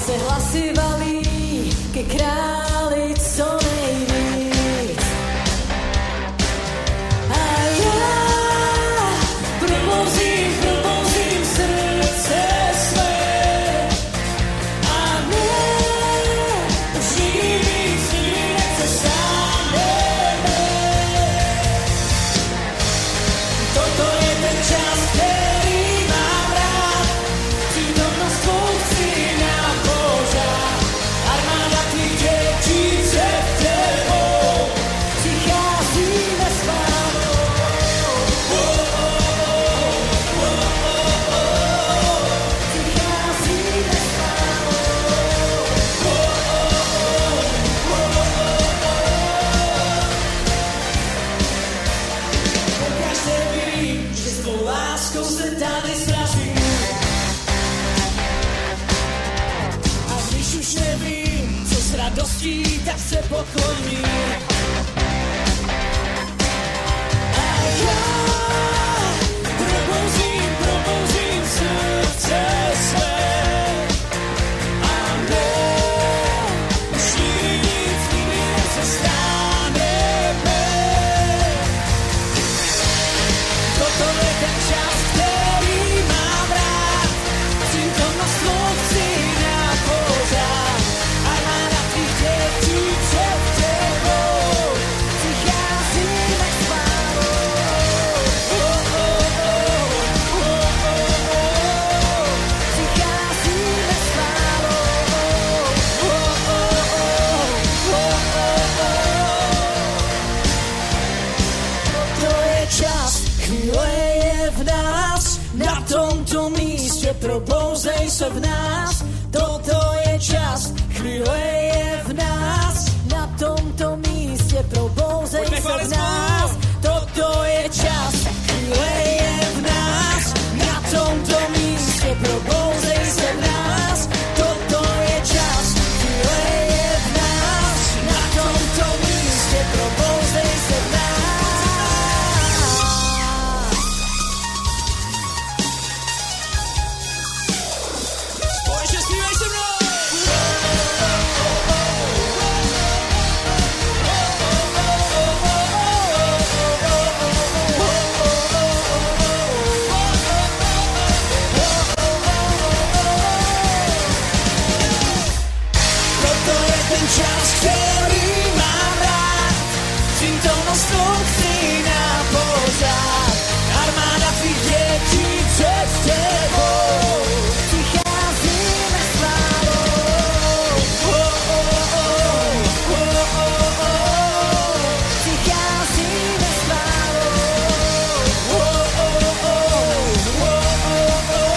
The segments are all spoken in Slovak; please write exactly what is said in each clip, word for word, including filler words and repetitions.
se hlasy valí ke králi co nejvíc. A já probouzím, probouzím srdce své. A ne, už nikdy víc, nikdy nepřestaneme. Toto je ten čas, který mám rád. Přítomnost tvou chci na pořád. Armáda tvých dětí před tebou. Přicházíme s chválou. Oh, oh, oh, oh, oh, oh. Přicházíme s chválou. Oh, oh, oh, oh, oh. Pokaždé vím, že s tvou láskou se tady srazím. A když už nevím, co s radostí, tak se pokloním. A já probouzím, probouzím srdce své. A ne, už nikdy nic, nikdy nepřestaneme. Toto je ten čas, který mám rád. Přítomnost tvou chci na pořád. Armáda tvých dětí před tebou. Přicházíme s chválou. Oh, oh, oh, oh, oh, oh. Přicházíme s chválou. Oh, oh, oh, oh, oh. To je čas, chvíle je v nás, na tomto místě probouzej se v nás. Toto je čas, chvíle je v nás, na tomto místě probouzej se v nás. Toto je čas, chvíle je v nás, na tomto místě probouzej se v nás. Toto je čas, chvíle je v nás, na tomto místě probouzej se v nás. Společně zpívej se mnou! Toto je ten čas, který mám rád. Přítomnost tvou chci na pořád. Armáda tvých dětí před tebou. Přicházíme s chválou. Oh, oh, oh, oh, oh, oh. Přicházíme s chválou. Oh, oh, oh, oh, oh, oh.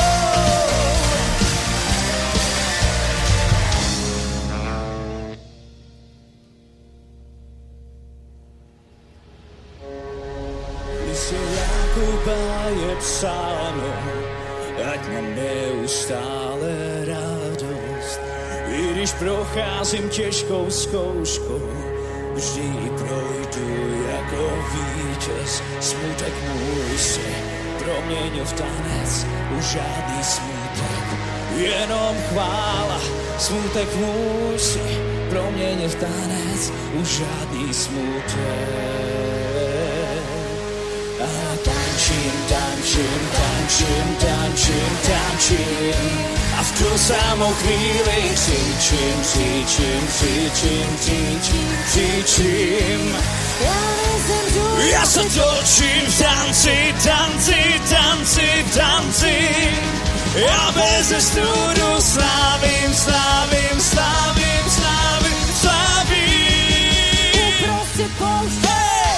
V listě Jakuba je psáno, ať mám neustále radost. I když procházím těžkou zkouškou, vždy ji projdu jako vítěz. Smutek můj si proměnil v tanec, už žádný smutek, jenom chvála. Smutek můj si proměnil v tanec, už žádný smutek. A tančím, tančím, tančím, tančím, tančím. A v tu samou chvíli křičím, křičím, křičím, křičím, křičím. Já se točím v tanci, tanci, tanci, tanci. Já bez studu slávím, slávím, slávím, slávím, slávím. Uprostřed pouště.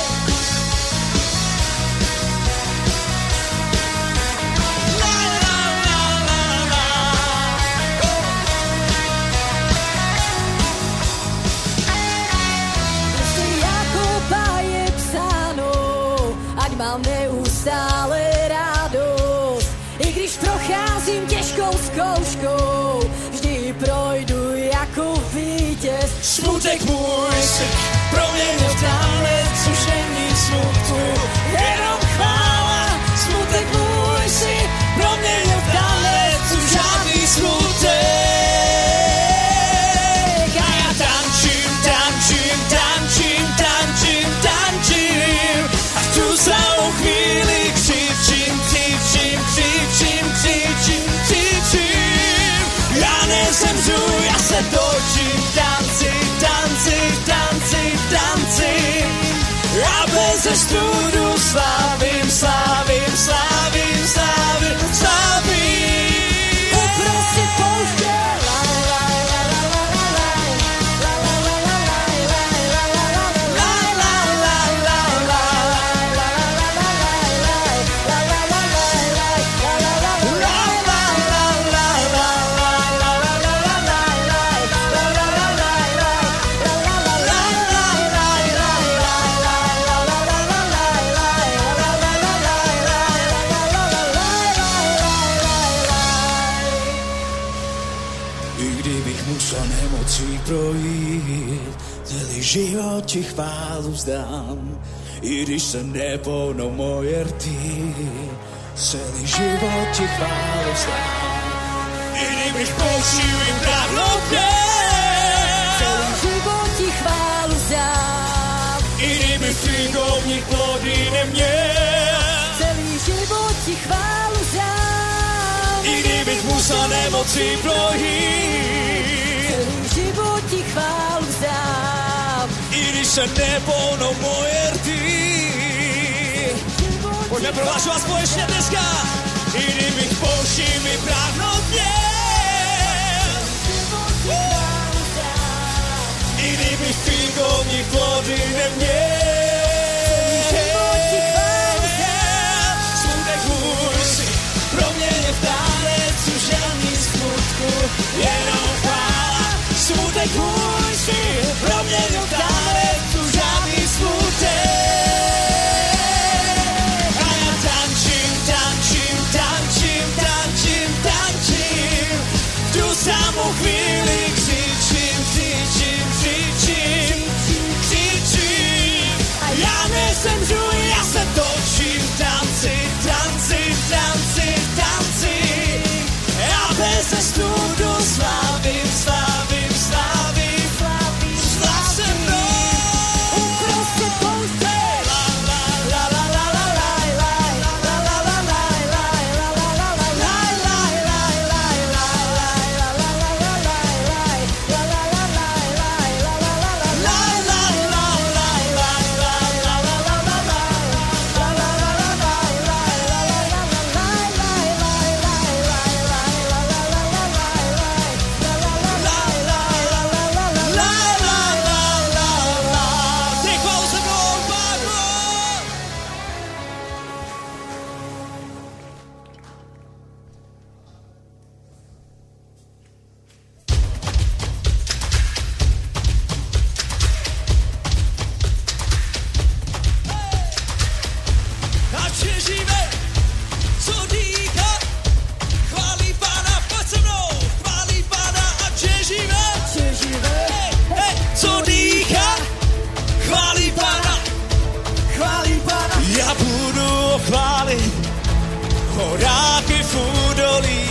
Mám neustále radost, i když procházím těžkou zkouškou, vždy projdu jako vítěz. Smutek můj si proměnil v tanec, už není smutku, jenom chvála. Smutek můj si proměnil v tanec, už žádný smutek. nezemřu, já se točím v tanci, tanci, tanci, tanci. A bez studu slávím, slávím, slávím, slávím, slávím. Uprostřed pouště. Projít, celý život ti chválu vzdám, i když se nepohnou moje rty, celý život ti chválu vzdám. I kdybych použil jim dávno pěl, celý život ti chválu vzdám. I kdybych figovník plody neměl, celý život ti chválu vzdám. I kdybych musel nemoci projít, život ti chválu vzdám. I když se nepohnou moje rty. Pojďme prohlašovat společně dneska. I kdybych pouští mi práhnout měl. I kdybych figovník plody neměl. Smutek můj si proměně v tanec, už žádný smutku, jenom chvála. Smutek můj si proměnil v tanec, už žádný smutek. A já tančím, tančím, tančím, tančím, tančím. V tu samou chvíli křičím, křičím, křičím, křičím. A já nezemřu, já se točím v tanci, tanci, tanci, tanci. Já bez studu slávím, slávím, slávím, slávím, slav se mnou. Uprostřed pouště. La la la la la la la la la la la la horáky v údolí.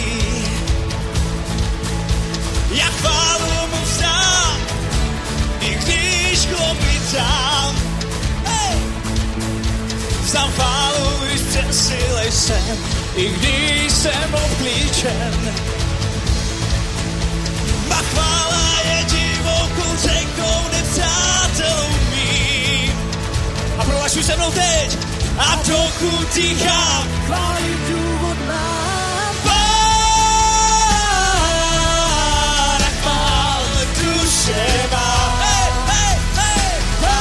Já chválu mu vzdám, i když klopitám. Hey! Vzdám chválu, když přesilej jsem, i když jsem obklíčen. Má chvála je divokou řekou nepřátelů mým. A prohlašuj se mnou teď, a trochu tichám, chválit důvod mám. Pána chvál duše má. Hey, hey, hey.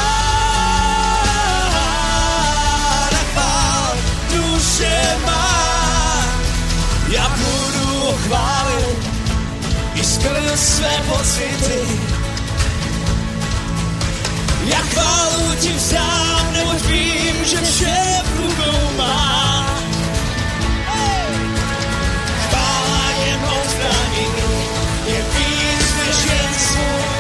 Pána chvál duše má. Já budu ho chválit i skrz své pocity. Já chválu ti vzdám, neboť vím, že vše v rukou má. Hey! Chvála je mou zbraní, je víc než jen svůj.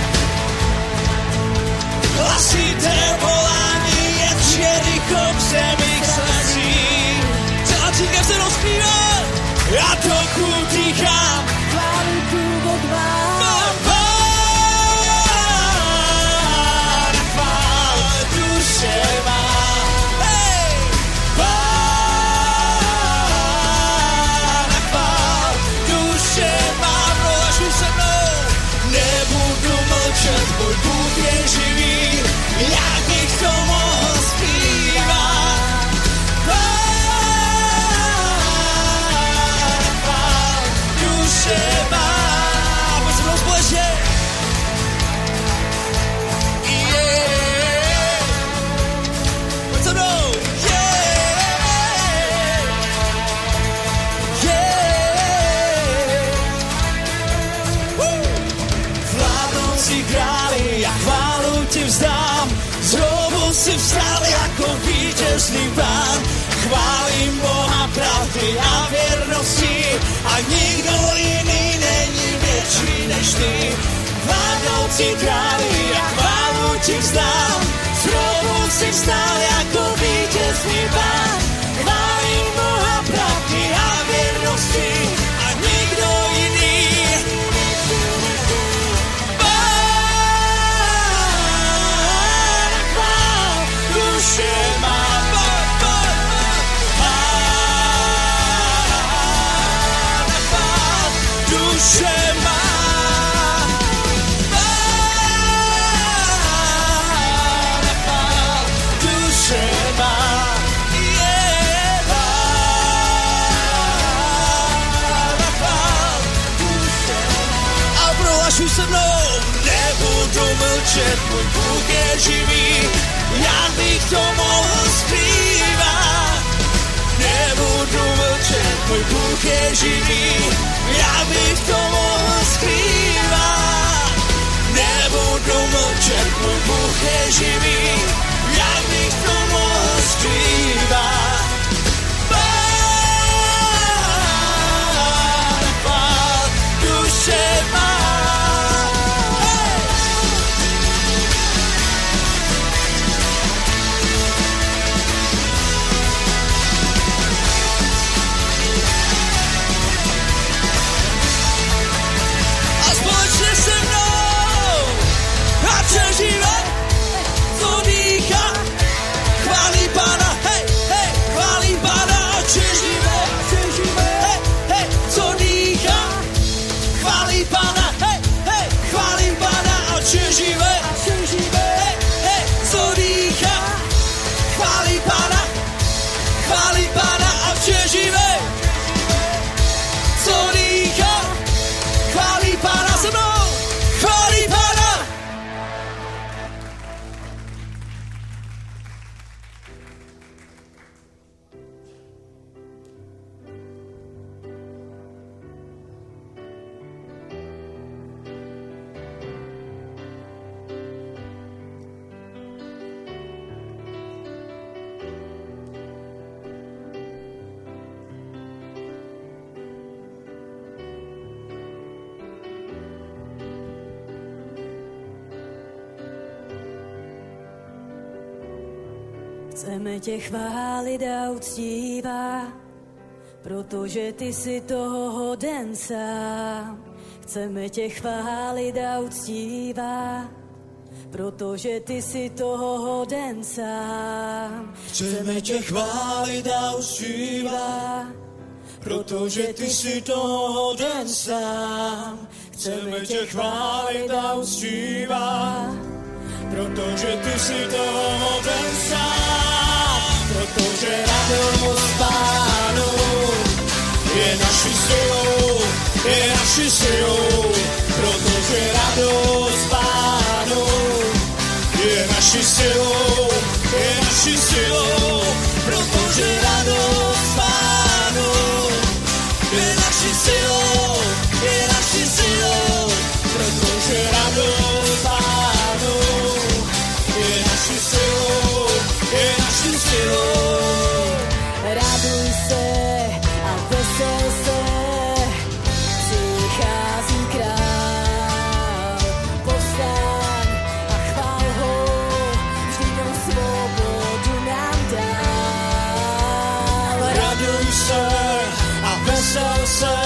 Hlasité volání je Jericho v zemích slezí. Celá církev se rozpívá, já trochu dýchám. Chválu důvod mám. Hey! Pána si vstal jako vítězný pán. Chválím Boha pravdy a věrnosti a nikdo jiný není větší než ty. Vládnoucí králi a chválu ti vzdám, znovu si vstal jako vítězný pán. Chválím Boha pravdy a věrnosti a nikdo jiný. Pán, chvál, duše má. Duše má, Pána chvál, duše má, je Pána chvál, duše má. A prohlašuj se mnou, nebudu mlčet, můj Bůh je živý, já bych to mohl skrývat. Nebudu mlčet, můj Bůh je živý, já bych to mohl skrývat. Nebudu mlčet, můj Bůh je živý, já bych to mohl skrývat. Pán, chvál, duše má. Přežívá, co dýchá, chválí Pána, hej, hej, chválí Pána a přežívá, hej, hej, co dýchá, chválí Pána, hej, hej, chválí Pána a přežívá, hej, hej, co dýchá, chválí Pána, chválí Pána a přežívá, co dýchá, chválí Pána se mnou, chválí Pána. Chceme tě chválit a uctívat, protože ty jsi toho hoden sám. Chceme tě chválit a uctívat, protože ty jsi toho hoden sám. Chceme tě chválit a uctívat, protože ty jsi toho hoden sám. Chceme tě chválit a uctívat, protože ty jsi toho hoden sám. Protože radost Pánu je naší silou, je naší silou. Protože radost Pánu je naší silou, je naší silou. Protože radost Pánu je naší silou, je naší silou. Protože radost Pánu je naší silou, je naší silou. Raduj se a vesel se, přichází král. Povstaň a chvál ho, vždyť on svobodu nám dal. Raduj se a vesel se,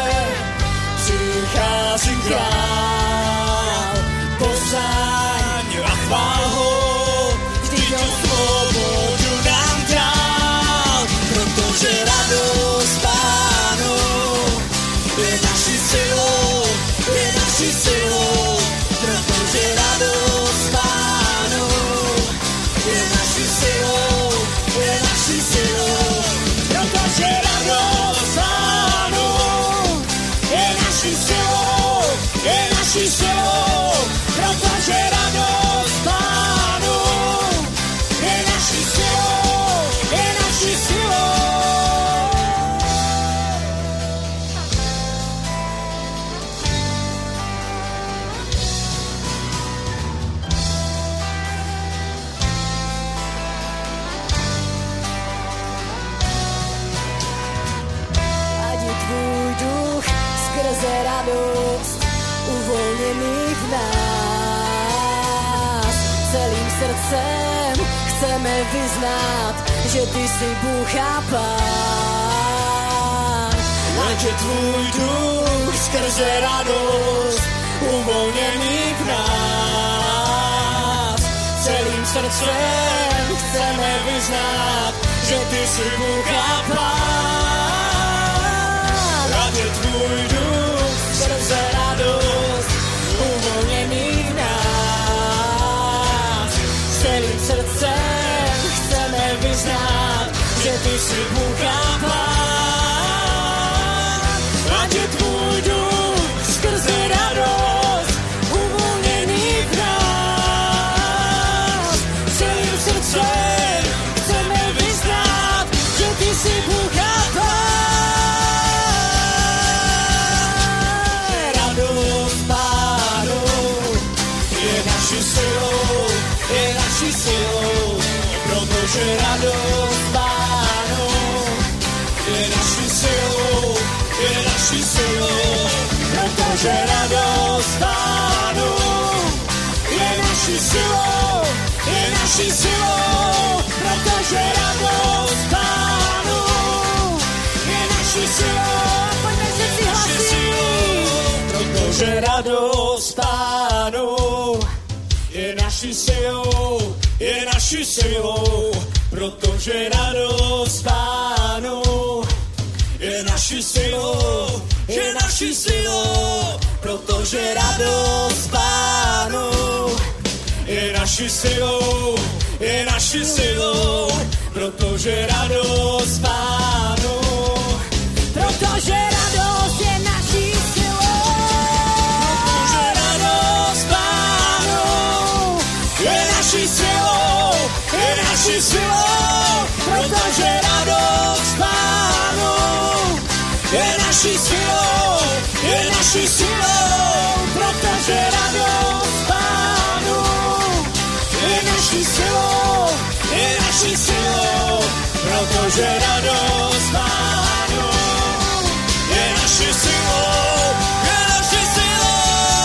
přichází král. Povstaň a chvál ho, vždyť on svobodu nám dal. Protože radost Pánu je naší silou, je naší silou. Protože radost Pánu je naší silou, je naší silou. Protože radost Pánu je naší silou, je naší silou. Protože radost Pánu je naší silou, je naší silou. radost uvolněný v nás. Celým srdcem chceme vyznát, že ty jsi Bůh a Pán. Ať je tvůj duch skrze radost uvolněný v nás. Celým srdcem chceme vyznát, že ty jsi Bůh a Pán. Ať je tvůj duch skrze radost uvolněný v nás. Celým srdcem chceme vyznát, že ty jsi Bůh a Pán. Ať je tvůj duch skrze radost uvolněný v nás. Celým srdcem chceme vyznát, že ty jsi Bůh a Pán. Radost Pánu je naší silou, je naší silou, protože radost Pánu je naší silou, je naší silou, protože radost Pánu je naší silou, je naší silou, protože radost Pánu je naší silou, pojďme se si hlasí, protože radost Pánu je naší silou, je naší silou, protože radost Pánu je naší silou, je naší silou, protože radost Pánu je naší silou, je naší silou, protože radost Pánu, protože radost je naší silou, protože radost Pánu je naší silou, je naší silou, protože radost Pánu je naší silou, je naší silou, protože radost Pánu je naší silou, je naší silou, protože radost Pánu je naší silou, je naší silou.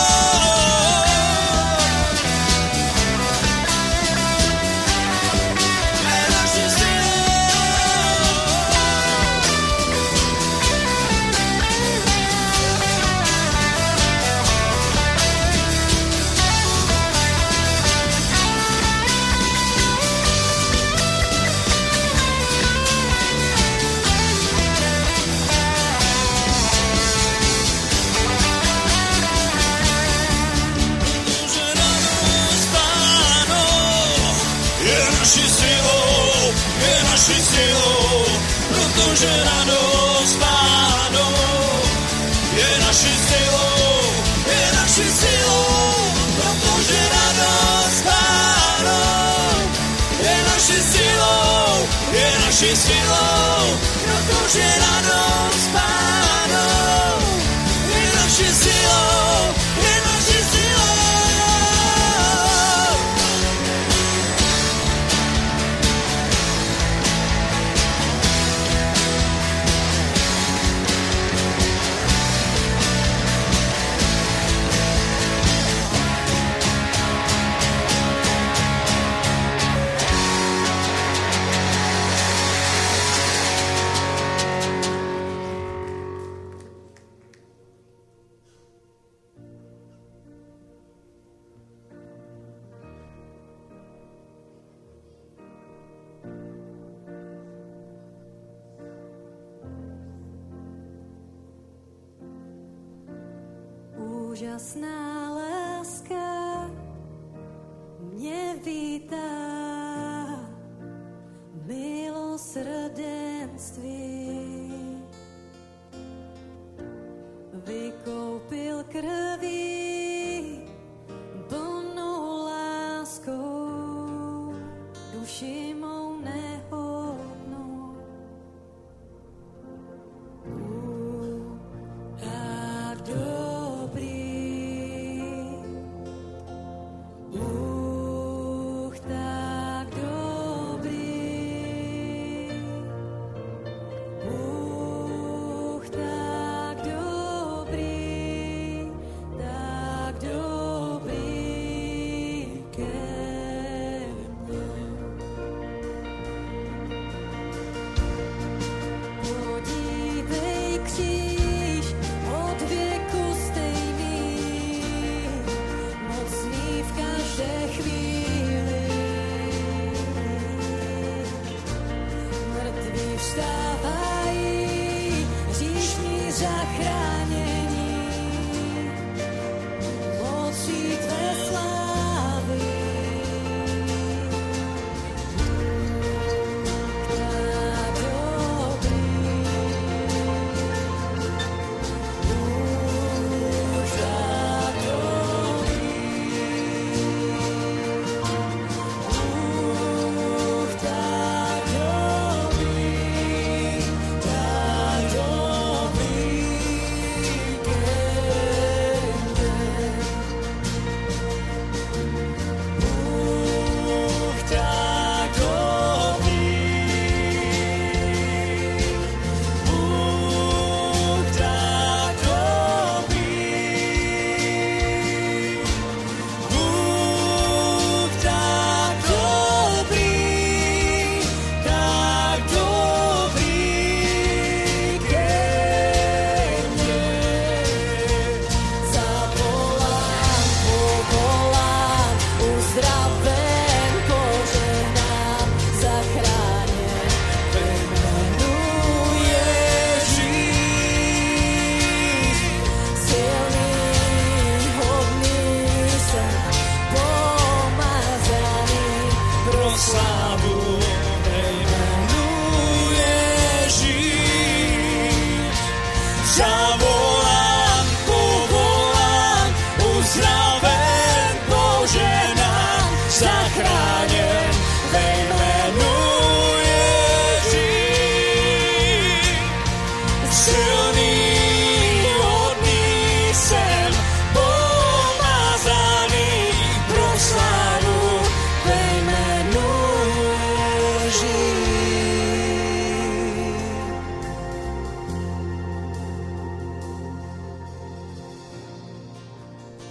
Naší silou, protože radost Pánu je naší silou, je naší silou, protože radost Pánu je naší silou, je naší silou, protože radost Pánu je naší silou, je naší silou. Úžasná láska mě vítá, milosrdenství vykoupil krví, plnou láskou duši mou nehodnou. A dobrý Bůh tak dobrý, Bůh tak dobrý,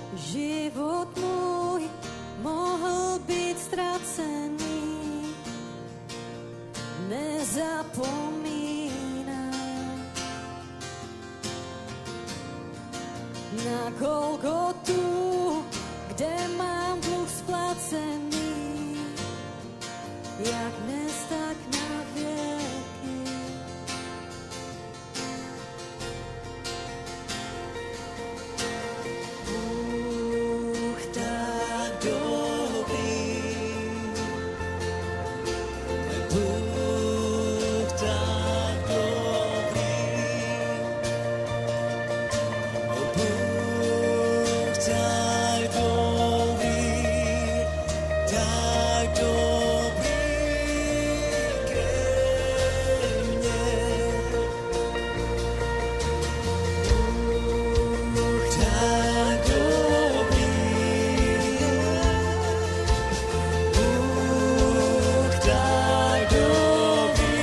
život môj mohol byť stracený. Nezapomínam na Golgotu, kde mám dluh splacený, jak dnes, tak na vieky. Bůh tak dobrý, Bůh tak dobrý, Bůh tak dobrý, tak dobrý ke mne. Bůh tak dobrý, Bůh tak dobrý,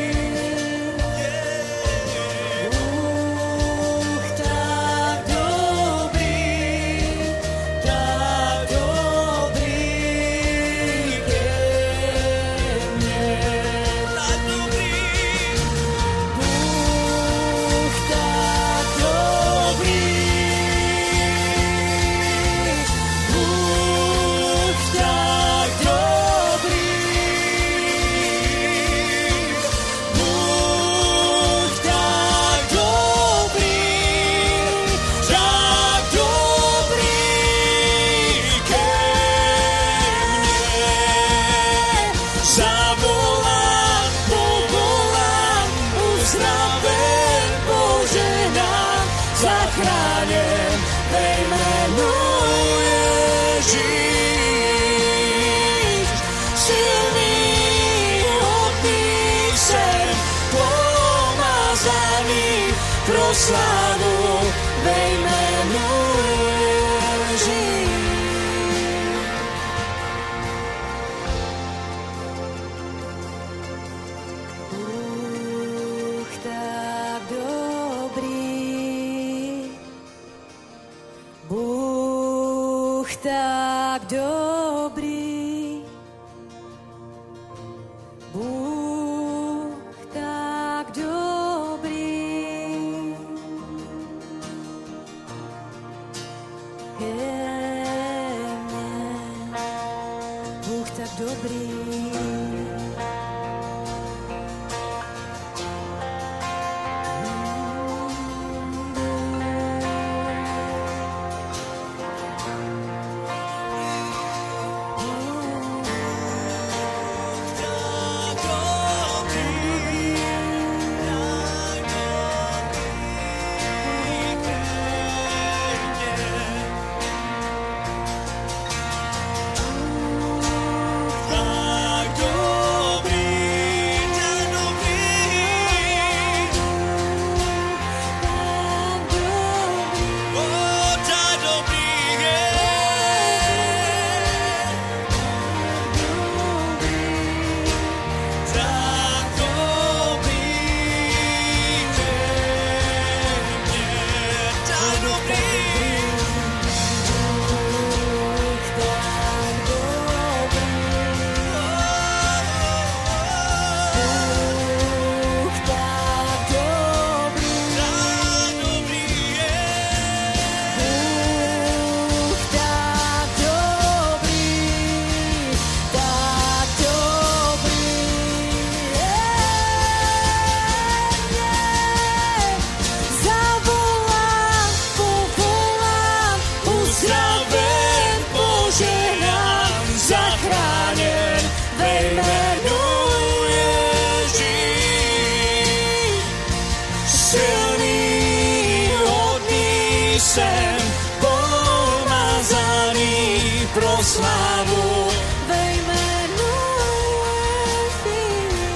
Bůh tak dobrý, tak dobrý ke mne. Tak dobrý, Bůh tak dobrý, Bůh tak dobrý, Bůh tak dobrý, tak dobrý ke mne. Zavolám, povolám, uzdraven, poženám, zachráněn ve jménu Ježíš. Silný, hodný jsem, pomazaný pro slávu ve jménu Ježíš. Bůh tak dobrý, Bůh tak dobrý, Bůh tak dobrý ke mne. Bůh tak dobrý. Jsem pomazaný pro slávu ve jménu Ježíš.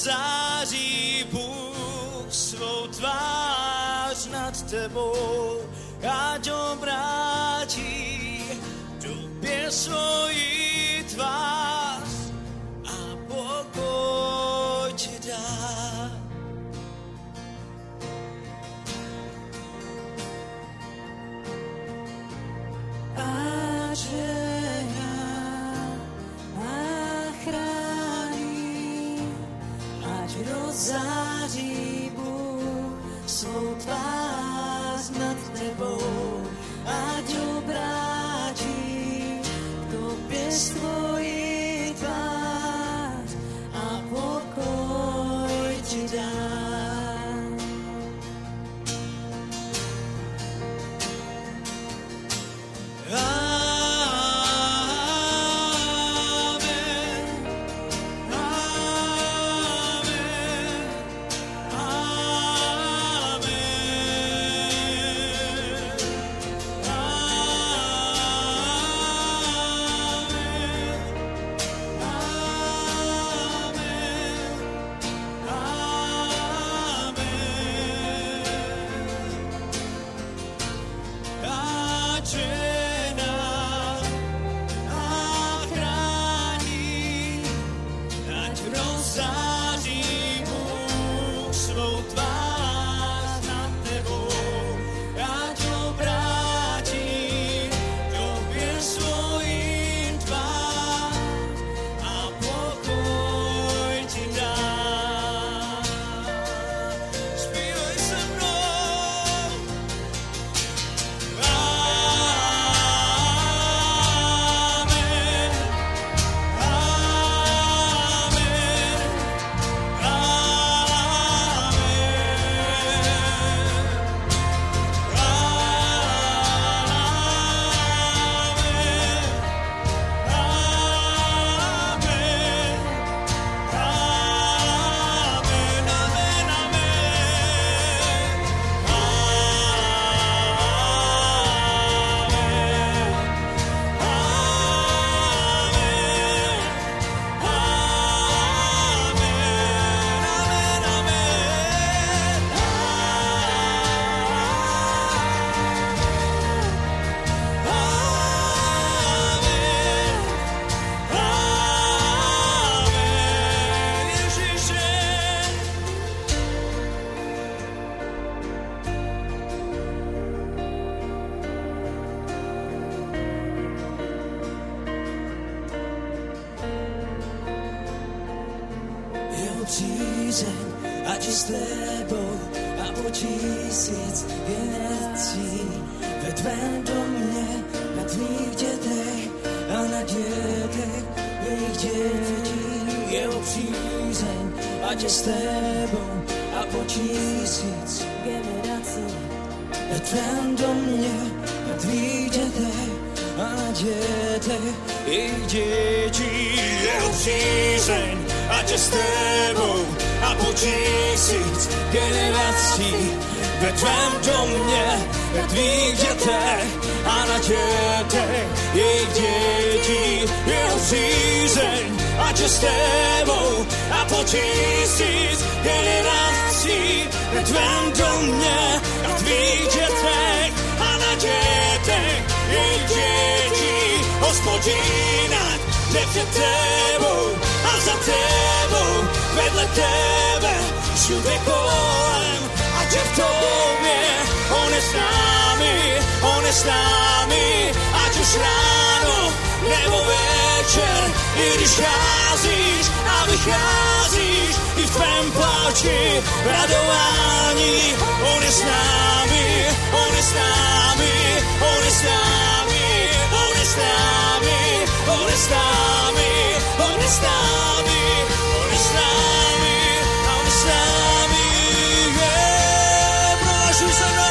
rozzáří Bůh svou tvář nad tebou, ať obrátí tobě svoji tvář a pokoj ti dá. A žehná a chrání, ať rozzáří Bůh svou tvář nad tebou, ať obrátí k tobě svoji tvář a pokoj ti dá. Přízeň, ať je s tebou a po tisíc generací ve tvém domě, na tvých dětech a na dětech jejich dětí. Jeho přízeň, ať je s tebou a po tisíc generací ve tvém domě, na tvých dětech a na dětech jejich dětí. Jeho přízeň, ať je s tebou a po tisíc generací ve tvém domě, ve tvých dětech a na dětech jejich dětí. Jeho přízeň, ať je s tebou a po tisíc generací ve tvém domě, na tvých dětech a na dětech jejich dětí. Hospodina, jde před tebou a za tebou, vedle tebe, všude kolem, ať je v tobě. On je s námi, on je s námi, ať už ráno nebo večer, i když cházíš a vycházíš, i v tvém pláči radování. On je s námi, on je s námi, on je s námi, on je s námi, on je s námi, on je s námi, on je s námi, on je s námi, yeah, prohlašuj se mnou.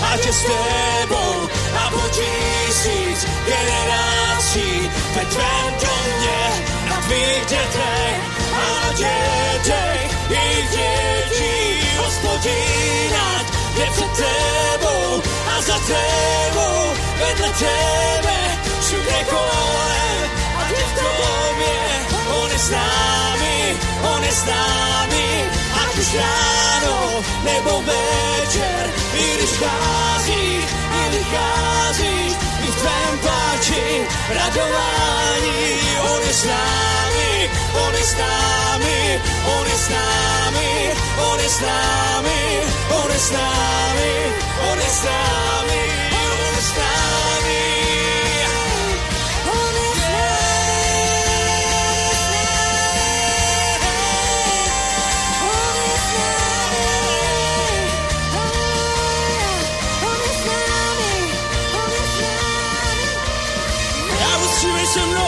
ať je s tebou a po tisíc generácií ve tvém domě, na tvých dětech a na dětech jejich dětí. Hospodin, ať je před tebou a za tebou, vedle tebe, všude kolem, ať je v tobě. On je s námi, on je s námi, ať už ráno nebo večer, i když vcházíš, i vycházíš, i v tvém pláči radování. On je s námi, on je s námi, on je s námi, on je s námi, on je s námi, on je s námi, on je s námi. Se mnou.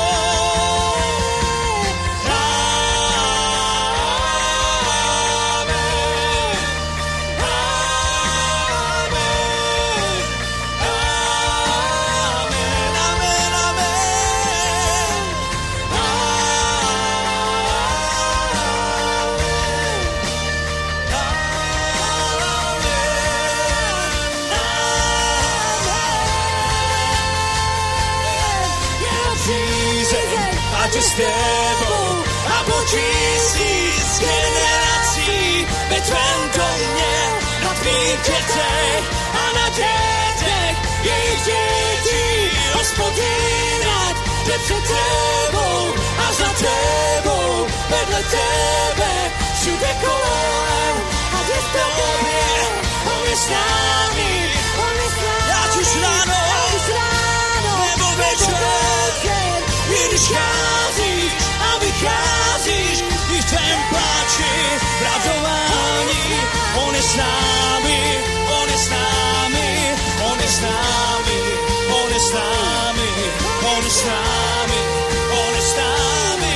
S tebou a po tisíc generací ve tvém domě, na tvých dětech a na dětech jejich dětí. Hospodin, ať je před tebou a za tebou, vedle tebe, všude kolem, ať je v tobě. On je s námi, on je s námi, ať už ráno, ať už ráno nebo večer, i když cházíš a vycházíš, i v tvém pláči radování. On je s námi, on je s námi, on je s námi, on je s námi, on je s námi, on je s námi.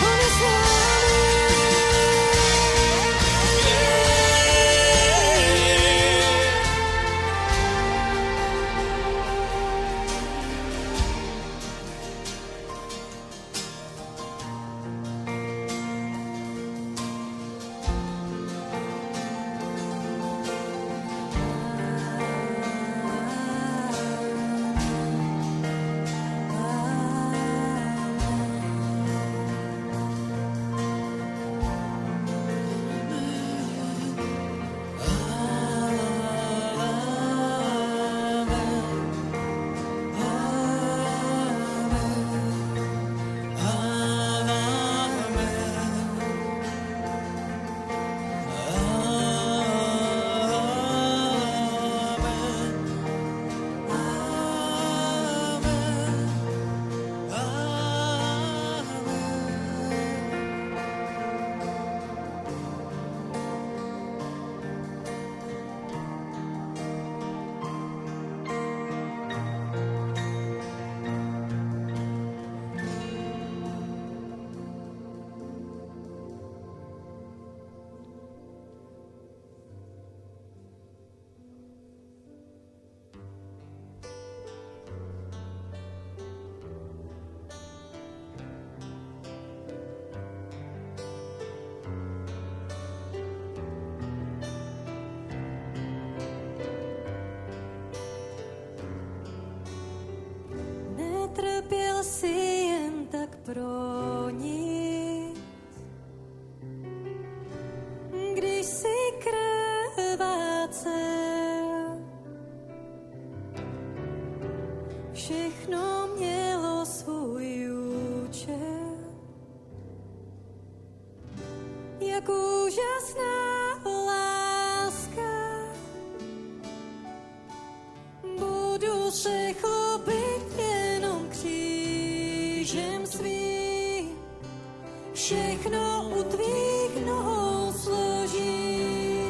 pro nic. Když si krvácel, všechno mělo svůj účel. Jak úžasná láska, budu se chlubit jenom křížem svým, všechno u tvých nohou složím.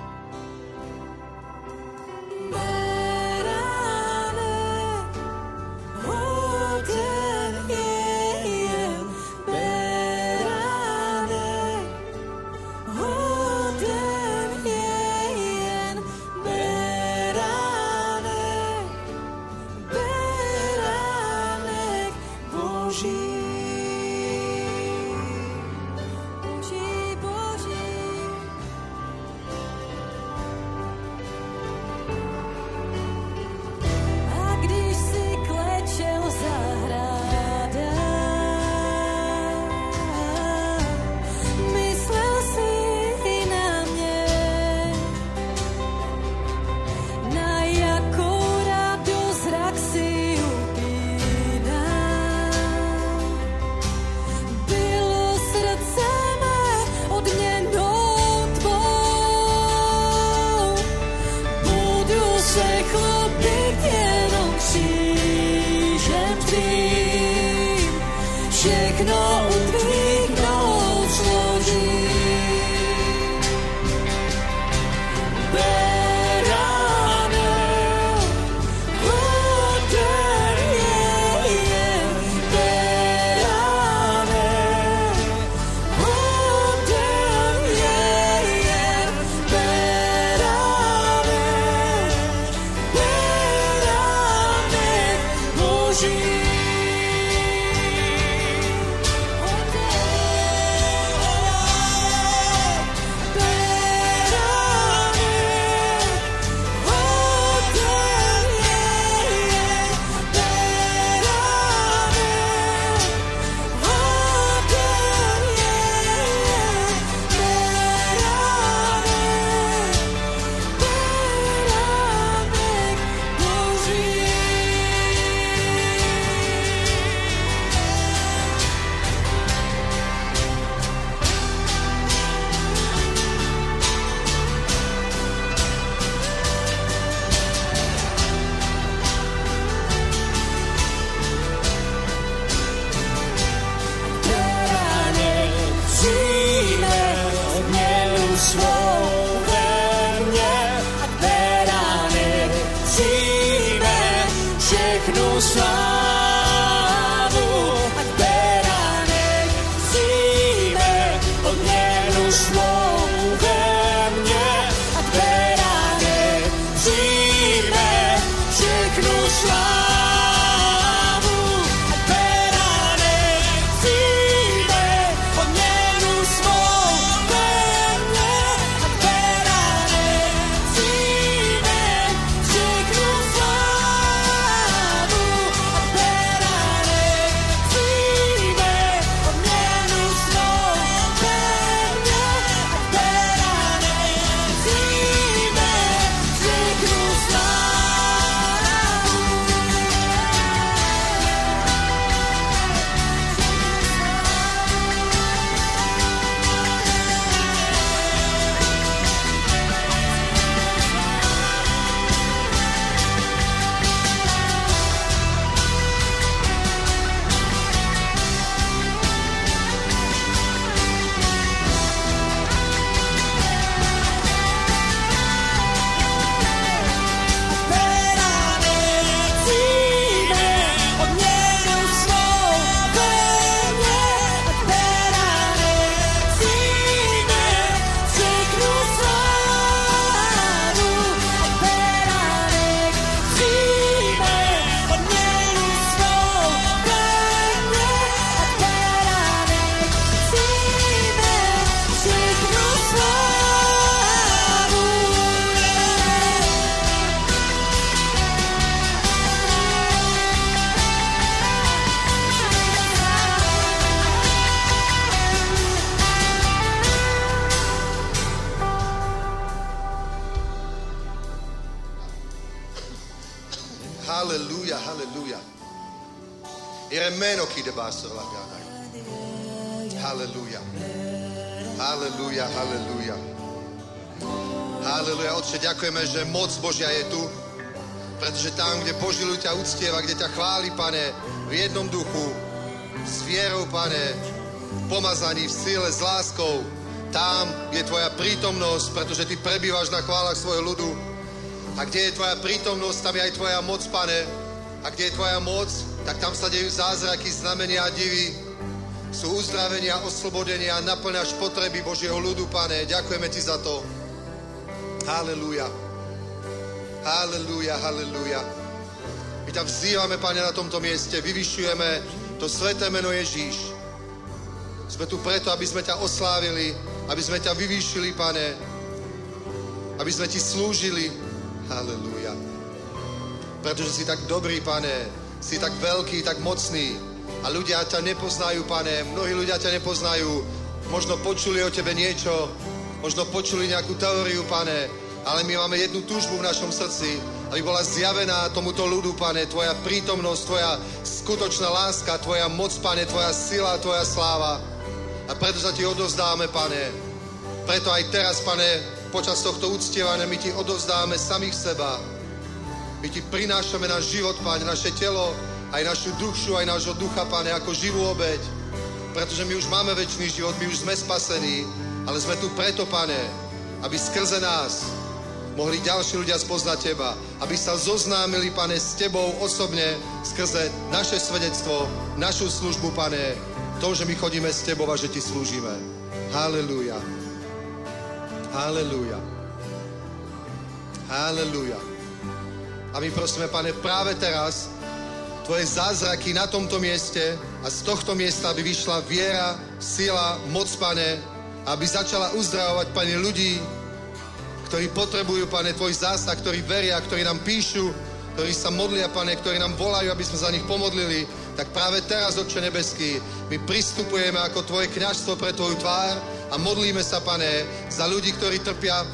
Beránek, hoden je jen beránek, hoden je jen beránek. všechno u tvých nohou složí. Halleluja, halleluja. Iremeno chi debasso la gana. Halleluja. Halleluja, halleluja. Halleluja, Otče, ďakujeme, že moc Božia je tu, pretože tam, kde Boží ľud ťa uctieva, kde ťa chváli, Pane, v jednom duchu, s vierou, Pane, v pomazaní, v síle, s láskou, tam je tvoja prítomnosť, pretože ty prebývaš na chválach svojho ľudu. A kde je tvoja prítomnosť, tam je aj tvoja moc, Pane. A kde je tvoja moc, tak tam sa dejú zázraky, znamenia a divy. Sú uzdravenia, oslobodenia, naplňaš potreby Božieho ľudu, Pane. Ďakujeme ti za to. Halelúja. Halelúja, halelúja. My ťa vzývame, Pane, na tomto mieste. Vyvyšujeme to sväté meno Ježíš. Sme tu preto, aby sme ťa oslávili, aby sme ťa vyvýšili, Pane. Aby sme ti slúžili. Halelúja. Pretože si tak dobrý, Pane. Si tak veľký, tak mocný. A ľudia ťa nepoznajú, Pane. Mnohí ľudia ťa nepoznajú. Možno počuli o tebe niečo. Možno počuli nejakú teóriu, Pane. Ale my máme jednu túžbu v našom srdci. Aby bola zjavená tomuto ľudu, Pane. Tvoja prítomnosť, tvoja skutočná láska, tvoja moc, Pane. Tvoja sila, tvoja sláva. A preto sa ti odovzdáme, Pane. Preto aj teraz, Pane, počas tohto uctievania my ti odovzdáme samých seba. My ti prinášame náš život, Pane, naše telo, aj našu dušu, aj nášho ducha, Pane, ako živú obeť. pretože my už máme večný život, my už sme spasení, ale sme tu preto, Pane, aby skrze nás mohli ďalší ľudia spoznať Teba, aby sa zoznámili, Pane, s Tebou osobne skrze naše svedectvo, našu službu, Pane, to, že my chodíme s Tebou a že Ti slúžime. Halelúja. Halelúja. Halelúja. A my prosíme, Pane, práve teraz Tvoje zázraky na tomto mieste a z tohto miesta, aby vyšla viera, sila, moc, Pane, aby začala uzdravovať, Pane, ľudí, ktorí potrebujú, Pane, Tvoj zásah, ktorí veria, ktorí nám píšu, ktorí sa modlia, Pane, ktorí nám volajú, aby sme za nich pomodlili, tak práve teraz, Otče nebeský, my pristupujeme ako Tvoje kňazstvo pre Tvoju tvár a modlíme sa, Pane, za ľudí, ktorí trpia.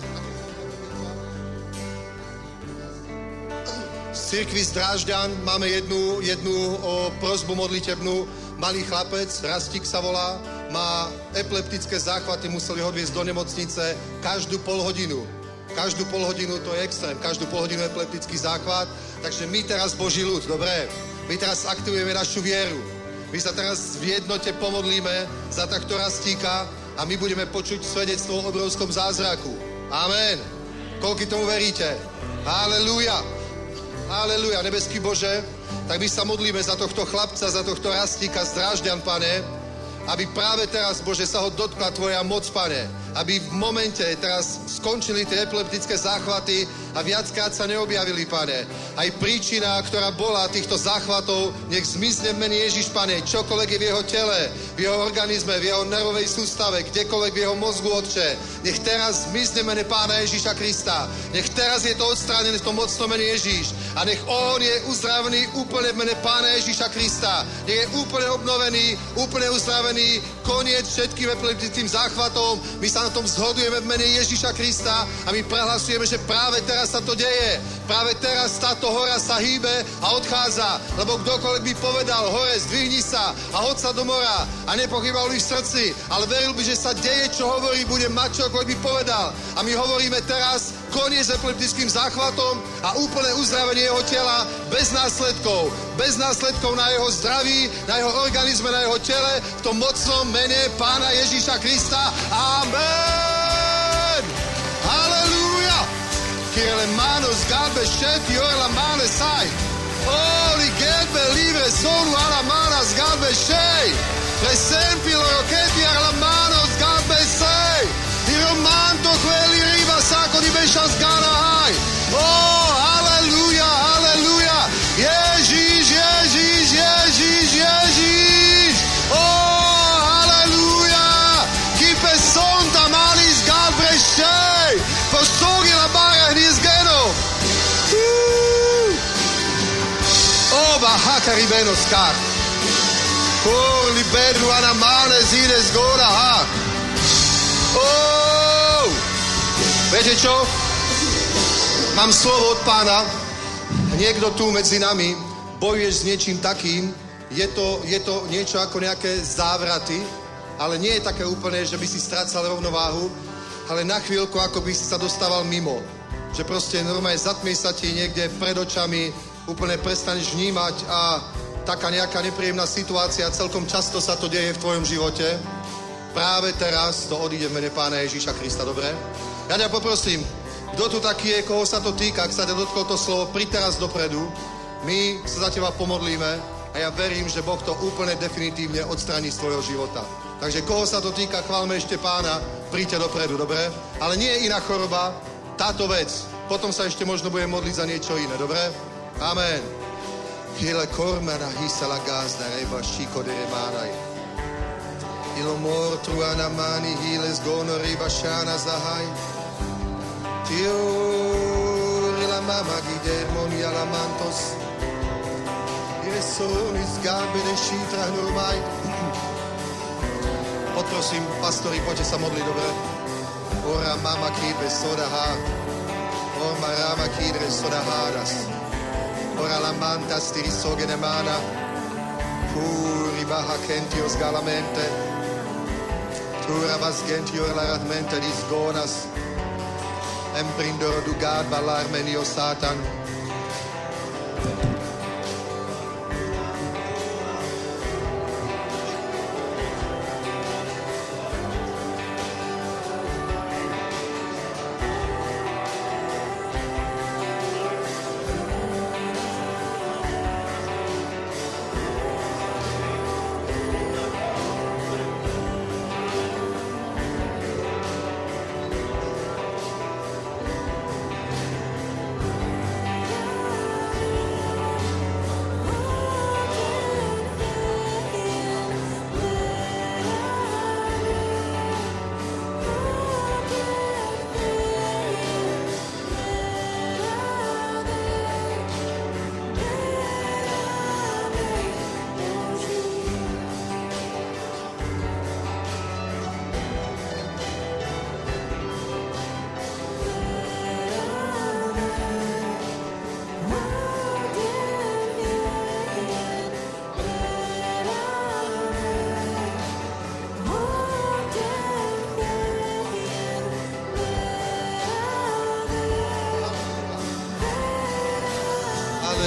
Z cirkvi z Drážďan máme jednu, jednu o, prosbu modlitebnú. Malý chlapec, Rastík sa volá, má epileptické záchvaty, museli ho odviesť do nemocnice každú pol hodinu. Každú pol hodinu, to je extrém, každú pol hodinu epileptický záchvat. Takže my teraz, Boží ľud, dobre, my teraz aktivujeme našu vieru. My sa teraz v jednote pomodlíme za takto Rastíka a my budeme počuť svedectvo o obrovskom zázraku. Amen. Koľko tomu veríte? Halelúja. Halelúja, nebeský Bože, tak my sa modlíme za tohto chlapca, za tohto Rastíka z Drážďan, Pane, aby práve teraz, Bože, sa ho dotkla Tvoja moc, Pane, aby v momente teraz skončili tie epileptické záchvaty a viackrát sa neobjavili, Pane. Aj príčina, ktorá bola týchto záchvatov, nech zmizne v mene Ježiš, Pane, čokoľvek je v jeho tele, v jeho organizme, v jeho nervovej sústave, kdekoľvek v jeho mozgu, Otče. Nech teraz zmizne v mene Pána Ježiša Krista. Nech teraz je to odstránené v tom mocnom mene Ježiš. A nech on je uzdravený úplne v mene Pána Ježiša Krista. Nech je úplne obnovený, úplne uzdravený, koniec všetkým epileptickým záchvatom. My sa na tom zhodujeme v mene Ježiša Krista a my prehlasujeme, že práve teraz sa to deje. Práve teraz táto hora sa hýbe a odchádza. Lebo kdokoľvek by povedal, hore, zdvihni sa a hoď sa do mora a nepochýbal by v srdci, ale veril by, že sa deje, čo hovorí, bude mať čokoľvek by povedal. A my hovoríme teraz, koniec epileptickým záchvatom a úplné uzdravenie jeho tela bez následkov. Bez následkov na jeho zdraví, na jeho organizme, na jeho tele, v tom mocnom mene Pána Ježíša Krista. Amen! Halleluja! Kirele manos galbe šeti orla mane saj. Oli gelbe livre sonu ala manas galbe šej. Presempilo roketi arla manos galbe sej. I romanto quelli riva sako di bešas gana haj. Oh, halleluja, halleluja. Ježíš, Ježíš, Ježíš, Ježíš. Oh, halleluja. Kipe sonta malis galbre šej. Postogi la bara hnis geno. Oh, bahaka ribeno skar. Kor libernu anamane zines gora ha. Oh! Viete čo? Mám slovo od Pána. Niekto tu medzi nami bojuješ s niečím takým. Je to, je to niečo ako nejaké závraty, ale nie je také úplné, že by si strácal rovnováhu, ale na chvíľku ako by si sa dostával mimo. Že proste normálne zatmie sa ti niekde pred očami, úplne prestaneš vnímať a taká nejaká nepríjemná situácia, celkom často sa to deje v tvojom živote. Práve teraz to odíde v mene Pána Ježíša Krista, dobre? Ja ťa poprosím, kto tu taký je, koho sa to týka, ak sa ťa dotklo to slovo, príď teraz dopredu, my sa za teba pomodlíme a ja verím, že Boh to úplne definitívne odstraní z tvojho života. Takže koho sa to týka, chválme ešte Pána, príďte dopredu, dobre? Ale nie je iná choroba, táto vec. Potom sa ešte možno budeme modliť za niečo iné, dobre? Amen. Hile kormana hisala gazda reba šiko de remanaj. Ilo mortru anamani hiles gono riba shana zahai. Tiori la mama gidermoni alamantos. Iresonis galbe de šitra normaj. Poprosím, pastori, poďte sa modliť, dobre? Ora mama kidre sodaha. Ora rama kidre sodahadas. Ora la manta stirisogene mana. Puri baha kentios galamente. Tura vas gentior laratmente dis gonas. Emprindor du gad balarmenio satan.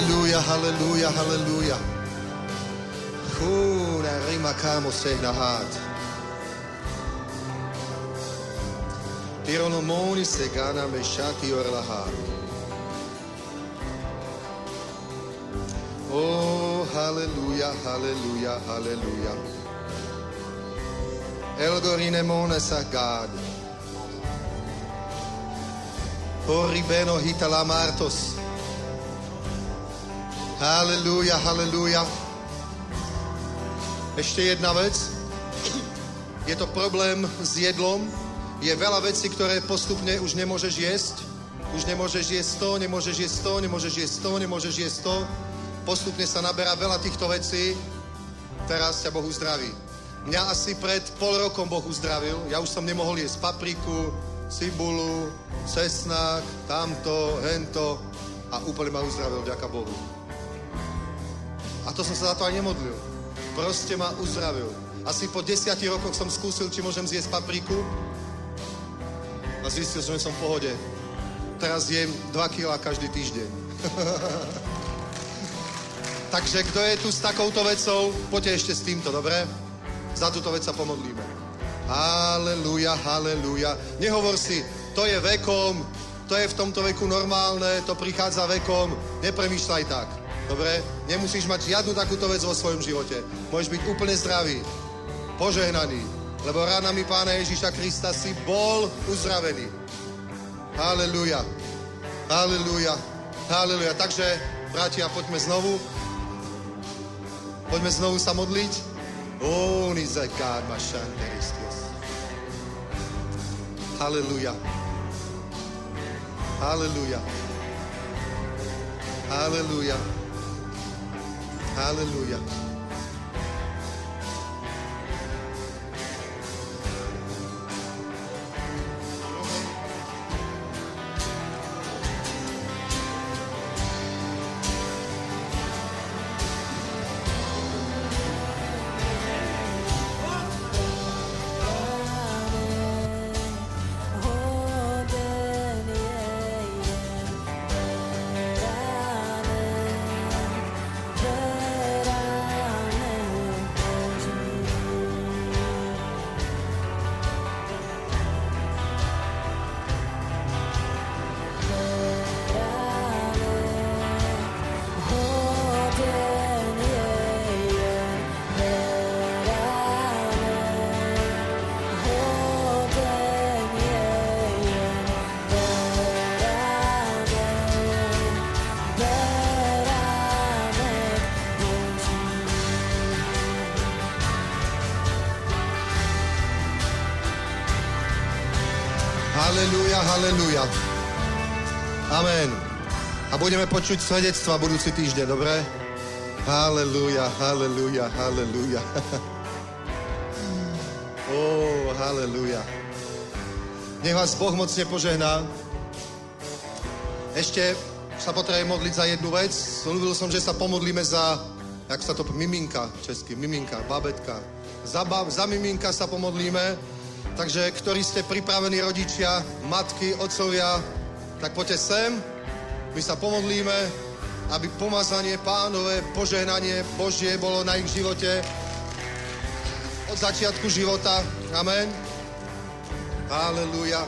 Halleluja, halleluja, halleluja. Húna rima kámo sehna hát. Tironomoni se gana me shati orlahát. Oh, halleluja, halleluja, halleluja. Elgorine mone sa gad. Horribeno hitala martos. Halleluja, halleluja. Ešte jedna vec. Je to problém s jedlom. Je veľa vecí, ktoré postupne už nemôžeš jesť. Už nemôžeš jesť to, nemôžeš jesť to, nemôžeš jesť to, nemôžeš jesť to. Postupne sa naberá veľa týchto vecí. Teraz ťa Boh uzdraví. Mňa asi pred pol rokom Boh uzdravil. Ja už som nemohol jesť papriku, cibulu, cesnak, tamto, hento. A úplne ma uzdravil, vďaka Bohu. A to som sa za to aj nemodlil. Proste ma uzdravil. Asi po desiatich rokoch som skúsil, či môžem zjesť papriku. A zistil som, že som v pohode. Teraz jem dva kilá každý týždeň. Takže kto je tu s takouto vecou, poďte ešte s týmto, dobre? Za túto vec sa pomodlíme. Halleluja, halleluja. Nehovor si, to je vekom, to je v tomto veku normálne, to prichádza vekom. Nepremýšľaj tak, dobre? Nemusíš mať žiadnu takúto vec vo svojom živote. Môžeš byť úplne zdravý, požehnaný, lebo ranami Pána Ježíša Krista si bol uzdravený. Halleluja, halleluja, halleluja. Takže, bratia, poďme znovu. Poďme znovu sa modliť. Oh, nize God, ma šanteristios. Halleluja. Halleluja. Halleluja. Halleluja. Halleluja, halleluja. Amen. A budeme počuť svedectva budúci týždeň, dobre? Halleluja, halleluja, halleluja. Oh, halleluja. Nech vás Boh mocne požehná. Ešte sa potrebujem modliť za jednu vec. Slúbil som, že sa pomodlíme za, jak sa to, miminka, česky, miminka, babetka. Za, bab, za miminka sa pomodlíme. Takže, ktorí ste pripravení rodičia, matky, otcovia, tak poďte sem, my sa pomodlíme, aby pomazanie Pánové, požehnanie Božie bolo na ich živote od začiatku života. Amen. Halleluja.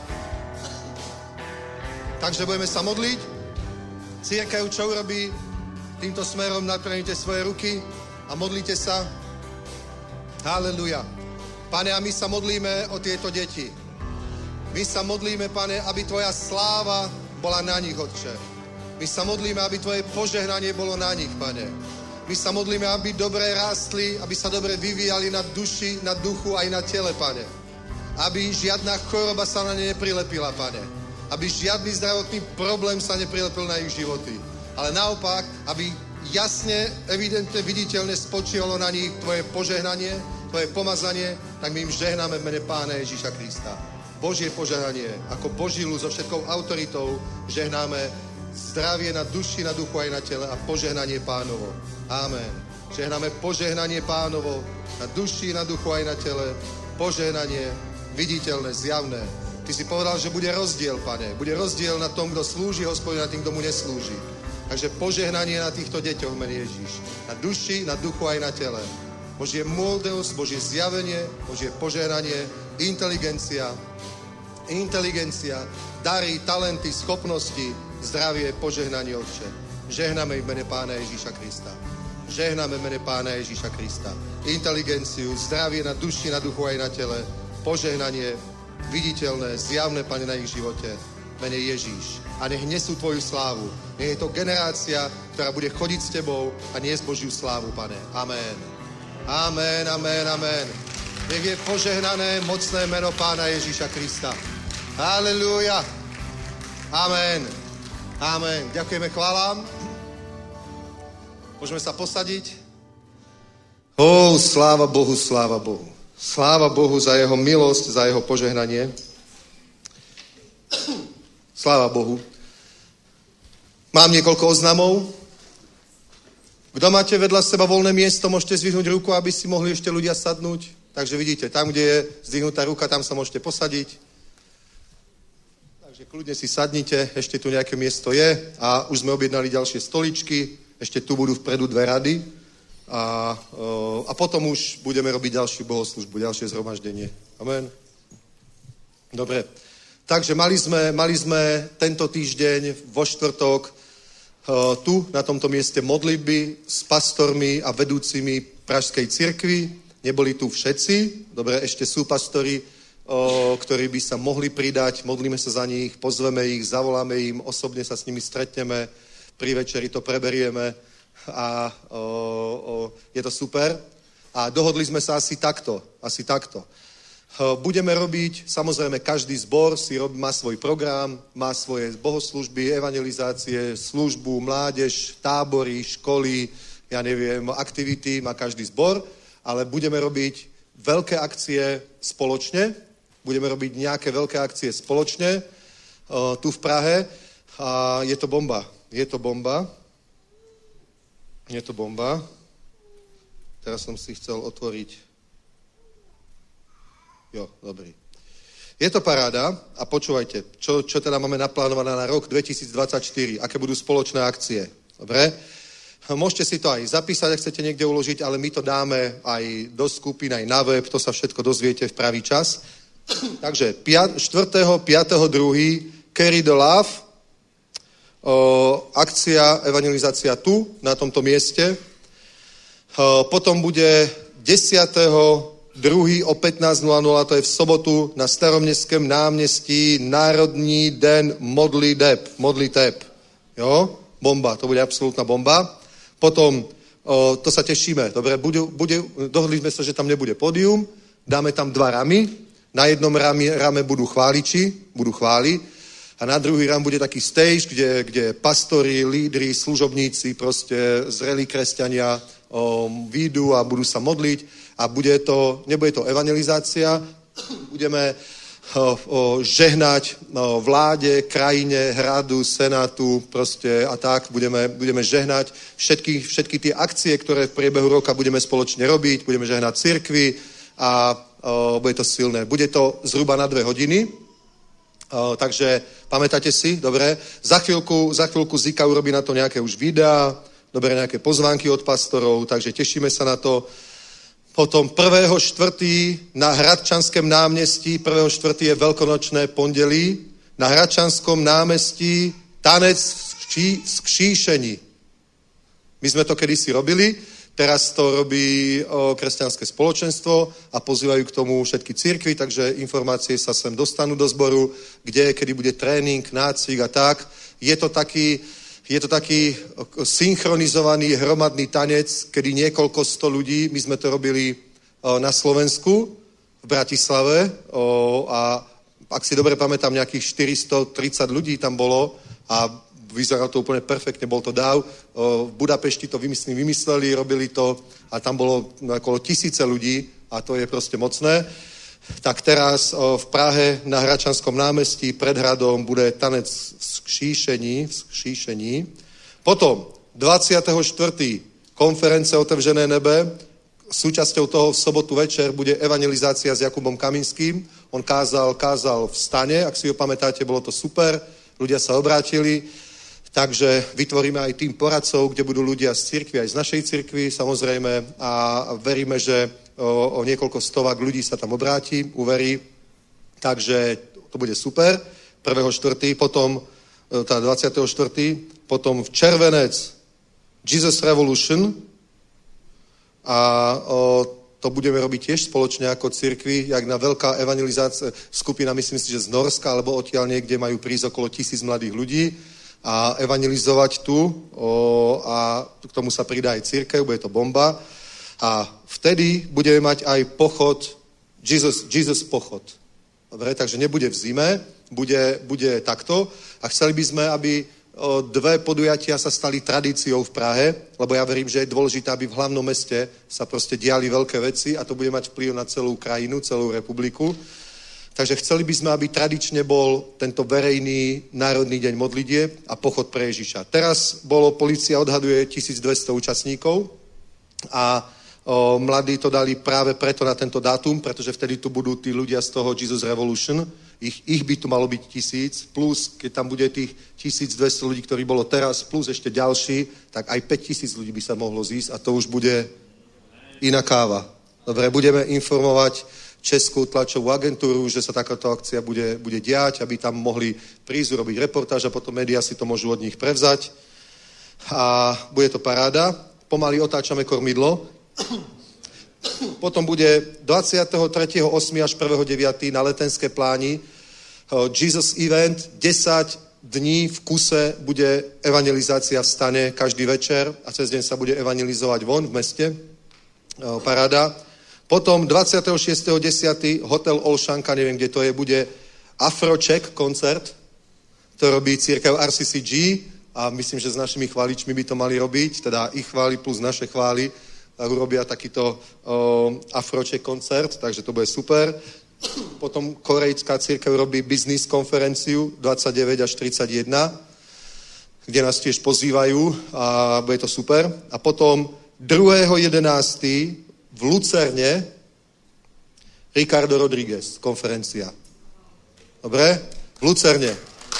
Takže budeme sa modliť. Cirkev, čo urobí týmto smerom, naklonite svoje ruky a modlite sa. Halleluja. Pane, a my sa modlíme o tieto deti. My sa modlíme, Pane, aby Tvoja sláva bola na nich, Otče. My sa modlíme, aby Tvoje požehnanie bolo na nich, Pane. My sa modlíme, aby dobre rástli, aby sa dobre vyvíjali na duši, na duchu aj na tele, Pane. Aby žiadna choroba sa na ne neprilepila, Pane. Aby žiadny zdravotný problém sa neprilepil na ich životy. Ale naopak, aby jasne, evidentne, viditeľne spočívalo na nich Tvoje požehnanie, Tvoje pomazanie, tak my im žehnáme v mene Pána Ježíša Krista. Božie požehnanie, ako Boží ľud so všetkou autoritou, žehnáme zdravie na duši, na duchu aj na tele a požehnanie Pánovo. Amen. Žehnáme požehnanie Pánovo na duši, na duchu aj na tele. Požehnanie viditeľné, zjavné. Ty si povedal, že bude rozdiel, Pane. Bude rozdiel na tom, kto slúži Hospodinu, na tým, kto mu neslúži. Takže požehnanie na týchto deťoch, mene Ježíš. Na duši, na duchu aj na tele. Božie múdrosť, Božie zjavenie, Božie požehnanie, inteligencia, inteligencia, dary, talenty, schopnosti, zdravie, požehnanie, Otče. Žehnáme v mene Pána Ježíša Krista. Žehnáme v mene Pána Ježíša Krista. Inteligenciu, zdravie na duši, na duchu aj na tele. Požehnanie, viditeľné, zjavné, Pane, na ich živote. Mene Ježíš. A nech nesú Tvoju slávu. Nech je to generácia, ktorá bude chodiť s Tebou a niesť Božiu slávu, Pane. Amen. Amen, amen, amen. Nech je požehnané mocné meno Pána Ježíša Krista. Halelúja. Amen. Amen. Ďakujeme, chválam. Môžeme sa posadiť. Ó, sláva Bohu, sláva Bohu. Sláva Bohu za jeho milosť, za jeho požehnanie. Sláva Bohu. Mám niekoľko oznamov. Kto máte vedľa seba voľné miesto, môžete zdvihnúť ruku, aby si mohli ešte ľudia sadnúť. Takže vidíte, tam, kde je zdvihnutá ruka, tam sa môžete posadiť. Takže kľudne si sadnite, ešte tu nejaké miesto je a už sme objednali ďalšie stoličky, ešte tu budú vpredu dve rady a, a potom už budeme robiť ďalšiu bohoslužbu, ďalšie zhromaždenie. Amen. Dobre. Takže mali sme, mali sme tento týždeň vo štvrtok tu na tomto mieste modlitby s pastormi a vedúcimi Pražskej cirkvi. Neboli tu všetci, dobre, ešte sú pastori, o, ktorí by sa mohli pridať, modlíme sa za nich, pozveme ich, zavoláme im, osobne sa s nimi stretneme, pri večeri to preberieme a o, o, je to super. A dohodli sme sa asi takto, asi takto. Budeme robiť, samozrejme, každý zbor si rob, má svoj program, má svoje bohoslužby, evangelizácie, službu, mládež, tábory, školy, ja neviem, aktivity, má každý zbor, ale budeme robiť veľké akcie spoločne, budeme robiť nejaké veľké akcie spoločne uh, tu v Prahe a je to bomba, je to bomba, je to bomba. Teraz som si chcel otvoriť. Jo, dobrý. Je to paráda a počúvajte, čo, čo teda máme naplánované na rok dvetisícdvadsaťštyri, aké budú spoločné akcie. Dobre? Môžete si to aj zapísať, ak chcete niekde uložiť, ale my to dáme aj do skupín, aj na web, to sa všetko dozviete v pravý čas. Takže štvrtého piateho druhého Carry the Love, o, akcia, evangelizácia tu, na tomto mieste. O, potom bude desiateho druhý o pätnásť nula nula, to je v sobotu na Staromestském náměstí Národní den modliteb. Modliteb. Jo? Bomba, to bude absolútna bomba. Potom, o, to sa tešíme, dobre, bude, bude, dohodli sme sa, že tam nebude pódium, dáme tam dva ramy, na jednom rame, rame budú chváliči, budú chváli, a na druhý ram bude taký stage, kde, kde pastori, lídri, služobníci, proste zrelí kresťania o, výjdu a budú sa modliť a bude to, nebude to evangelizácia, budeme o, o, žehnať o, vláde, krajine, hradu, senátu, proste a tak, budeme, budeme žehnať všetky, všetky tie akcie, ktoré v priebehu roka budeme spoločne robiť, budeme žehnať cirkvi a o, bude to silné. Bude to zhruba na dve hodiny, o, takže pamätáte si, dobre, za chvíľku, za chvíľku Zika urobí na to nejaké už videá, dobre, nejaké pozvánky od pastorov, takže tešíme sa na to. Potom prvého štvrtý na Hradčanském náměstí, prvého štvrtý je veľkonočné pondelí, na Hradčanskom náměstí tanec z kříšení. My sme to kedysi robili, teraz to robí o, kresťanské spoločenstvo a pozývajú k tomu všetky cirkvi, takže informácie sa sem dostanú do zboru, kde, kedy bude trénink, nácvik a tak. Je to taký, je to taký synchronizovaný hromadný tanec, kedy niekoľko sto ľudí, my sme to robili o, na Slovensku, v Bratislave o, a ak si dobre pamätám, nejakých štyristotridsať ľudí tam bolo a vyzeralo to úplne perfektne, bol to dáv. V Budapešti to vymysleli, vymysleli, robili to a tam bolo okolo tisíce ľudí a to je proste mocné. Tak teraz v Prahe na Hradčanskom námestí pred hradom bude tanec z kříšení, z kříšení. Potom dvadsiateho štvrtého konference Otevřené nebe. Súčasťou toho v sobotu večer bude evangelizácia s Jakubom Kaminským. On kázal, kázal v stane, ak si ho pamätáte, bolo to super. Ľudia sa obrátili. Takže vytvoríme aj tým poradcov, kde budú ľudia z cirkvi, aj z našej cirkvi samozrejme a veríme, že o, o niekoľko stovák ľudí sa tam obráti, uverí. Takže to bude super. prvého štvrtého potom tá dvadsiateho štvrtého potom v červenec Jesus Revolution a o, to budeme robiť tiež spoločne ako cirkvi, jak na veľká evangelizácia skupina, myslím si, že z Norska alebo odtiaľ niekde majú prísť okolo tisíc mladých ľudí a evangelizovať tu o, a k tomu sa pridá aj cirkev, bude to bomba a vtedy budeme mať aj pochod, Jesus, Jesus pochod. Dobre, takže nebude v zime, bude, bude takto a chceli by sme, aby o, dve podujatia sa stali tradíciou v Prahe, lebo ja verím, že je dôležité, aby v hlavnom meste sa proste diali veľké veci a to bude mať vplyv na celou krajinu, celú republiku. Takže chceli by sme, aby tradične bol tento verejný národný deň modlitieb a pochod pre Ježiša. Teraz bolo, polícia odhaduje tisícdvesto účastníkov a o, mladí to dali práve preto na tento dátum, pretože vtedy tu budú tí ľudia z toho Jesus Revolution. Ich, ich by tu malo byť tisíc, plus keď tam bude tých tisícdvesto ľudí, ktorí bolo teraz, plus ešte ďalší, tak aj päťtisíc ľudí by sa mohlo zísť a to už bude iná káva. Dobre, budeme informovať Českú tlačovú agentúru, že sa takáto akcia bude, bude diať, aby tam mohli prísť, robiť reportáž a potom médiá si to môžu od nich prevzať. A bude to paráda. Pomaly otáčame kormidlo. Potom bude dvadsiateho tretieho ôsmeho až prvého deviateho na Letenské pláni Jesus Event, desať dní v kuse bude evangelizácia v stane každý večer a cez deň sa bude evangelizovať von v meste. Paráda. Potom dvadsiateho šiesteho desiateho Hotel Olšanka, neviem, kde to je, bude Afroček koncert, to robí církev R C C G a myslím, že s našimi chváličmi by to mali robiť, teda ich chvály plus naše chvály, tak urobia takýto o, Afroček koncert, takže to bude super. Potom korejská církev robí business konferenciu dvadsaťdeväť až tridsaťjeden, kde nás tiež pozývajú a bude to super. A potom druhého jedenásteho v Lucerne Ricardo Rodriguez, konferencia. Dobre? V Lucerne.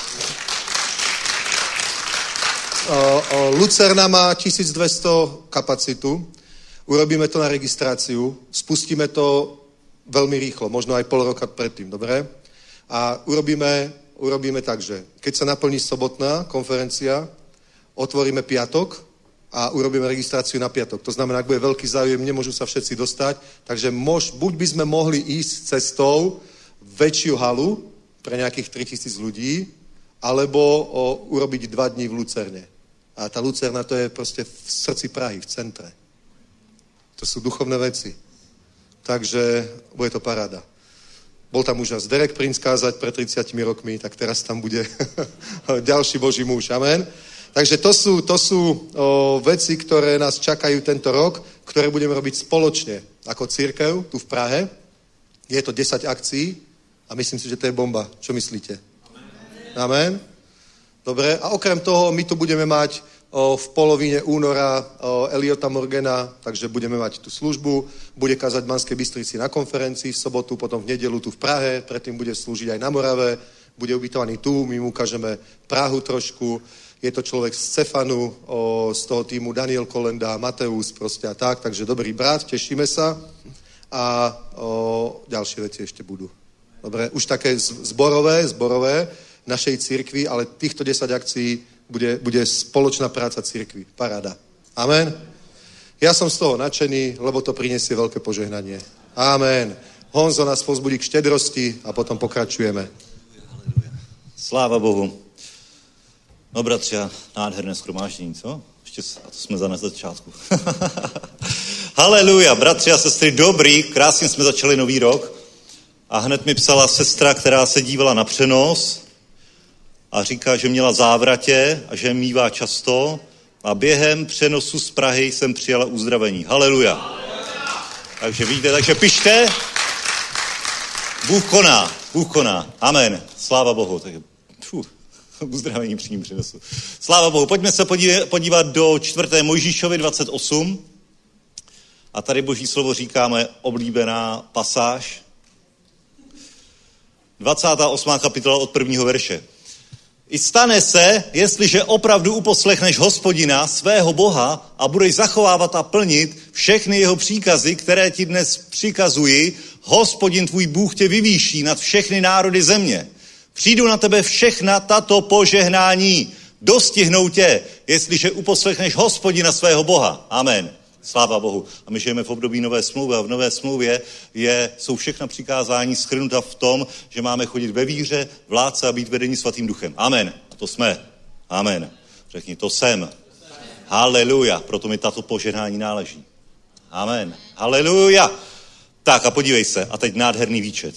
O, o, Lucerna má tisícdvesto kapacitu. Urobíme to na registráciu. Spustíme to veľmi rýchlo, možno aj pol roka predtým, dobre? A urobíme, urobíme tak, že keď sa naplní sobotná konferencia, otvoríme piatok a urobíme registráciu na piatok. To znamená, ak bude veľký záujem, nemôžu sa všetci dostať, takže mož, buď by sme mohli ísť cestou väčšiu halu pre nejakých tritisíc ľudí, alebo o, urobiť dva dní v Lucerne. A tá Lucerna to je proste v srdci Prahy, v centre. To sú duchovné veci. Takže bude to paráda. Bol tam už nás Derek Prince kázať pred tridsiatimi rokmi, tak teraz tam bude ďalší Boží muž. Amen. Takže to sú, to sú o, veci, ktoré nás čakajú tento rok, ktoré budeme robiť spoločne ako cirkev tu v Prahe. Je to desať akcií a myslím si, že to je bomba. Čo myslíte? Amen. Dobre. A okrem toho my tu budeme mať o, v polovině února o, Eliota Morgana, takže budeme mať tú službu. Bude kázať v Banskej Bystrici na konferencii v sobotu, potom v nedelu tu v Prahe, predtým bude slúžiť aj na Morave, bude ubytovaný tu, my mu ukážeme Prahu trošku. Je to človek z Cefanu, o, z toho týmu Daniel Kolenda, Mateus proste a tak, takže dobrý brat, tešíme sa. A o, ďalšie veci ešte budú. Dobre, už také zborové, zborové našej cirkvi, ale týchto desať akcií bude, bude spoločná práca cirkvi. Paráda. Amen. Ja som z toho nadšený, lebo to prinesie veľké požehnanie. Amen. Honzo nás povzbudí k štedrosti a potom pokračujeme. Sláva Bohu. No bratři, nádherné shromáždění, co? Ještě a to jsme za na začátku. Haleluja, bratři a sestry, dobrý, krásně jsme začali nový rok a hned mi psala sestra, která se dívala na přenos a říká, že měla závratě a že mívá často a během přenosu z Prahy jsem přijala uzdravení. Haleluja. Takže vidíte, takže pište. Bůh koná, Bůh koná. Amen. Sláva Bohu. Tak, fuh, uzdravení při ním přinosu. Sláva Bohu. Pojďme se podívat do čtvrté Mojžíšovi dvacet osm. A tady Boží slovo říkáme oblíbená pasáž. dvacátá osmá kapitola od prvního verše. I stane se, jestliže opravdu uposlechneš Hospodina, svého Boha, a budeš zachovávat a plnit všechny jeho příkazy, které ti dnes přikazuji, Hospodin tvůj Bůh tě vyvýší nad všechny národy země. Přijdu na tebe všechna tato požehnání, dostihnou tě, jestliže uposlechneš Hospodina svého Boha. Amen. Sláva Bohu. A my žijeme v období nové smlouvy a v nové smlouvě je, jsou všechna přikázání shrnuta v tom, že máme chodit ve víře, v lásce a být vedení svatým duchem. Amen. A to jsme. Amen. Řekni, to jsem. Haleluja. Proto mi tato požehnání náleží. Amen. Haleluja. Tak a podívej se. A teď nádherný výčet.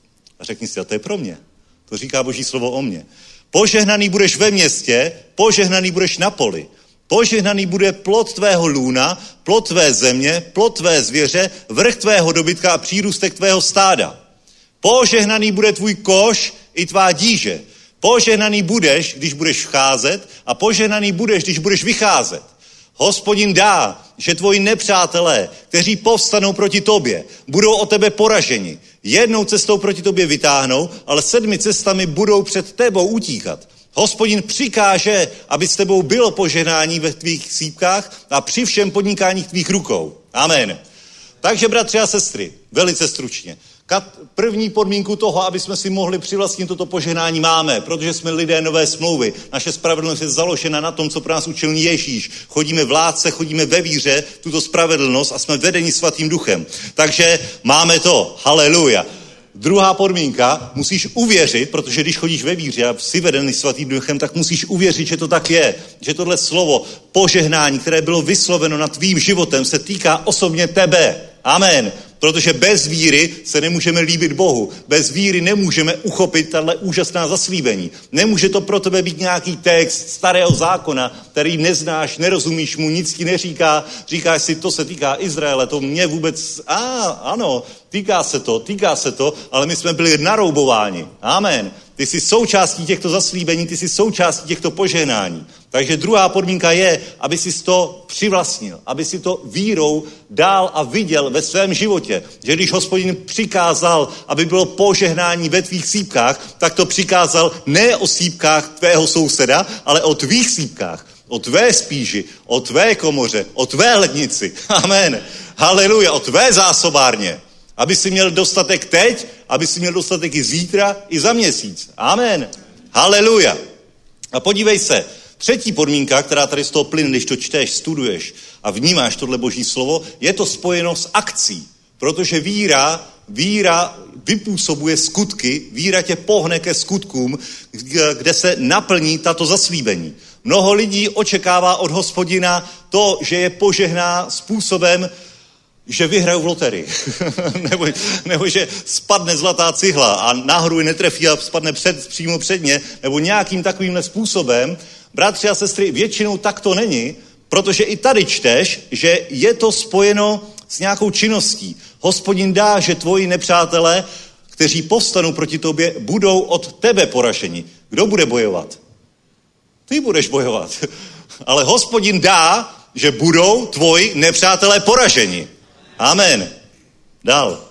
A řekni si, a to je pro mě. To říká Boží slovo o mně. Požehnaný budeš ve městě, požehnaný budeš na poli. Požehnaný bude plod tvého lůna, plod tvé země, plod tvé zvěře, vrch tvého dobytka a přírůstek tvého stáda. Požehnaný bude tvůj koš i tvá díže. Požehnaný budeš, když budeš vcházet, a požehnaný budeš, když budeš vycházet. Hospodin dá, že tvoji nepřátelé, kteří povstanou proti tobě, budou o tebe poraženi. Jednou cestou proti tobě vytáhnou, ale sedmi cestami budou před tebou utíkat. Hospodin přikáže, aby s tebou bylo požehnání ve tvých sípkách a při všem podnikání tvých rukou. Amen. Takže, bratři a sestry, velice stručně. První podmínku toho, aby jsme si mohli přivlastnit toto požehnání, máme, protože jsme lidé nové smlouvy. Naše spravedlnost je založena na tom, co pro nás učil Ježíš. Chodíme v lásce, chodíme ve víře, tuto spravedlnost a jsme vedeni svatým duchem. Takže máme to. Haleluja. Druhá podmínka, musíš uvěřit, protože když chodíš ve víře a jsi vedený svatým duchem, tak musíš uvěřit, že to tak je. Že tohle slovo požehnání, které bylo vysloveno nad tvým životem, se týká osobně tebe. Amen. Protože bez víry se nemůžeme líbit Bohu. Bez víry nemůžeme uchopit tato úžasná zaslíbení. Nemůže to pro tebe být nějaký text starého zákona, který neznáš, nerozumíš mu, nic ti neříká. Říkáš si, to se týká Izraele, to mě vůbec... A, ano, týká se to, týká se to, ale my jsme byli naroubováni. Amen. Ty jsi součástí těchto zaslíbení, ty jsi součástí těchto požehnání. Takže druhá podmínka je, aby jsi to přivlastnil, aby si to vírou dál a viděl ve svém životě. Že když Hospodin přikázal, aby bylo požehnání ve tvých sípkách, tak to přikázal ne o sípkách tvého souseda, ale o tvých sípkách, o tvé spíži, o tvé komoře, o tvé lednici. Amen. Haleluja, o tvé zásobárně. Aby si měl dostatek teď, aby si měl dostatek i zítra, i za měsíc. Amen. Haleluja. A podívej se, třetí podmínka, která tady z toho plyne, když to čteš, studuješ a vnímáš tohle Boží slovo, je to spojeno s akcí. Protože víra, víra vypůsobuje skutky, víra tě pohne ke skutkům, kde se naplní tato zaslíbení. Mnoho lidí očekává od Hospodina to, že je požehná způsobem, že vyhrajou v loterii. nebo, nebo že spadne zlatá cihla a náhodou ji netrefí a spadne před, přímo před ně, nebo nějakým takovýmhle způsobem. Bratři a sestry, většinou tak to není, protože i tady čteš, že je to spojeno s nějakou činností. Hospodin dá, že tvoji nepřátelé, kteří povstanou proti tobě, budou od tebe poraženi. Kdo bude bojovat? Ty budeš bojovat. Ale Hospodin dá, že budou tvoji nepřátelé poraženi. Amen. Dál.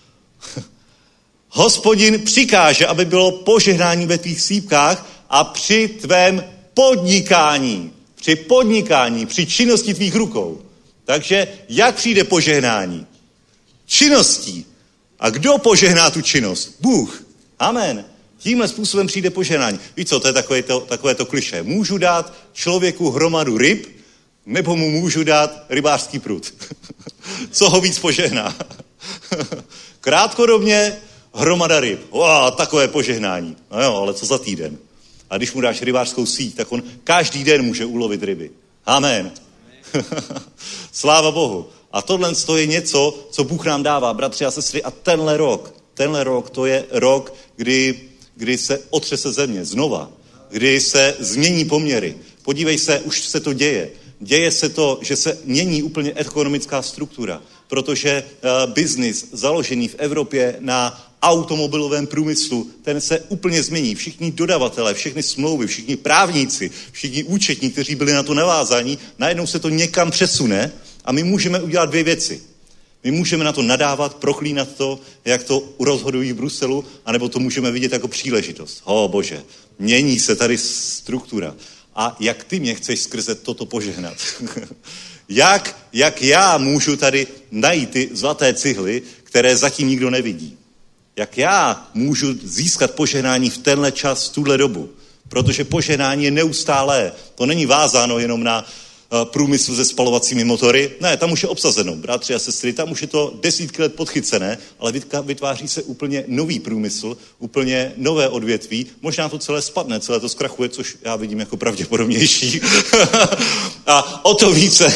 Hospodin přikáže, aby bylo požehnání ve tvých sípkách a při tvém podnikání, při podnikání, při činnosti tvých rukou. Takže jak přijde požehnání? Činností. A kdo požehná tu činnost? Bůh. Amen. Tímhle způsobem přijde požehnání. Víš co, to je takové to, takové to klišé. Můžu dát člověku hromadu ryb, nebo mu můžu dát rybářský prut. Co ho víc požehná? Krátkodobně hromada ryb. Wow, takové požehnání. No jo, ale co za týden? A když mu dáš rybářskou síť, tak on každý den může ulovit ryby. Amen. Sláva Bohu. A tohle je něco, co Bůh nám dává, bratři a sestry. A tenhle rok, tenhle rok, to je rok, kdy, kdy se otřese země znova. Kdy se změní poměry. Podívej se, už se to děje. Děje se to, že se mění úplně ekonomická struktura, protože uh, biznis založený v Evropě na automobilovém průmyslu, ten se úplně změní. Všichni dodavatelé, všechny smlouvy, všichni právníci, všichni účetní, kteří byli na to navázaní, najednou se to někam přesune a my můžeme udělat dvě věci. My můžeme na to nadávat, proklínat to, jak to rozhodují v Bruselu, anebo to můžeme vidět jako příležitost. O Bože, mění se tady struktura. A jak ty mě chceš skrze toto požehnat? jak, jak já můžu tady najít ty zlaté cihly, které zatím nikdo nevidí? Jak já můžu získat požehnání v tenhle čas, v tuhle dobu? Protože požehnání je neustálé. To není vázáno jenom na průmysl se spalovacími motory. Ne, tam už je obsazeno, bratři a sestry, tam už je to desítky let podchycené, ale vytváří se úplně nový průmysl, úplně nové odvětví. Možná to celé spadne, celé to zkrachuje, což já vidím jako pravděpodobnější. A o to více,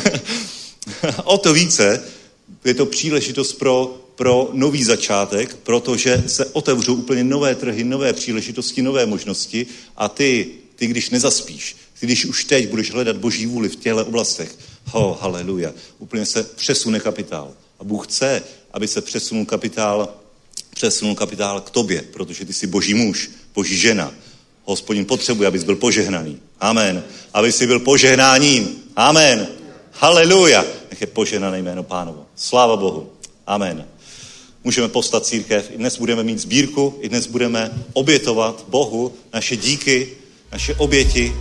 o to více je to příležitost pro, pro nový začátek, protože se otevřou úplně nové trhy, nové příležitosti, nové možnosti a ty, ty když nezaspíš, ty když už teď budeš hledat Boží vůli v těchto oblastech, ho, haleluja, úplně se přesune kapitál. A Bůh chce, aby se přesunul kapitál, přesunul kapitál k tobě, protože ty jsi Boží muž, Boží žena. Hospodin potřebuje, abys byl požehnaný. Amen. Aby jsi byl požehnáním. Amen. Haleluja. Nech je požehnané jméno Pánovo. Sláva Bohu. Amen. Můžeme povstat církev. I dnes budeme mít sbírku, i dnes budeme obětovat Bohu naše díky, naše oběti,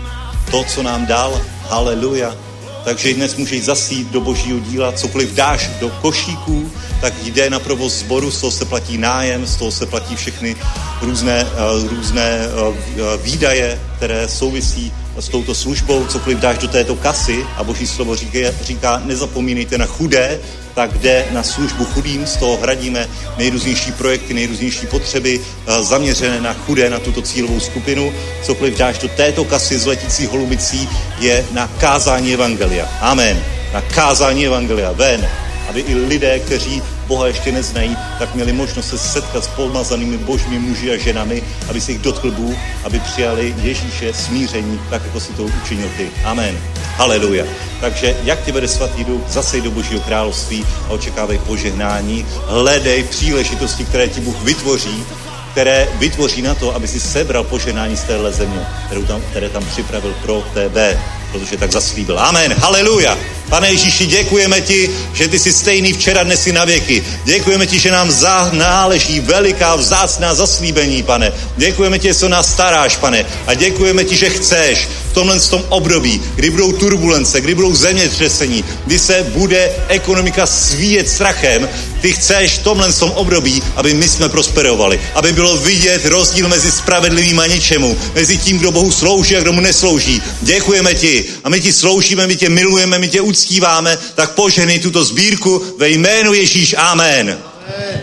to, co nám dal. Haleluja. Takže i dnes můžeš zasít do Božího díla, cokoliv dáš do košíků, tak jde na provoz sboru, z toho se platí nájem, z toho se platí všechny různé, uh, různé uh, výdaje, které souvisí s touto službou, cokoliv dáš do této kasy a Boží slovo říká, říká nezapomínejte na chudé, tak jde na službu chudým, z toho hradíme nejrůznější projekty, nejrůznější potřeby uh, zaměřené na chudé, na tuto cílovou skupinu. Cokoliv dáš do této kasy z letící holubicí je na kázání evangelia. Amen. Na kázání evangelia. Ven. Aby i lidé, kteří Boha ještě neznají, tak měli možnost se setkat s pomazanými božími muži a ženami, aby se jich dotkl Bůh, aby přijali Ježíše smíření, tak jako si to učinil ty. Amen. Haleluja. Takže jak ti vede svatý duch, zasej do Božího království a očekávej požehnání. Hledej příležitosti, které ti Bůh vytvoří, které vytvoří na to, aby si sebral požehnání z téhle země, kterou tam, které tam připravil pro tebe, protože tak zaslíbil. Amen. Haleluja. Pane Ježíši, děkujeme ti, že ty jsi stejný včera, dnes i na věky. Děkujeme ti, že nám náleží veliká vzácná zaslíbení, pane. Děkujeme ti, že se nás staráš, pane. A děkujeme ti, že chceš v tomhle tom období, kdy budou turbulence, kdy budou zemětřesení, kdy se bude ekonomika svíjet strachem, ty chceš v tomhle tom období, aby my jsme prosperovali. Aby bylo vidět rozdíl mezi spravedlivým a ničemu, mezi tím, kdo Bohu slouží a kdo mu neslouží. Děkujeme ti a my ti sloužíme, my tě milujeme, my tě uctíváme, tak požehnej tuto sbírku ve jménu Ježíš. Amen. Amen.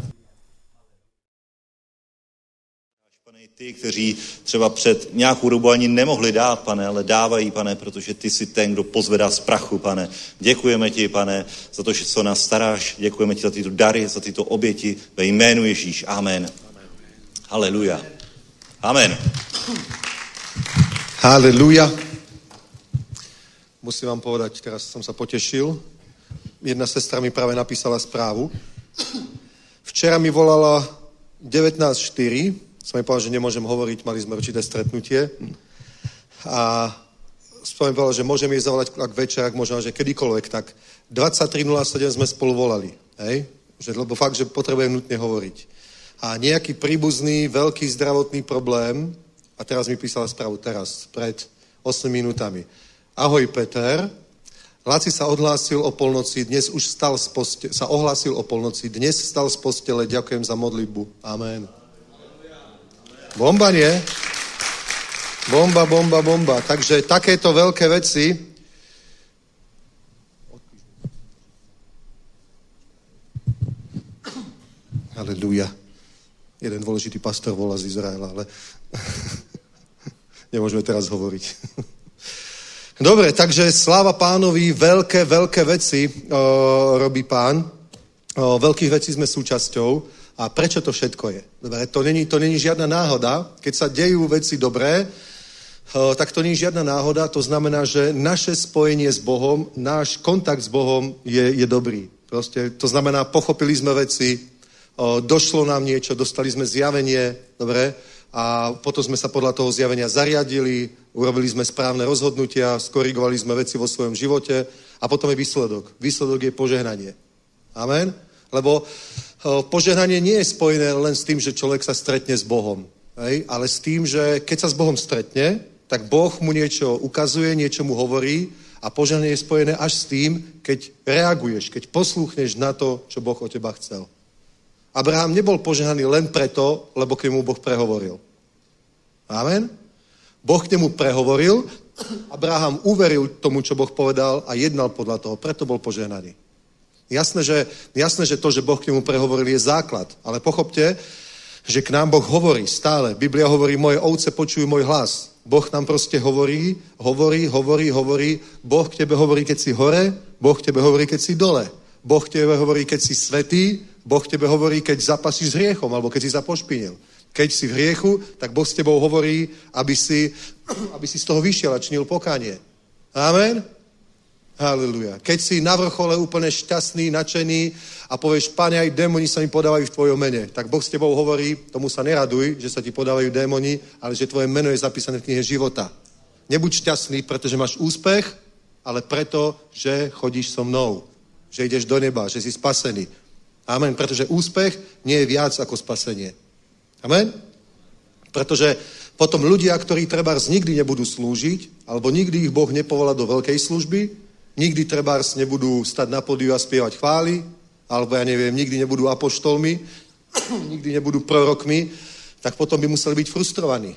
Pane, ty, kteří třeba před nějakou dobu ani nemohli dát, pane, ale dávají, pane, protože ty jsi ten, kdo pozvedá z prachu, pane. Děkujeme ti, pane, za to, že se o nás staráš. Děkujeme ti za tyto dary, za tyto oběti ve jménu Ježíš. Amen. Haleluja. Amen. Haleluja. Musím vám povedať, teraz som sa potešil. Jedna sestra mi práve napísala správu. Včera mi volala devätnásť štyri. Som mi povedal, že nemôžem hovoriť, mali sme určité stretnutie. A som mi povedal, že môžem jej zavolať ak večer, ak možno, že kedykoľvek. Tak dvadsaťtri nula sedem sme spolu volali. Hej? Že, lebo fakt, že potrebujem nutne hovoriť. A nejaký príbuzný, veľký zdravotný problém, a teraz mi písala správu, teraz, pred osem minútami. Ahoj, Peter. Laci sa odhlásil o polnoci, dnes už stal z postele, sa ohlásil o polnoci, dnes stal z postele, ďakujem za modlitbu. Amen. Bomba, nie? Bomba, bomba, bomba. Takže takéto veľké veci. Halleluja. Jeden dôležitý pastor volá z Izraela, ale nemôžeme teraz hovoriť. Dobre, takže sláva Pánovi, veľké, veľké veci o, robí Pán. O, veľkých vecí sme súčasťou. A prečo to všetko je? Dobre, to není, to není žiadna náhoda. Keď sa dejú veci dobré, o, tak to není žiadna náhoda. To znamená, že naše spojenie s Bohom, náš kontakt s Bohom je, je dobrý. Proste, to znamená, pochopili sme veci, o, došlo nám niečo, dostali sme zjavenie, dobre? A potom sme sa podľa toho zjavenia zariadili, urobili sme správne rozhodnutia, skorigovali sme veci vo svojom živote a potom je výsledok. Výsledok je požehnanie. Amen? Lebo požehnanie nie je spojené len s tým, že človek sa stretne s Bohom, hej? Ale s tým, že keď sa s Bohom stretne, tak Boh mu niečo ukazuje, niečo mu hovorí a požehnanie je spojené až s tým, keď reaguješ, keď poslúchneš na to, čo Boh od teba chcel. Abraham nebol požehnaný len preto, lebo k nemu Boh prehovoril. Amen? Boh k nemu prehovoril, Abraham uveril tomu, čo Boh povedal a jednal podľa toho, preto bol požehnaný. Jasné, že, jasné, že to, že Boh k nemu prehovoril, je základ, ale pochopte, že k nám Boh hovorí stále. Biblia hovorí, moje ovce počujú môj hlas. Boh nám proste hovorí, hovorí, hovorí, hovorí. Boh k tebe hovorí, keď si hore, Boh k tebe hovorí, keď si dole. Boh k tebe hovorí, keď si svätý, Boh k tebe hovorí, keď zapasíš s hriechom, alebo keď si sa pošpinil. Keď si v hriechu, tak Boh s tebou hovorí, aby si, aby si z toho vyšiel a činil pokánie. Amen? Haleluja. Keď si na vrchole úplne šťastný, nadšený a povieš, Pane, aj démoni sa mi podávajú v tvojom mene, tak Boh s tebou hovorí, tomu sa neraduj, že sa ti podávajú démoni, ale že tvoje meno je zapísané v knihe života. Nebuď šťastný, pretože máš úspech, ale preto, že chodíš so mnou. Že ideš do neba, že si spasený. Amen. Pretože úspech nie je viac ako spasenie. Amen? Pretože potom ľudia, ktorí trebárs nikdy nebudú slúžiť, alebo nikdy ich Boh nepovolá do veľkej služby, nikdy trebárs nebudú stať na pódiu a spievať chvály, alebo ja neviem, nikdy nebudú apoštolmi, nikdy nebudú prorokmi, tak potom by museli byť frustrovaní.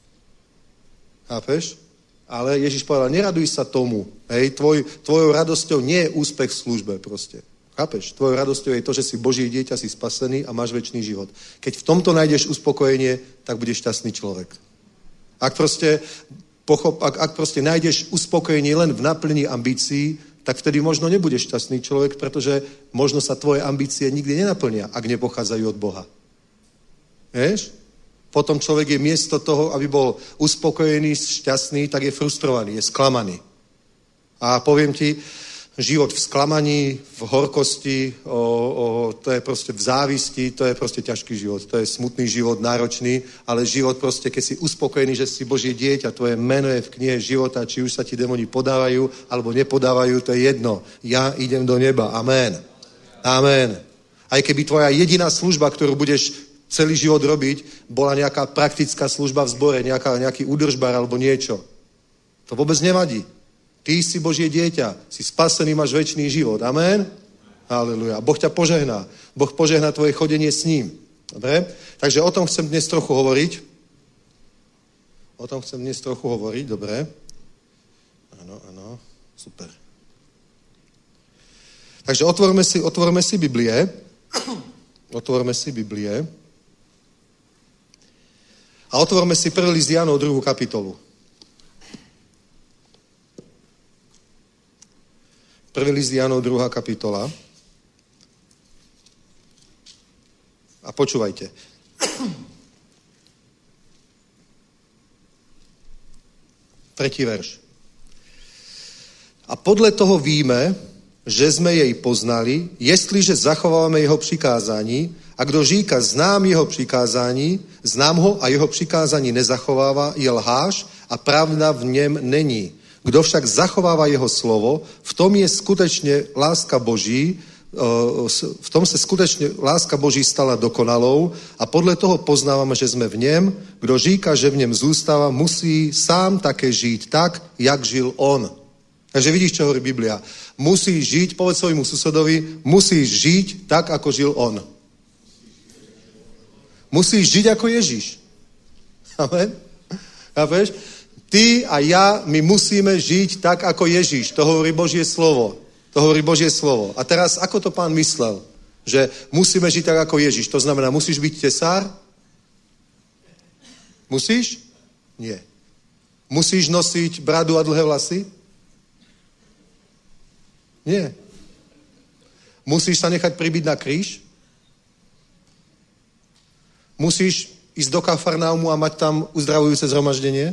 Chápeš? Ale Ježiš povedal, neraduj sa tomu. Hej, tvoj, tvojou radosťou nie je úspech v službe proste. Chápeš? Tvojou radosťou je to, že si Boží dieťa, si spasený a máš večný život. Keď v tomto nájdeš uspokojenie, tak budeš šťastný človek. Ak proste, pochop, ak, ak proste nájdeš uspokojenie len v naplnení ambícií, tak vtedy možno nebudeš šťastný človek, pretože možno sa tvoje ambície nikdy nenaplnia, ak nepochádzajú od Boha. Vieš? Potom človek je miesto toho, aby bol uspokojený, šťastný, tak je frustrovaný, je sklamaný. A poviem ti, život v sklamaní, v horkosti, o, o, to je proste v závisti, to je proste ťažký život. To je smutný život, náročný, ale život proste, keď si uspokojený, že si Božie dieťa, tvoje meno je v knihe života, či už sa ti démoni podávajú, alebo nepodávajú, to je jedno. Ja idem do neba. Amen. Amen. Aj keby tvoja jediná služba, ktorú budeš celý život robiť, bola nejaká praktická služba v zbore, nejaká, nejaký údržbar alebo niečo. To vôbec nevadí. Ty si Božie dieťa, si spasený, máš večný život. Amen? Halleluja. Boh ťa požehná. Boh požehná tvoje chodenie s ním. Dobre? Takže o tom chcem dnes trochu hovoriť. O tom chcem dnes trochu hovoriť, dobre? Áno, áno, super. Takže otvorme si, otvorme si Biblie. Otvorme si Biblie. A otvorme si prvý list Jánov druhú kapitolu. Prvý list Jánov druhá kapitola. A počúvajte. Tretí verš. A podle toho víme, že jsme jej poznali, jestliže zachováváme jeho přikázání, a kdo říká, znám jeho přikázání, znám ho a jeho přikázání nezachovává, je lhář a pravda v něm není. Kdo však zachovává jeho slovo, v tom je skutečně láska Boží, v tom se skutečně láska Boží stala dokonalou a podle toho poznáváme, že jsme v něm. Kdo říká, že v něm zůstává, musí sám také žít tak, jak žil on. Takže vidíš, čo hovorí Biblia. Musíš žiť, povedz svojmu susedovi, musíš žiť tak, ako žil on. Musíš žiť ako Ježiš. Amen? Chápeš? Ty a ja, my musíme žiť tak, ako Ježiš. To hovorí Božie slovo. To hovorí Božie slovo. A teraz, ako to pán myslel? Že musíme žiť tak, ako Ježiš. To znamená, musíš byť tesár? Musíš? Nie. Musíš nosiť bradu a dlhé vlasy? Nie. Musíš sa nechať pribiť na kríž? Musíš ísť do Kafarnaumu a mať tam uzdravujúce zhromaždenie?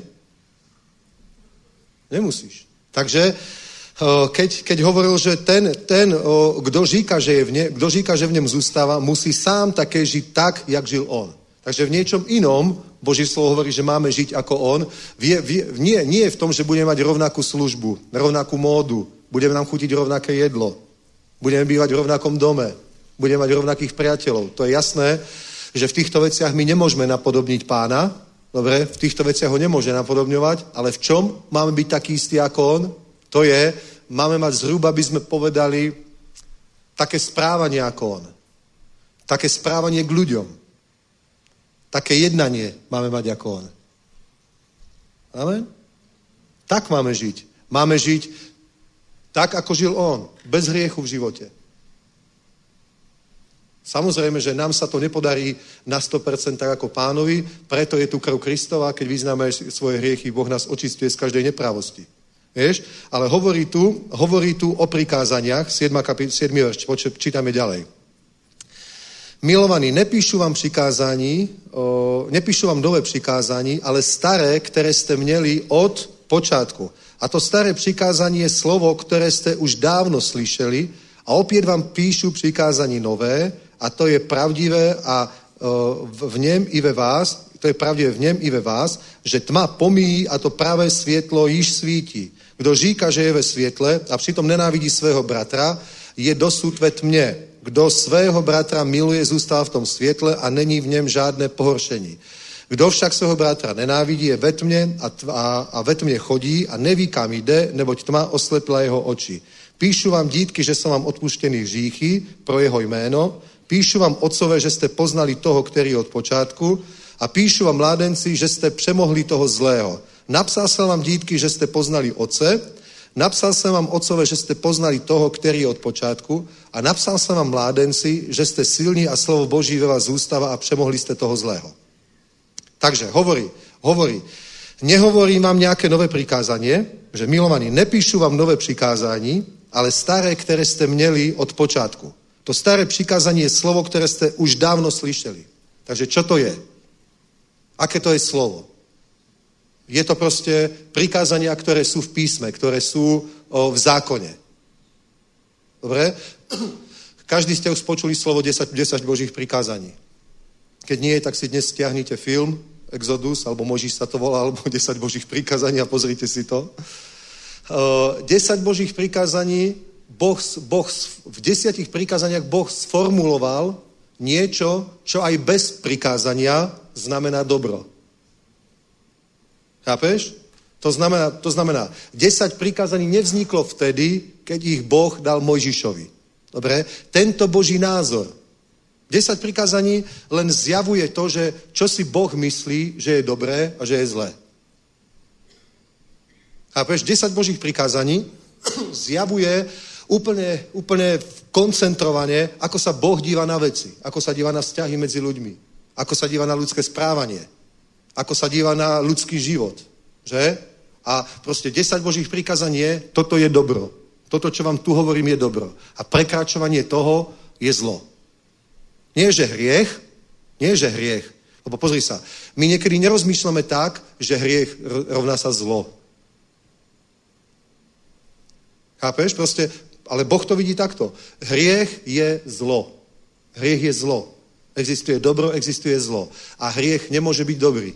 Nemusíš. Takže keď, keď hovoril, že ten, ten kdo říká, že je v ne, kdo říká, že v něm zůstává, musí sám také žiť tak, jak žil on. Takže v niečom inom Boží slovo hovorí, že máme žiť ako on. Vie, vie, nie, nie je v tom, že budeme mať rovnakú službu, rovnakú módu, budeme nám chutiť rovnaké jedlo, Budeme bývať v rovnakom dome. Budeme mať rovnakých priateľov. To je jasné, že v týchto veciach my nemôžeme napodobniť Pána. Dobre, v týchto veciach ho nemôže napodobňovať, ale v čom máme byť taký istý ako on? To je, máme mať zhruba, by sme povedali, také správanie ako on. Také správanie k ľuďom. Také jednanie máme mať ako on. Amen? Tak máme žiť. Máme žiť tak, ako žil on. Bez hriechu v živote. Samozrejme, že nám sa to nepodarí na sto percent tak ako Pánovi, preto je tu krv Kristova, keď vyznáme svoje hriechy, Boh nás očistuje z každej neprávosti. Vieš? Ale hovorí tu, hovorí tu o prikázaniach, siedmy verš, čítame ďalej. Milovaní, nepíšu vám přikázání, o, nepíšu vám nové přikázání, ale staré, které jste měli od počátku. A to staré přikázání je slovo, které jste už dávno slyšeli, a opět vám píšu přikázání nové, a to je pravdivé a o, v něm i ve vás, to je pravdivé v něm i ve vás, že tma pomíjí a to pravé světlo již svítí. Kdo říká, že je ve světle a přitom nenávidí svého bratra, je dosud ve tmě. Kdo svého bratra miluje, zůstává v tom světle a není v něm žádné pohoršení. Kdo však svého bratra nenávidí, je ve tmě a, a, a ve tmě chodí a neví, kam jde, neboť tma oslepila jeho oči. Píšu vám, dítky, že jsou vám odpuštěny hříchy pro jeho jméno. Píšu vám, otcové, že jste poznali toho, který je od počátku. A píšu vám, mládenci, že jste přemohli toho zlého. Napsal jsem vám, dítky, že jste poznali otce. Napsal jsem vám, otcové, že jste poznali toho, který je od počátku. A napsal jsem vám, mládenci, že jste silní a slovo Boží ve vás zůstává a přemohli jste toho zlého. Takže hovorí, hovorí. Nehovorím vám nějaké nové přikázání, že milovaní, nepíšu vám nové přikázání, ale staré, které jste měli od počátku. To staré přikázání je slovo, které jste už dávno slyšeli. Takže čo to je? Aké to je slovo? Je to prostě prikázania, které jsou v písme, které jsou o, v zákoně. Dobre? Každý ste už počuli slovo desať, desať Božích prikázaní. Keď nie, tak si dnes stiahnite film Exodus, alebo Mojžiš sa to volá, alebo desať Božích prikázaní a pozrite si to. Uh, desať Božích prikázaní, boh, boh, v desiatich prikázaniach Boh sformuloval niečo, čo aj bez prikázania znamená dobro. Chápeš? To znamená, to znamená, desať prikázaní nevzniklo vtedy, keď ich Boh dal Mojžišovi. Dobre? Tento Boží názor. desať prikázaní len zjavuje to, že čo si Boh myslí, že je dobré a že je zlé. Chápeš? desať Božích prikázaní zjavuje úplne, úplne koncentrovane, ako sa Boh díva na veci, ako sa díva na vzťahy medzi ľuďmi, ako sa díva na ľudské správanie, ako sa díva na ľudský život. Že? A proste desať Božích prikázaní je, toto je dobro. Toto, čo vám tu hovorím, je dobro. A prekračovanie toho je zlo. Nie, že hriech, nie, že hriech. Lebo pozri sa, my niekedy nerozmýšľame tak, že hriech rovná sa zlo. Chápeš? Proste, ale Boh to vidí takto. Hriech je zlo. Hriech je zlo. Existuje dobro, existuje zlo. A hriech nemôže byť dobrý.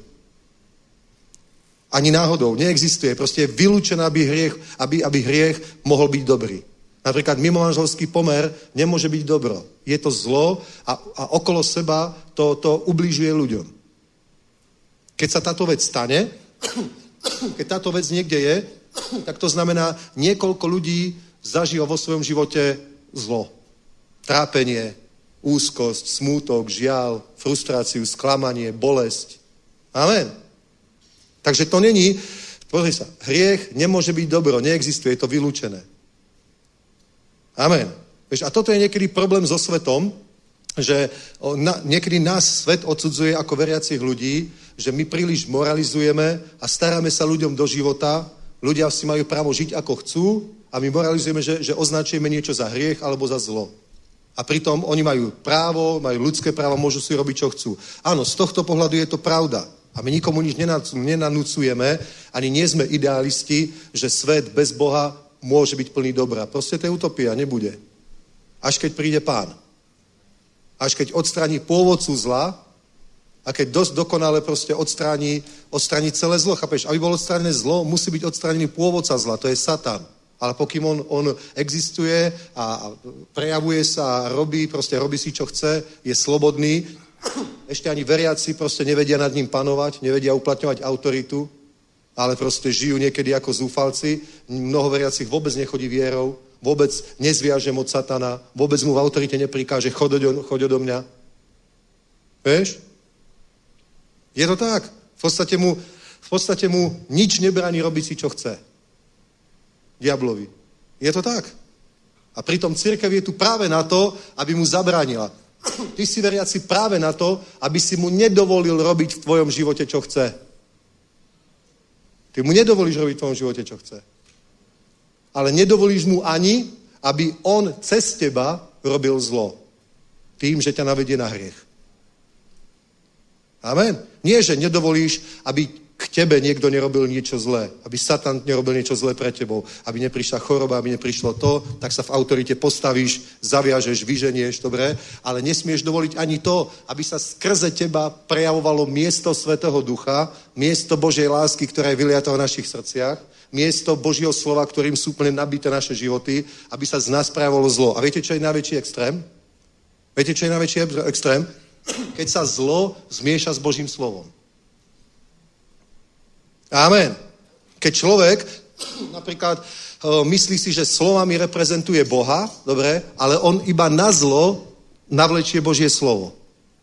Ani náhodou. Neexistuje. Proste je vylúčené, aby hriech, aby, aby hriech mohol byť dobrý. Napríklad mimomanželský pomer nemôže byť dobro. Je to zlo a, a okolo seba to, to ubližuje ľuďom. Keď sa táto vec stane, keď táto vec niekde je, tak to znamená, niekoľko ľudí zažilo vo svojom živote zlo. Trápenie, úzkosť, smútok, žiaľ, frustráciu, sklamanie, bolesť. Amen. Takže to není, pozri sa, hriech nemôže byť dobro, neexistuje, je to vylúčené. Amen. Vieš, a toto je niekedy problém so svetom, že na, niekedy nás svet odsudzuje ako veriacich ľudí, že my príliš moralizujeme a staráme sa ľuďom do života, ľudia si majú právo žiť ako chcú a my moralizujeme, že, že označujeme niečo za hriech alebo za zlo. A pritom oni majú právo, majú ľudské právo, môžu si robiť, čo chcú. Áno, z tohto pohľadu je to pravda. A my nikomu nič nenanúcujeme, ani nie sme idealisti, že svet bez Boha môže byť plný dobra. Proste to je utopia, nebude. Až keď príde Pán. Až keď odstráni pôvodcu zla a keď dosť dokonale proste odstráni, odstráni celé zlo. Chápeš? Aby bolo odstránené zlo, musí byť odstránený pôvodca zla, to je Satan. Ale pokým on, on existuje a, a prejavuje sa a robí, proste robí si, čo chce, je slobodný, ešte ani veriaci proste nevedia nad ním panovať, nevedia uplatňovať autoritu, ale proste žijú niekedy ako zúfalci. Mnoho veriacich vôbec nechodí vierou, vôbec nezviaže moc satana, vôbec mu v autorite neprikáže, choď do, choď do mňa. Vieš? Je to tak. V podstate mu, v podstate mu nič nebraní robiť si, čo chce. Diablovi. Je to tak. A pritom cirkev je tu práve na to, aby mu zabránila. Ty si veriaci práve na to, aby si mu nedovolil robiť v tvojom živote, čo chce. Ty mu nedovolíš robiť v tvojom živote, čo chce. Ale nedovolíš mu ani, aby on cez teba robil zlo. Tým, že ťa navedie na hriech. Amen. Nie, že nedovolíš, aby k tebe niekto nerobil niečo zlé. Aby Satan nerobil niečo zlé pre tebou. Aby neprišla choroba, aby neprišlo to, tak sa v autorite postavíš, zaviažeš, vyženieš, dobre? Ale nesmieš dovoliť ani to, aby sa skrze teba prejavovalo miesto Svätého Ducha, miesto Božej lásky, ktorá je vyliatá v našich srdciach, miesto Božieho slova, ktorým sú úplne nabité naše životy, aby sa z nás prejavovalo zlo. A viete, čo je najväčší extrém? Viete, čo je najväčší extrém? Keď sa zlo zmieša s Božím slovom. Amen. Keď človek napríklad uh, myslí si, že slovami reprezentuje Boha, dobre, ale on iba na zlo navlečie Božie slovo.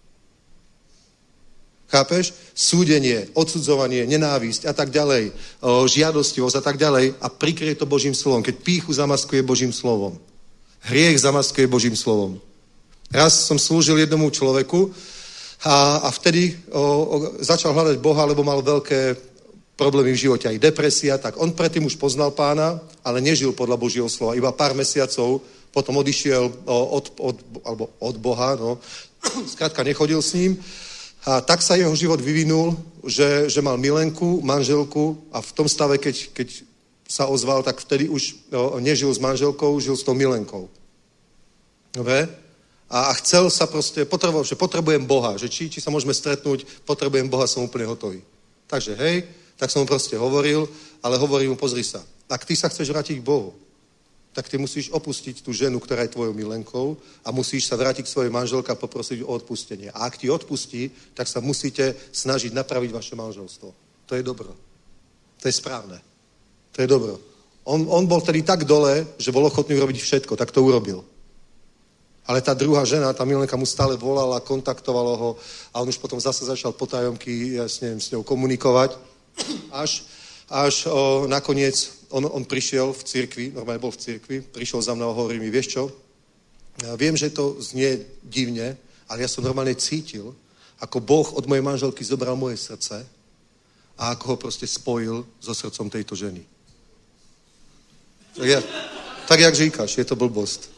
Chápeš? Súdenie, odsudzovanie, nenávisť a tak ďalej, uh, žiadostivosť a tak ďalej a prikrie to Božím slovom. Keď pýchu zamaskuje Božím slovom. Hriech zamaskuje Božím slovom. Raz som slúžil jednomu človeku a, a vtedy o, o, začal hľadať Boha, lebo mal veľké problémy v živote, aj depresia, tak on predtým už poznal Pána, ale nežil podľa Božieho slova. Iba pár mesiacov potom odišiel od, od, alebo od Boha, no. Skrátka nechodil s ním. A tak sa jeho život vyvinul, že, že mal milenku, manželku a v tom stave, keď, keď sa ozval, tak vtedy už no, nežil s manželkou, žil s tou milenkou. Dobre? A, a chcel sa proste, potreboval, že potrebujem Boha, že či, či sa môžeme stretnúť, potrebujem Boha, som úplne hotový. Takže hej, tak som mu proste hovoril, ale hovorím mu, pozri sa, ak ty sa chceš vrátiť k Bohu, tak ty musíš opustiť tú ženu, ktorá je tvojou milenkou a musíš sa vrátiť k svojej manželke a poprosiť o odpustenie. A ak ti odpustí, tak sa musíte snažiť napraviť vaše manželstvo. To je dobro. To je správne. To je dobro. On, on bol tedy tak dole, že bol ochotný urobiť všetko, tak to urobil. Ale tá druhá žena, tá milenka mu stále volala, kontaktovalo ho a on už potom zase začal potajomky ja s, neviem, s ňou komunikovať. Až, až o, nakoniec on, on prišiel v cirkvi, normálne bol v cirkvi, prišiel za mnou a hovorí mi, vieš čo, ja viem, že to znie divne, ale ja som normálne cítil, ako Boh od mojej manželky zobral moje srdce a ako ho proste spojil so srdcom tejto ženy. Tak, ja, tak jak říkáš, je to blbost.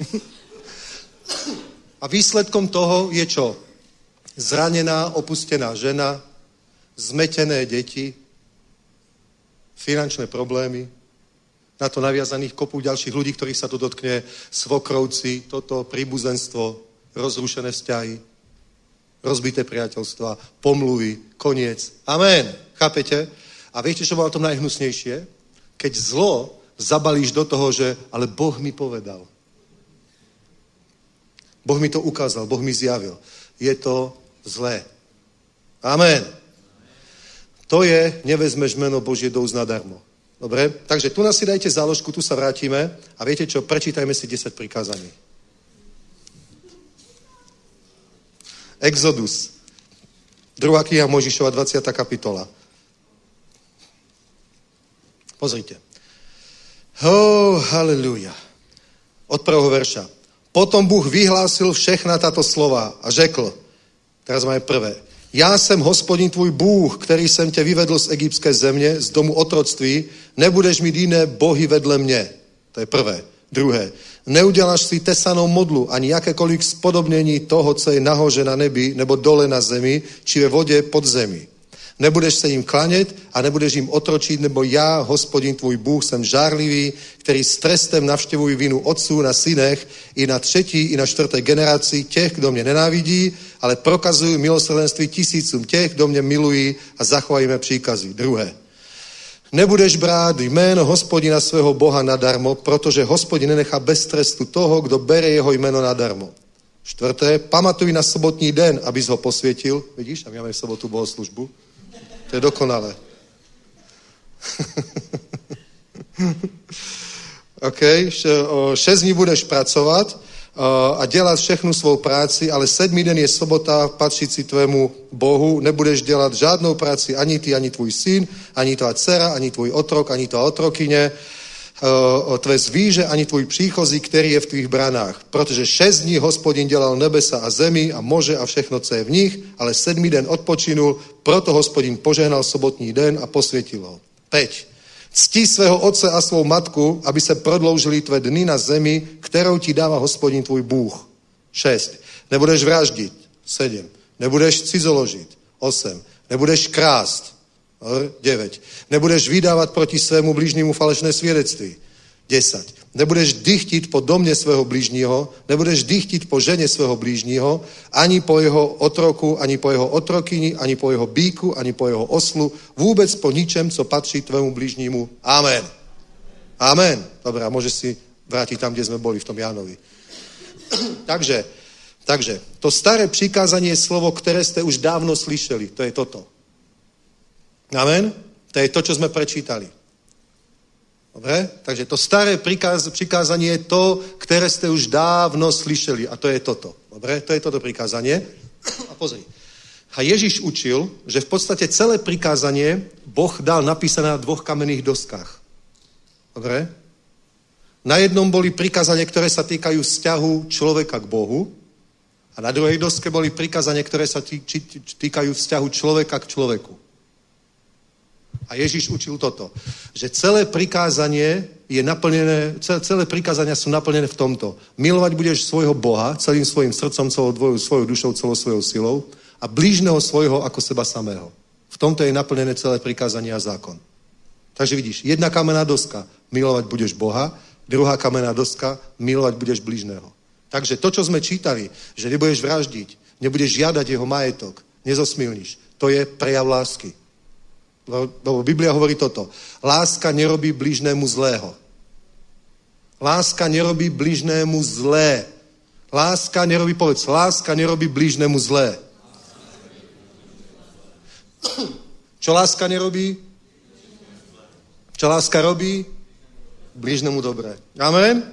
A výsledkom toho je čo? Zranená, opustená žena, zmetené deti, finančné problémy, na to naviazaných kopu ďalších ľudí, ktorých sa to dotkne, svokrovci, toto príbuzenstvo, rozrušené vzťahy, rozbité priateľstva, pomluvy, koniec. Amen. Chápete? A viete, čo bolo tom najhnusnejšie? Keď zlo zabalíš do toho, že ale Boh mi povedal. Boh mi to ukázal, Boh mi zjavil. Je to zlé. Amen. To je, nevezmeš meno Božie do úst nadarmo. Dobre? Takže tu nás si dajte záložku, tu sa vrátime a viete čo, prečítajme si desať prikázaní. Exodus. Druhá kniha Mojžišova, dvadsiata kapitola. Pozrite. Oh, haleluja. Od prvého verša. Potom Bůh vyhlásil všechna tato slova a řekl, teraz máme prvé, já jsem Hospodin tvůj Bůh, který jsem tě vyvedl z egyptské země, z domu otroctví, nebudeš mít jiné bohy vedle mě. To je prvé. Druhé, neuděláš si tesanou modlu, ani jakékoliv spodobnění toho, co je nahoře na nebi, nebo dole na zemi, či ve vodě pod zemi. Nebudeš se jim klanět a nebudeš jim otročit, nebo já, Hospodin tvůj Bůh, jsem žárlivý, který s trestem navštěvuji vinu otců na synech i na třetí, i na čtvrté generaci těch, kdo mě nenávidí, ale prokazuju milosrdenství tisícům těch, kdo mě milují a zachovají mé příkazy. Druhé. Nebudeš brát jméno Hospodina svého Boha nadarmo, protože Hospodin nenechá bez trestu toho, kdo bere jeho jméno nadarmo. Štvrté, pamatuj na sobotní den, abys ho posvětil. Vidíš, a my máme v sobotu bohoslužbu. To je dokonalé. OK, šest dní budeš pracovat a dělat všechnu svou práci, ale sedmý den je sobota patřící tvému Bohu. Nebudeš dělat žádnou práci, ani ty, ani tvůj syn, ani tvá dcera, ani tvůj otrok, ani tvá otrokyně, tvé zvíře, ani tvůj příchozí, který je v tvých branách. Protože šest dní Hospodin dělal nebesa a zemi a moře a všechno, co je v nich, ale sedmý den odpočinul, proto Hospodin požehnal sobotní den a posvětil ho. Päť. Ctí svého otce a svou matku, aby se prodloužily tvé dny na zemi, kterou ti dává Hospodin tvůj Bůh. Šest. Nebudeš vraždit. Sedm. Nebudeš cizoložit. Osm. Nebudeš krást. Devět. Nebudeš vydávat proti svému blížnímu falešné svědectví. Deset. Nebudeš dychtit po domě svého blížního, nebudeš dychtit po ženě svého blížního, ani po jeho otroku, ani po jeho otrokyni, ani po jeho býku, ani po jeho oslu, vůbec po ničem, co patří tvému blížnímu. Amen. Amen. Dobrá, môžeš si vrátiť tam, kde sme boli, v tom Jánovi. takže, takže, to staré přikázanie je slovo, které jste už dávno slyšeli. To je toto. Amen. To je to, čo sme prečítali. Dobre? Takže to staré prikáz, prikázanie je to, které jste už dávno slyšeli. A to je toto. Dobre? To je toto prikázanie. A pozri. A Ježiš učil, že v podstate celé prikázanie Boh dal napísané na dvoch kamenných doskách. Dobre? Na jednom boli prikázania, ktoré sa týkajú vzťahu človeka k Bohu. A na druhej doske boli prikázania, ktoré sa tý, či, týkajú vzťahu človeka k človeku. A Ježiš učil toto, že celé prikázanie je naplnené, celé, celé prikázania sú naplnené v tomto. Milovať budeš svojho Boha celým svojim srdcom, celou dvojou, svojou dušou, celou svojou silou a blížneho svojho ako seba samého. V tomto je naplnené celé prikázanie a zákon. Takže vidíš, jedna kamenná doska, milovať budeš Boha, druhá kamenná doska, milovať budeš blížneho. Takže to, čo sme čítali, že nebudeš vraždiť, nebudeš žiadať jeho majetok, nezosmilníš, to je prejav lásky. Lebo Biblia hovorí toto. Láska nerobí blížnému zlého. Láska nerobí blížnému zlé. Láska nerobí, povedz, láska nerobí blížnému zlé. Čo láska nerobí? Čo láska robí? Blížnému dobré. Amen?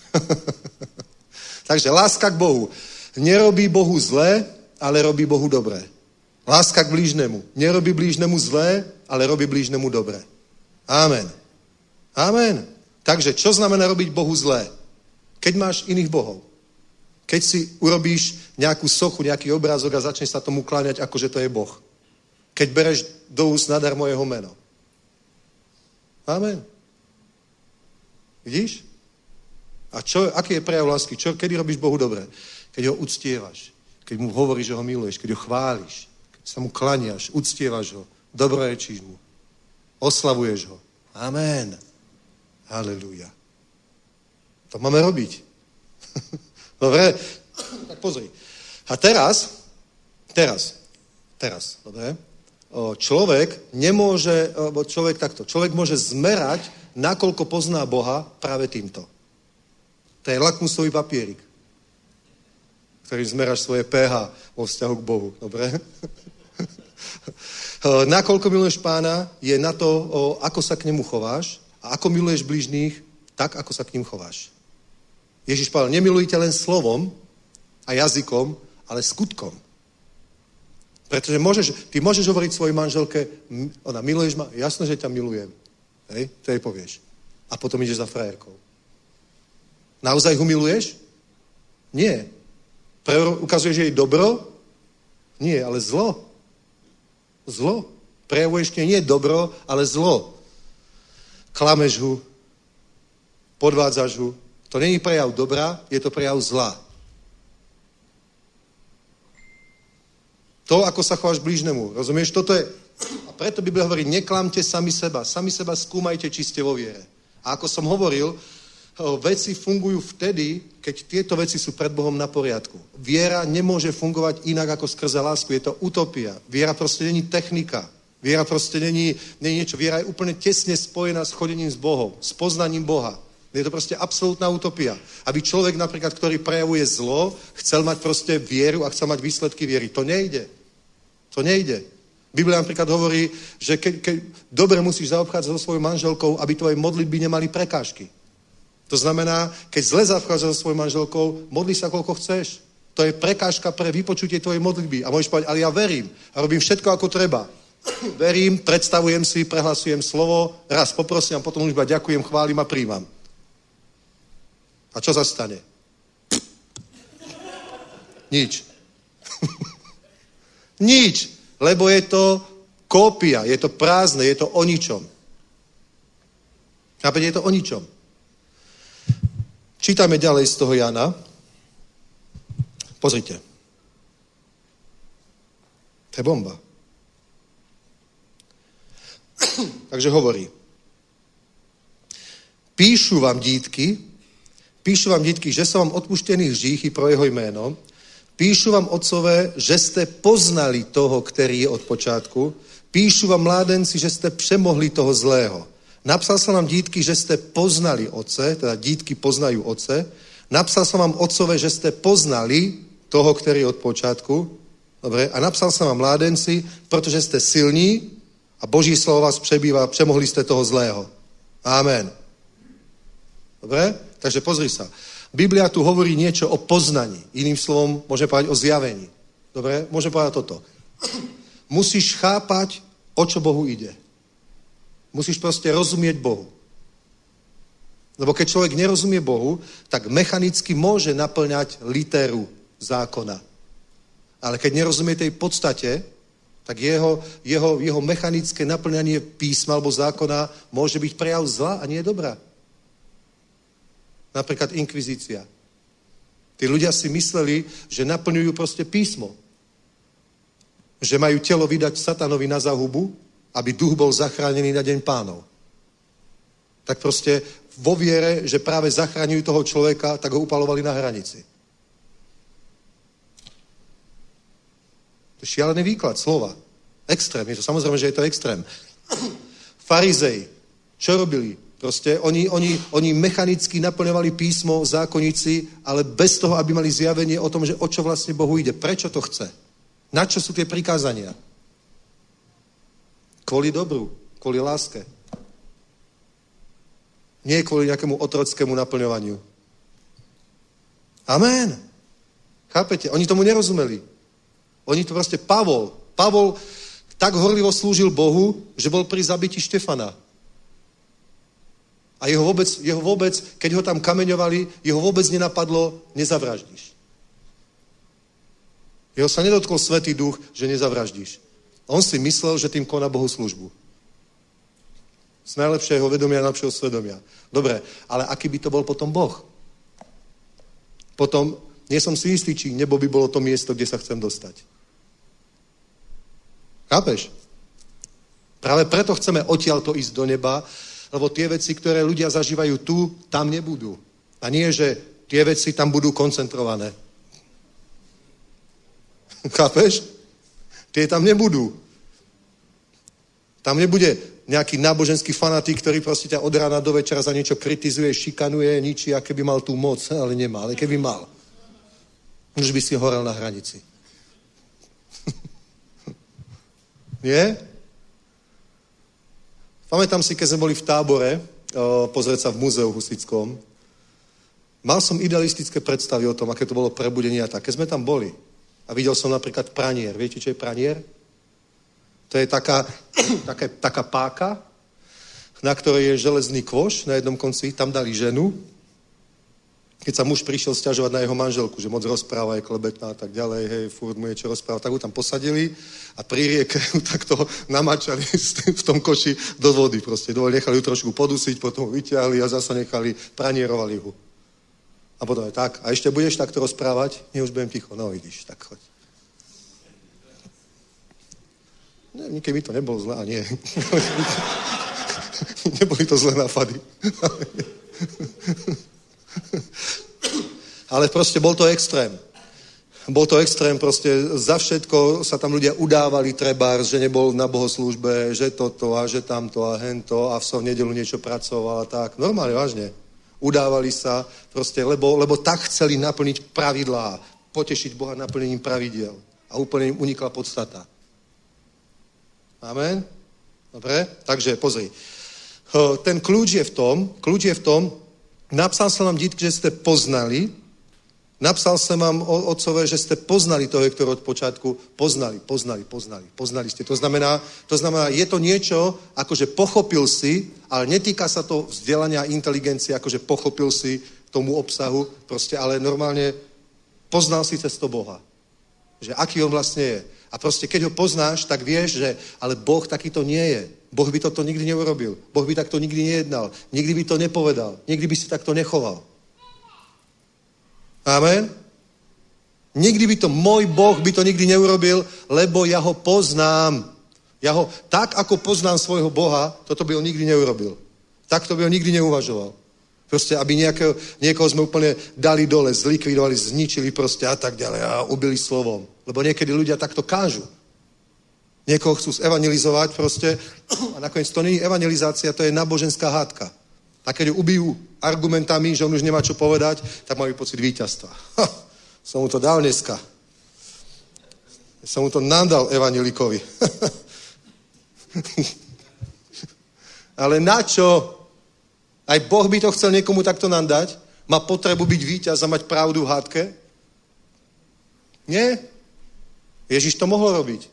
Takže láska k Bohu. Nerobí Bohu zlé, ale robí Bohu dobré. Láska k blížnemu. Nerobí blížnemu zlé, ale robí blížnemu dobré. Amen. Amen. Takže čo znamená robiť Bohu zlé? Keď máš iných bohov. Keď si urobíš nejakú sochu, nejaký obrázok a začneš sa tomu kláňať, ako že to je Boh. Keď bereš do úst nadarmo jeho meno. Amen. Vidíš? A čo, aký je prejav lásky? Čo, kedy robíš Bohu dobré? Keď ho uctievaš. Keď mu hovoríš, že ho miluješ. Keď ho chváliš. Keď sa mu klaniaš. Uctievaš ho. Dobrorečíš mu. Oslavuješ ho. Amen. Halelúja. To máme robiť. Dobre? Tak pozri. A teraz, teraz, teraz, dobre? Človek nemôže, človek takto, človek môže zmerať, nakoľko pozná Boha práve týmto. To je lakmusový papierik, ktorý zmeráš svoje pH vo vzťahu k Bohu. Dobre? Nakoľko miluješ Pána, je na to, ako sa k nemu chováš a ako miluješ blížnych, tak, ako sa k ním chováš. Ježiš povedal, nemilujte len slovom a jazykom, ale skutkom. Pretože môžeš, ty môžeš hovoriť svojej manželke, ona, miluješ ma? Jasno, že ťa milujem. Hej, to jej povieš. A potom ideš za frajerkou. Naozaj ho miluješ? Nie. Pre, ukazuješ jej dobro? Nie, ale zlo. Zlo. Prejavuješ k nej nie dobro, ale zlo. Klameš ho, podvádzaš ho. To není prejav dobra, je to prejav zla. To, ako sa chováš blížnemu. Rozumieš? Toto je... A preto Biblia hovorí, neklamte sami seba. Sami seba skúmajte, či ste vo viere. A ako som hovoril, veci fungujú vtedy, keď tieto veci sú pred Bohom na poriadku. Viera nemôže fungovať inak ako skrze lásku. Je to utopia. Viera proste není technika. Viera proste není, není niečo. Viera je úplne tesne spojená s chodením s Bohom, s poznaním Boha. Je to proste absolútna utopia. Aby človek napríklad, ktorý prejavuje zlo, chcel mať proste vieru a chcel mať výsledky viery. To nejde. To nejde. Biblia napríklad hovorí, že keď, keď dobre musíš zaobchádzať so svojou manželkou, aby tvoje modlitby nemali prekážky. To znamená, keď zle zaobchádzaš so svojou manželkou, modli sa koľko chceš. To je prekážka pre vypočutie tvojej modlitby. A môžeš povedať, ale ja verím a robím všetko ako treba. Verím, predstavujem si, prehlasujem slovo, raz poprosím a potom už iba ďakujem, chválim a príjmam. A čo sa stane? Nič. Nič. Lebo je to kópia, je to prázdne, je to o ničom. Chápete, je to o ničom. Čítame ďalej z toho Jana. Pozrite. To je bomba. Takže hovorí. Píšu vám, dítky, píšu vám, dítky, že sú vám odpuštených hříchy pro jeho jméno. Píšu vám, otcové, že jste poznali toho, který je od počátku. Píšu vám, mládenci, že jste přemohli toho zlého. Napsal jsem vám, dítky, že jste poznali otce, teda dítky poznají otce. Napsal jsem vám, otcové, že jste poznali toho, který je od počátku. Dobre? A napsal jsem vám, mládenci, protože jste silní a Boží slovo vás přebývá, přemohli jste toho zlého. Amen. Dobre? Takže pozri sa. Biblia tu hovorí niečo o poznaní. Iným slovom môžeme povedať o zjavení. Dobre? Môžeme povedať toto. Musíš chápať, o čo Bohu ide. Musíš proste rozumieť Bohu. Lebo keď človek nerozumie Bohu, tak mechanicky môže naplňať literu zákona. Ale keď nerozumie tej podstate, tak jeho, jeho, jeho mechanické naplňanie písma alebo zákona môže byť prejav zla a nie dobrá. Napríklad inkvizícia. Tí ľudia si mysleli, že naplňujú proste písmo. Že majú telo vydať satanovi na zahubu, aby duch bol zachránený na deň pánov. Tak proste vo viere, že práve zachraňujú toho človeka, tak ho upalovali na hranici. To je šialený výklad slova. Extrém. Je to samozrejme, že je to extrém. Farizej. Čo robili? Proste oni, oni, oni mechanicky naplňovali písmo, zákonníci, ale bez toho, aby mali zjavenie o tom, že o čo vlastne Bohu ide. Prečo to chce? Na čo sú tie prikázania? Kvôli dobru, kvôli láske. Nie kvôli nejakému otrockému naplňovaniu. Amen. Chápete? Oni tomu nerozumeli. Oni to proste... Pavol. Pavol tak horlivo slúžil Bohu, že bol pri zabití Štefana. A jeho vôbec, jeho vôbec, keď ho tam kameňovali, jeho vôbec nenapadlo, nezavraždíš. Jeho sa nedotkol Svätý Duch, že nezavraždíš. On si myslel, že tým koná Bohu službu. Z najlepšieho vedomia, najlepšieho svedomia. Dobre, ale aký by to bol potom Boh? Potom, nie som si istý, či nebo by bolo to miesto, kde sa chcem dostať. Chápeš? Práve preto chceme odtiaľto ísť do neba, lebo tie veci, ktoré ľudia zažívajú tu, tam nebudú. A nie, že tie veci tam budú koncentrované. Chápeš? Tie tam nebudú. Tam nebude nejaký náboženský fanatik, ktorý proste ťa od rána do večera za niečo kritizuje, šikanuje, ničí, a keby mal tú moc, ale nemá, ale keby mal. Už by si horel na hranici. Nie? Pamätám si, keď sme boli v tábore, o, pozrieť sa v múzeu husitskom, mal som idealistické predstavy o tom, aké to bolo prebudenie a tak. Keď sme tam boli a videl som napríklad pranier. Viete, čo je pranier? To je taká, taká, taká páka, na ktorej je železný kôš na jednom konci, tam dali ženu. Keď sa muž prišiel sťažovať na jeho manželku, že moc rozpráva, je klebetná a tak ďalej, hej, furt mu je čo rozpráva, tak ho tam posadili a pri rieke tak to namačali v tom koši do vody proste. Nechali ju trošku podusiť, potom ho vyťahli a zasa nechali, pranierovali ho. A potom je tak, a ešte budeš takto rozprávať? Nie, už budem ticho, no vidíš, tak choď. Ne, nikdy mi to nebolo zlé, a nie. Neboli to zlé nápady. Ale proste bol to extrém. Bol to extrém, proste za všetko sa tam ľudia udávali trebárs, že nebol na bohoslúžbe, že toto a že tamto a hento a v som nedelu niečo pracoval a tak. Normálne, vážne. Udávali sa proste, lebo, lebo tak chceli naplniť pravidlá, potešiť Boha naplnením pravidiel. A úplne im unikla podstata. Amen? Dobre? Takže pozri. Ten kľúč je v tom, kľúč je v tom, napsal som vám, dítky, že ste poznali. Napsal som vám, otcové, že ste poznali toho Hektora od počiatku. Poznali, poznali, poznali. Poznali ste. To znamená, to znamená, je to niečo, akože pochopil si, ale netýka sa to vzdelania a inteligencie, akože pochopil si tomu obsahu, proste, ale normálne poznal si cesto Boha. Že aký on vlastne je. A proste, keď ho poznáš, tak vieš, že ale Boh takýto nie je. Boh by toto nikdy neurobil. Boh by takto nikdy nejednal. Nikdy by to nepovedal. Nikdy by si takto nechoval. Amen? Nikdy by to, môj Boh by to nikdy neurobil, lebo ja ho poznám. Ja ho, tak ako poznám svojho Boha, toto by on nikdy neurobil. Takto by on nikdy neuvažoval. Proste, aby nejakého, niekoho sme úplne dali dole, zlikvidovali, zničili proste a tak ďalej a ubili slovom. Lebo niekedy ľudia takto kážu. Niekoho chcú zevangelizovať proste a nakoniec to nie je evangelizácia, to je náboženská hádka. A keď ho ubijú argumentami, že on už nemá čo povedať, tak majú pocit víťazstva. Ha, som mu to dal dneska. Som mu to nadal evangelikovi. Ale na čo? Aj Boh by to chcel niekomu takto nadať? Má potrebu byť víťaz a mať pravdu v hádke? Nie? Ježiš to mohol robiť.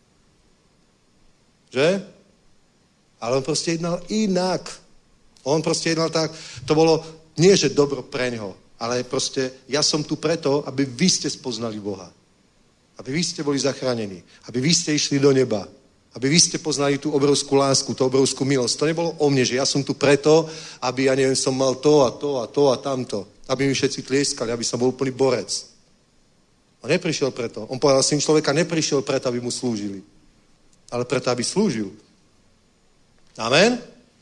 Že? Ale on proste jednal inak. On proste jednal tak, to bolo nie, že dobro preňho, ale proste ja som tu preto, aby vy ste spoznali Boha. Aby vy ste boli zachránení. Aby vy ste išli do neba. Aby vy ste poznali tú obrovskú lásku, tú obrovskú milosť. To nebolo o mne, že ja som tu preto, aby, ja neviem, som mal to a to a to a tamto. Aby mi všetci tlieskali, aby som bol úplný borec. On neprišiel preto. On povedal, syn človeka neprišiel preto, aby mu slúžili. Ale preto, aby slúžil. Amen?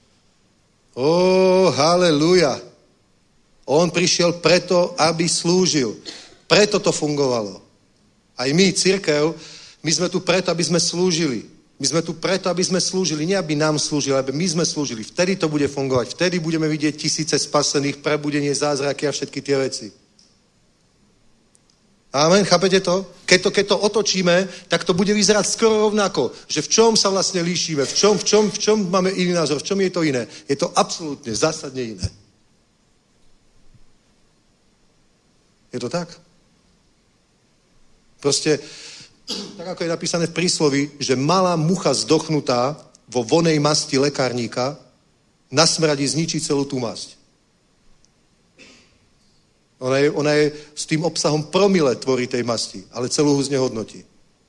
Ó, haleluja. On prišiel preto, aby slúžil. Preto to fungovalo. Aj my, cirkev, my sme tu preto, aby sme slúžili. My sme tu preto, aby sme slúžili. Nie, aby nám slúžili, aby my sme slúžili. Vtedy to bude fungovať. Vtedy budeme vidieť tisíce spasených, prebudenie, zázraky a všetky tie veci. Amen, chápete to? Keď to, keď to otočíme, tak to bude vyzerať skoro rovnako. Že v čom sa vlastne líšime, v čom, v čom, v čom máme iný názor, v čom je to iné. Je to absolútne, zásadne iné. Je to tak? Proste, tak ako je napísané v prísloví, že malá mucha zdochnutá vo vonej masti lekárníka na smradi zničí celú tú masť. Ona je, ona je s tým obsahom promile tvorí tej masti, ale celú ho znehodnotí.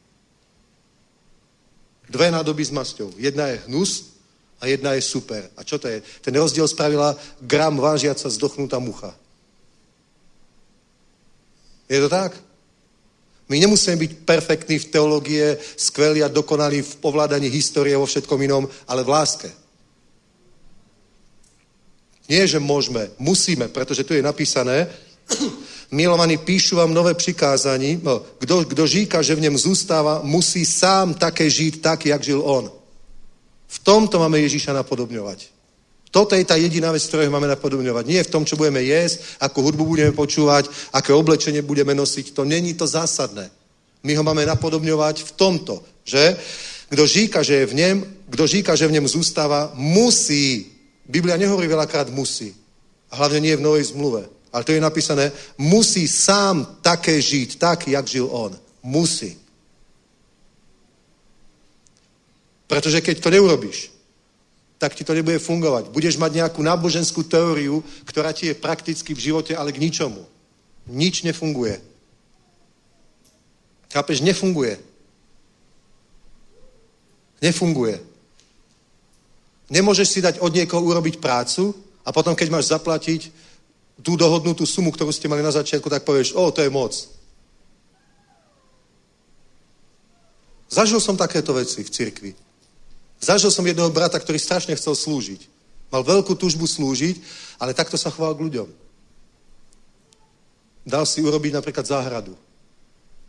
Dve nádoby s masťou. Jedna je hnus a jedna je super. A čo to je? Ten rozdiel spravila gram vážiaca zdochnutá mucha. Je to tak? My nemusíme byť perfektní v teológie, skvelí a dokonalí v ovládaní histórie vo všetkom inom, ale v láske. Nie, že môžeme, musíme, pretože tu je napísané, milovaní, píšu vám nové přikázání, no, kdo, kdo říká, že v něm zůstává, musí sám také žít tak, jak žil on. V tomto máme Ježíša napodobňovať. Toto je tá jediná vec, ktorú máme napodobňovať. Nie v tom, čo budeme jesť, ako hudbu budeme počúvať, aké oblečenie budeme nosiť. To není to zásadné. My ho máme napodobňovať v tomto, že kdo říká, že je v něm, kdo říká, že v něm zůstává, musí. Biblia nehovorí veľakrát musí. A hlavne nie v Novej zmluve. Ale to je napísané, musí sám také žiť, tak, jak žil on. Musí. Pretože keď to neurobíš, tak ti to nebude fungovať. Budeš mať nejakú náboženskú teóriu, ktorá ti je prakticky v živote, ale k ničomu. Nič nefunguje. Chápeš? Nefunguje. Nefunguje. Nemôžeš si dať od niekoho urobiť prácu a potom, keď máš zaplatiť tú dohodnutú sumu, ktorú ste mali na začiatku, tak povieš, o, to je moc. Zažil som takéto veci v cirkvi. Zažil som jedného brata, ktorý strašne chcel slúžiť. Mal veľkú túžbu slúžiť, ale takto sa choval k ľuďom. Dal si urobiť napríklad záhradu.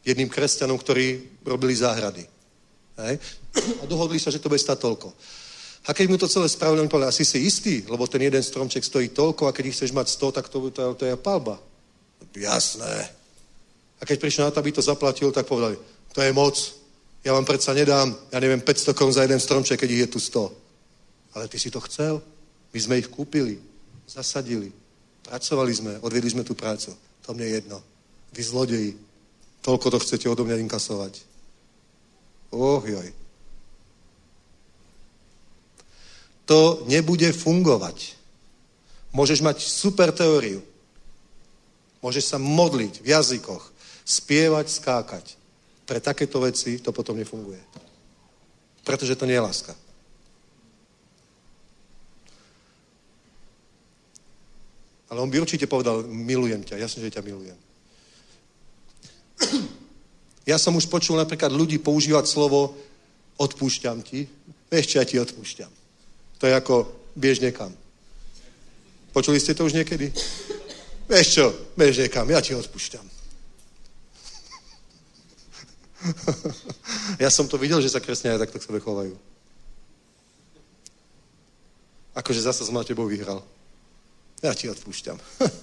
jedným kresťanom, ktorí robili záhrady. Hej? A dohodli sa, že to bude stať toľko. A keď mu to celé spravili, on povedal, asi si istý, lebo ten jeden stromček stojí toľko a keď ich chceš mať sto, tak to, to, to je palba. Jasné. A keď prišiel na to, aby to zaplatil, tak povedali, to je moc, ja vám predsa nedám, ja neviem, päťsto korún za jeden stromček, keď ich je tu sto. Ale ty si to chcel, my sme ich kúpili, zasadili, pracovali sme, odvedli sme tú prácu. To mne je jedno. Vy zlodeji, toľko to chcete odo mňa inkasovať. Oh, joj. To nebude fungovať. Môžeš mať super teóriu. Môžeš sa modliť v jazykoch, spievať, skákať. Pre takéto veci to potom nefunguje. Pretože to nie je láska. Ale on by určite povedal, milujem ťa, jasne, že ťa milujem. Ja som už počul napríklad ľudí používať slovo odpúšťam ti. Vieš, čo ja ti odpúšťam. To je ako biež niekam. Počuli ste to už niekedy? Vieš čo, biež niekam, ja ti odpúšťam. Ja som to videl, že sa kresťania takto k sebe chovajú. Akože zasa som na tebou vyhral. Ja ti odpúšťam.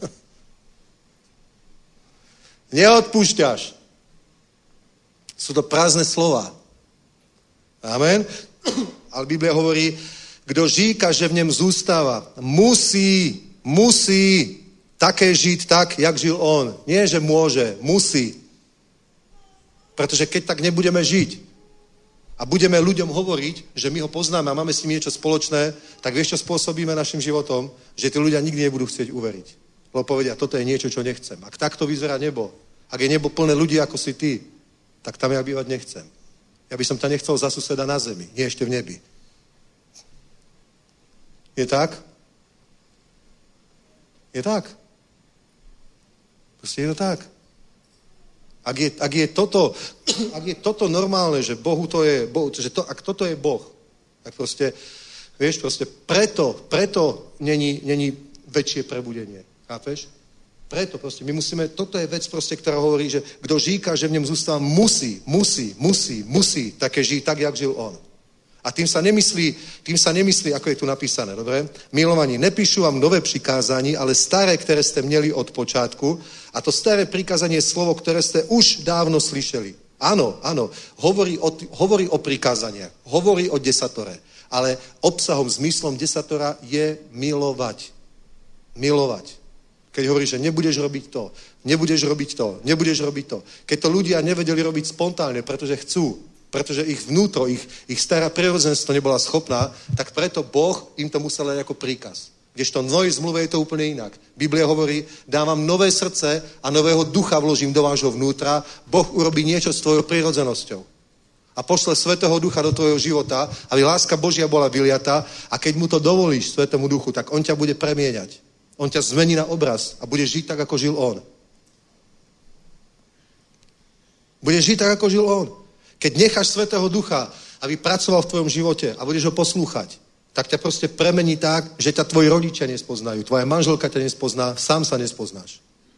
Neodpúšťaš. Sú to prázdne slova. Amen. Ale Biblia hovorí, kdo říká, že v něm zůstává, musí, musí také žít tak, jak žil on. Nie, že môže, musí. Pretože keď tak nebudeme žiť a budeme ľuďom hovoriť, že my ho poznáme a máme s ním niečo spoločné, tak vieš, čo spôsobíme našim životom? Že tí ľudia nikdy nebudú chcieť uveriť. Lebo povedia, toto je niečo, čo nechcem. Ak takto vyzerá nebo, ak je nebo plné ľudí, ako si ty, tak tam ja bývať nechcem. Ja by som ťa nechcel za suseda na zemi, nie ešte v nebi. Je tak? Je tak. Proste je to tak. Ak je, ak je, toto, ak je toto normálne, že Bohu to je, Bohu, že to, ak toto je Boh, tak proste, vieš, proste preto, preto není, není väčšie prebudenie. Chápeš? Preto proste, my musíme, toto je vec proste, ktorá hovorí, že kdo říká, že v ňom zústáva, musí, musí, musí, musí také žiť tak, jak žil on. A tým sa nemyslí, tým sa nemyslí, ako je tu napísané, dobre? Milovaní, nepíšu vám nové přikázání, ale staré, které ste měli od počátku. A to staré prikázanie je slovo, ktoré ste už dávno slyšeli. Áno, áno, hovorí o, hovorí o prikázaniach, hovorí o desatore, ale obsahom, zmyslom desatora je milovať. Milovať. Keď hovorí, že nebudeš robiť to, nebudeš robiť to, nebudeš robiť to. Keď to ľudia nevedeli robiť spontánne, pretože chcú, pretože ich vnútro, ich, ich stará prirodzenstvo nebola schopná, tak preto Boh im to musel dať ako príkaz. Kdežto v novej zmluve je to úplne inak. Biblia hovorí, dávam nové srdce a nového ducha vložím do vášho vnútra, Boh urobí niečo s tvojou prirodzenosťou. A pošle Svätého Ducha do tvojho života, aby láska Božia bola vyliatá a keď mu to dovolíš Svätému Duchu, tak on ťa bude premieňať. On ťa zmení na obraz a budeš žiť tak, ako žil on. Budeš žiť tak, ako žil on. Keď necháš Svätého Ducha, aby pracoval v tvojom živote a budeš ho poslúchať, tak ťa proste premení tak, že ťa tvoji rodičia nespoznajú, tvoja manželka ťa nespozná, sám sa nespoznáš.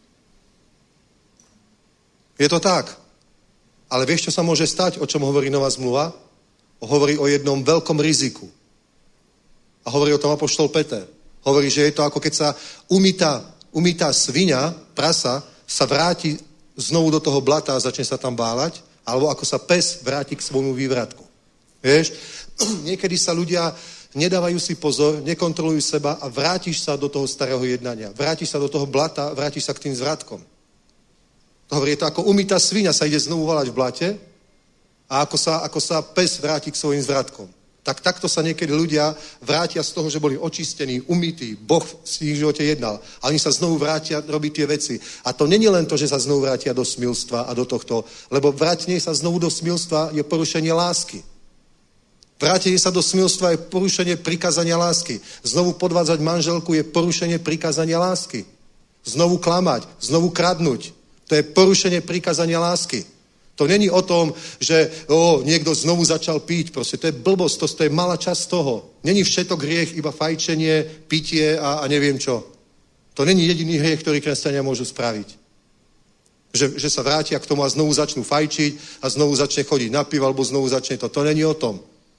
Je to tak. Ale vieš, čo sa môže stať, o čom hovorí Nová zmluva? Hovorí o jednom veľkom riziku. A hovorí o tom apoštol Peter. Hovorí, že je to ako keď sa umýtá, umýtá sviňa, prasa, sa vráti znovu do toho blata a začne sa tam bálať, alebo ako sa pes vráti k svojmu vývratku. Vieš? Niekedy sa ľudia nedávajú si pozor, nekontrolujú seba a vrátiš sa do toho starého jednania. Vrátiš sa do toho blata, vrátiš sa k tým zvratkom. To hovorí, je to ako umýtá sviňa sa ide znovu valať v blate a ako sa, ako sa pes vráti k svojim zvratkom. Tak takto sa niekedy ľudia vrátia z toho, že boli očistení, umytí, Boh v ich živote jednal. A oni sa znovu vrátia robiť tie veci. A to není len to, že sa znovu vrátia do smilstva a do tohto, lebo vrátenie sa znovu do smilstva je porušenie lásky. Vrátenie sa do smilstva je porušenie prikázania lásky. Znovu podvádzať manželku je porušenie prikázania lásky. Znovu klamať, znovu kradnúť. To je porušenie prikázania lásky. To není o tom, že o, niekto znovu začal piť. Proste to je blbosť, to, to je malá časť toho. Není všetok hriech, iba fajčenie, pitie a, a neviem čo. To není jediný hriech, ktorý kresťania môžu spraviť. Že, že sa vrátia k tomu a znovu začnú fajčiť a znovu začne chodiť na pivo, alebo znovu začne to. To není o tom.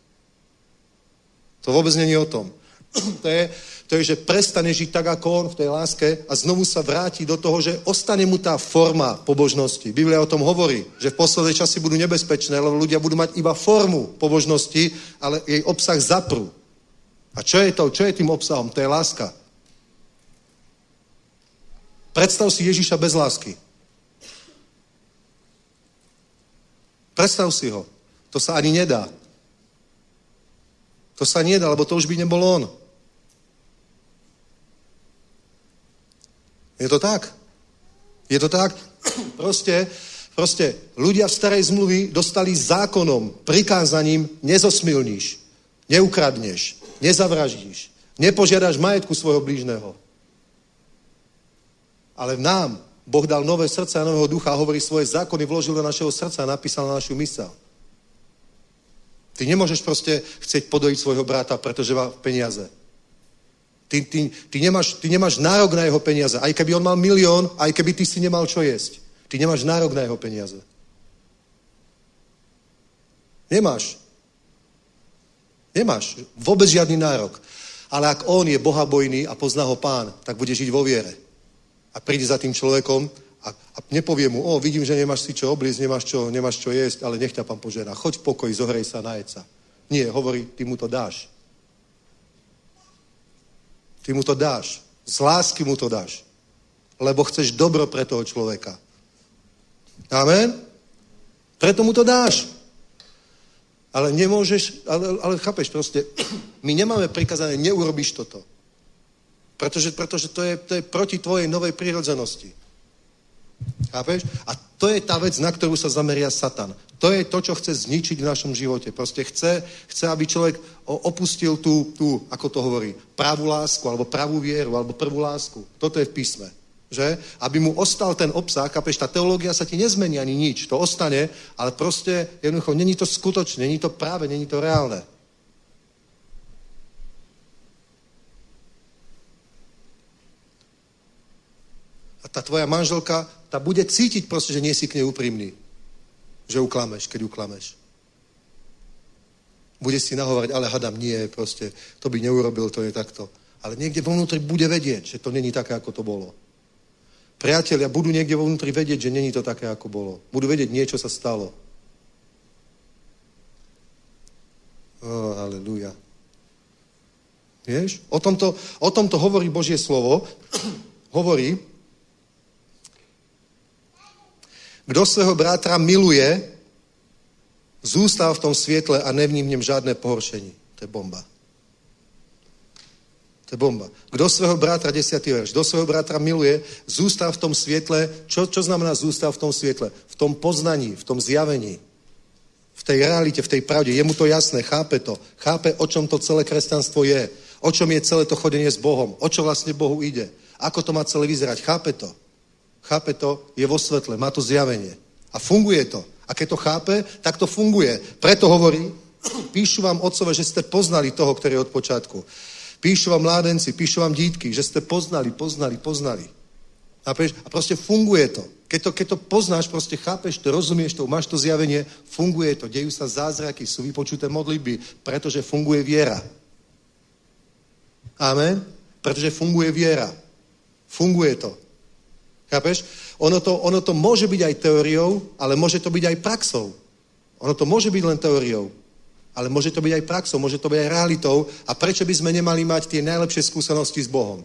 To vôbec není o tom. To je, to je, že prestane žiť tak, ako on v tej láske a znovu sa vráti do toho, že ostane mu tá forma pobožnosti. Biblia o tom hovorí, že v poslednej časy budú nebezpečné, lebo ľudia budú mať iba formu pobožnosti, ale jej obsah zaprú. A čo je to? Čo je tým obsahom? To je láska. Predstav si Ježiša bez lásky. Predstav si ho. To sa ani nedá. To sa nedá, lebo to už by nebol on. Je to tak? Je to tak? Proste, proste ľudia v starej zmluvy dostali zákonom, prikázaním nezosmilníš, neukradneš, nezavraždíš, nepožiadaš majetku svojho blížneho. Ale nám Boh dal nové srdce a nového ducha a hovorí, svoje zákony vložil do našeho srdca a napísal na našu mysel. Ty nemôžeš proste chcieť podojiť svojho brata, pretože má peniaze. Ty, ty, ty, nemáš, ty nemáš nárok na jeho peniaze. Aj keby on mal milión, aj keby ty si nemal čo jesť. Ty nemáš nárok na jeho peniaze. Nemáš. Nemáš. Vôbec žiadny nárok. Ale ak on je bohabojný a pozná ho Pán, tak bude žiť vo viere. A príde za tým človekom a, a nepovie mu, o, vidím, že nemáš si čo obliecť, nemáš čo, nemáš čo jesť, ale nech ťa Pán požehná. Choď v pokoji, zohrej sa, najed sa. Nie, hovorí, ty mu to dáš. Ty mu to dáš. Z lásky mu to dáš. Lebo chceš dobro pre toho človeka. Amen? Preto mu to dáš. Ale nemôžeš, ale, ale chápeš proste, my nemáme prikazané, neurobíš toto. Pretože, pretože to, je, to je proti tvojej novej prírodzenosti. Chápeš? A to je tá vec, na ktorú sa zameria Satan. To je to, čo chce zničiť v našom živote. Proste chce, chce aby človek opustil tú, tú, ako to hovorí, pravú lásku, alebo pravú vieru, alebo prvú lásku. Toto je v písme. Že? Aby mu ostal ten obsah, chápeš, tá teológia sa ti nezmení ani nič. To ostane, ale proste jednoducho, není to skutočné, není to práve, není to reálne. A tá tvoja manželka, tá bude cítiť proste, že nie si k nej úprimný. Že uklameš, keď uklameš. Bude si nahovárať, ale hadam, nie, proste, to by neurobil, to je takto. Ale niekde vo vnútri bude vedieť, že to není také, ako to bolo. Priatelia budú niekde vo vnútri vedieť, že není to také, ako bolo. Budú vedieť, niečo sa stalo. Oh, aleluja. Vieš? O tomto, o tomto hovorí Božie slovo. Hovorí, kdo svého brátra miluje, zůstal v tom světle a nevní v něm žádné pohoršení. To je bomba. To je bomba. Kdo svého brátra, desiatý verš, kdo svého brátra miluje, zůstal v tom světle. Čo, čo znamená zůstal v tom světle? V tom poznaní, v tom zjavení. V tej realite, v tej pravde. Je mu to jasné, chápe to. Chápe, o čom to celé kresťanstvo je. O čom je celé to chodenie s Bohom. O čo vlastne Bohu ide. Ako to má celé vyzerať. Chápe to. Chápe to, je vo svetle, má to zjavenie. A funguje to. A keď to chápe, tak to funguje. Preto hovorí, píšu vám, otcové, že ste poznali toho, ktorý je od počiatku. Píšu vám mládenci, píšu vám dítky, že ste poznali, poznali, poznali. A proste funguje to. Keď to, keď to poznáš, proste chápeš to, rozumieš to, máš to zjavenie, funguje to. Dejú sa zázraky, sú vypočuté modlitby, pretože funguje viera. Amen? Pretože funguje viera. Funguje to. Chápeš? Ono to, ono to môže byť aj teóriou, ale môže to byť aj praxou. Ono to môže byť len teóriou, ale môže to byť aj praxou, môže to byť aj realitou. A prečo by sme nemali mať tie najlepšie skúsenosti s Bohom?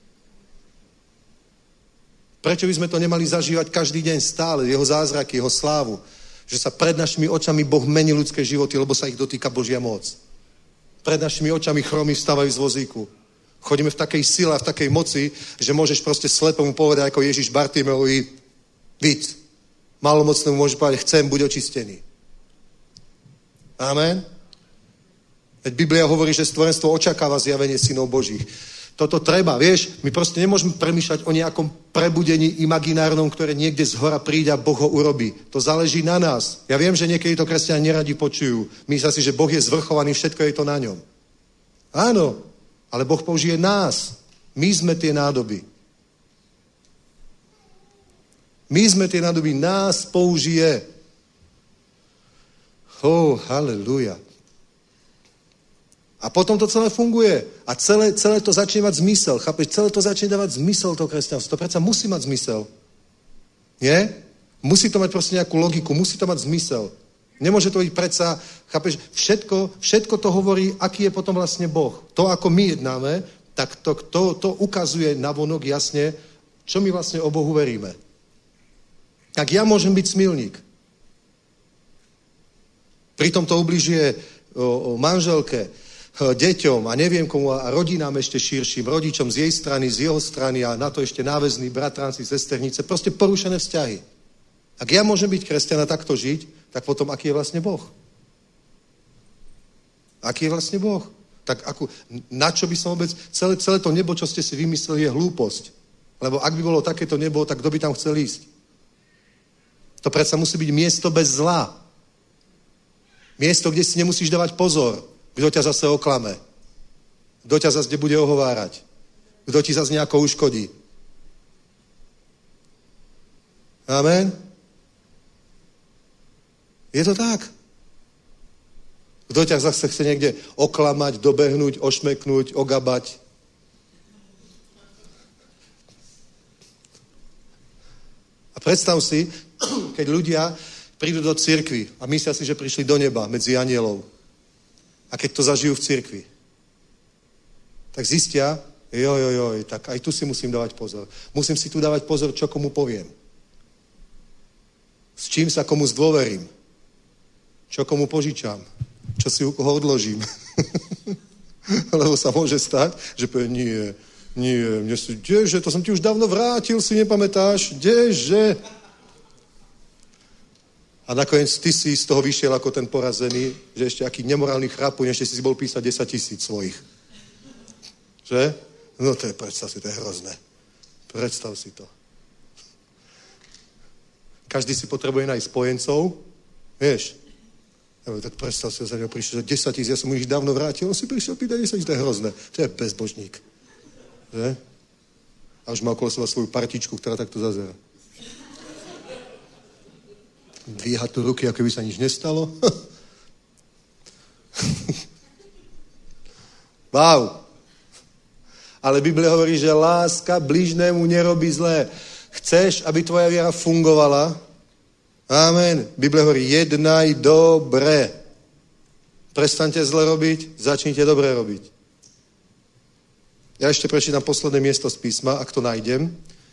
Prečo by sme to nemali zažívať každý deň stále, jeho zázraky, jeho slávu? Že sa pred našimi očami Boh mení ľudské životy, lebo sa ich dotýka Božia moc. Pred našimi očami chromy vstávajú z vozíku. Chodíme v takej sile a v takej moci, že môžeš proste slepomu povedať ako Ježiš Bartimeovi, víc. Malomocnému môžeš povedať, chcem, buď očistený. Amen? Veď Biblia hovorí, že stvorenstvo očakáva zjavenie synov Božích. Toto treba, vieš, my proste nemôžeme premýšľať o nejakom prebudení imaginárnom, ktoré niekde z hora príde a Boh ho urobí. To záleží na nás. Ja viem, že niekedy to kresťania neradi počujú. Myslia si, že Boh je zvrchovaný, všetko je to na ňom. Áno, ale Boh použije nás. My sme tie nádoby. My sme tie nádoby, nás použije. Oh, haleluja. A potom to celé funguje. A celé, celé to začne mať zmysel. Chápeš? Celé to začne dávať zmysel, to kresťanstvo. To predsa musí mať zmysel. Nie? Musí to mať proste nejakú logiku. Musí to mať zmysel. Nemôže to byť predsa, chápeš? Všetko, všetko to hovorí, aký je potom vlastne Boh. To, ako my jednáme, tak to, to, to ukazuje navonok jasne, čo my vlastne o Bohu veríme. Tak ja môžem byť smilník. Pritom to ubližuje o, o manželke, deťom a neviem komu a rodinám ešte širším, rodičom z jej strany, z jeho strany a na to ešte náväzní bratranci, sesternice, proste porušené vzťahy. Ak ja môžem byť kresťan a takto žiť, tak potom aký je vlastne Boh? Aký je vlastne Boh? Tak ako, na čo by som vôbec, celé, celé to nebo, čo ste si vymysleli, je hlúposť. Lebo ak by bolo takéto nebo, tak kto by tam chcel ísť? To predsa musí byť miesto bez zla. Miesto, kde si nemusíš dávať pozor. Kto ťa zase oklame? Kto ťa zase bude ohovárať? Kto ti zase nejako uškodí? Amen? Je to tak. Kto ťa zase chce niekde oklamať, dobehnúť, ošmeknúť, ogabať? A predstav si, keď ľudia prídu do cirkvi a myslia si, že prišli do neba medzi anielov. A keď to zažijú v cirkvi, tak zistia, joj, joj, joj, tak aj tu si musím dávať pozor. Musím si tu dávať pozor, čo komu poviem. S čím sa komu zdôverím. Čo komu požičam. Čo si u koho odložím. Lebo sa môže stať, že povie, nie, nie, mne si, kdeže, to som ti už dávno vrátil, si nepamätáš, kdeže. A nakoniec ty si z toho vyšiel ako ten porazený, že ešte aký nemorálny chrapuň, ešte si si bol písať desať tisíc svojich. Že? No to je, predstav si, to je hrozné. Predstav si to. Každý si potrebuje nájsť spojencov, vieš. Ja, tak predstav si, že za ňou prišiel, že desať tisíc, ja som mu ich dávno vrátil, on si prišiel pýtať desať tisíc, to je hrozné. To je bezbožník. Že? A už má okolo seba svoju partičku, ktorá takto zazerá. Dvíha tu ruky, ako by sa nič nestalo. Wow. Ale Biblia hovorí, že láska blížnému nerobí zlé. Chceš, aby tvoja viera fungovala? Amen. Biblia hovorí, jednaj dobre. Prestaňte zle robiť, začnite dobre robiť. Ja ešte prečítam posledné miesto z písma, ak to nájdem.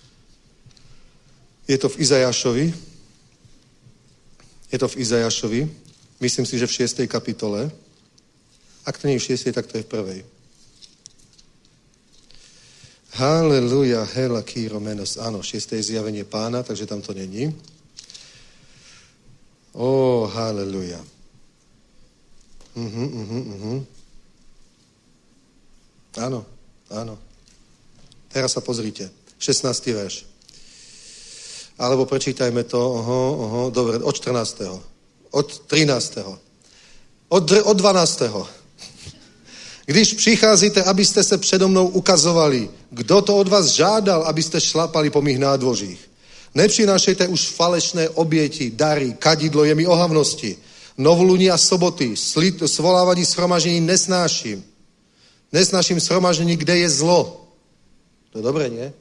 Je to v Izajášovi. Je to v Izajášovi, myslím si, že v šiestej kapitole. Ak to nie je v šiestej, tak to je v prvej. Haleluja, hela, kýro, menos. Áno, šiesté je zjavenie Pána, takže tam to není. Ó, haleluja. Uh-huh, uh-huh, uh-huh. Áno, áno. Teraz sa pozrite. šestnásty verš. Alebo prečítajme to, oho, oho, dobre, od štrnásteho Od trinásteho Od, od dvanásteho Když přicházíte, abyste se přede mnou ukazovali, kdo to od vás žádal, abyste šlapali po mých nádvořích. Nepřinášejte už falešné oběti, dary, kadidlo, je mi ohavnosti. Novoluní a soboty, slit, svolávání shromaždění nesnáším. Nesnáším shromaždění, kde je zlo. To je dobré, nie?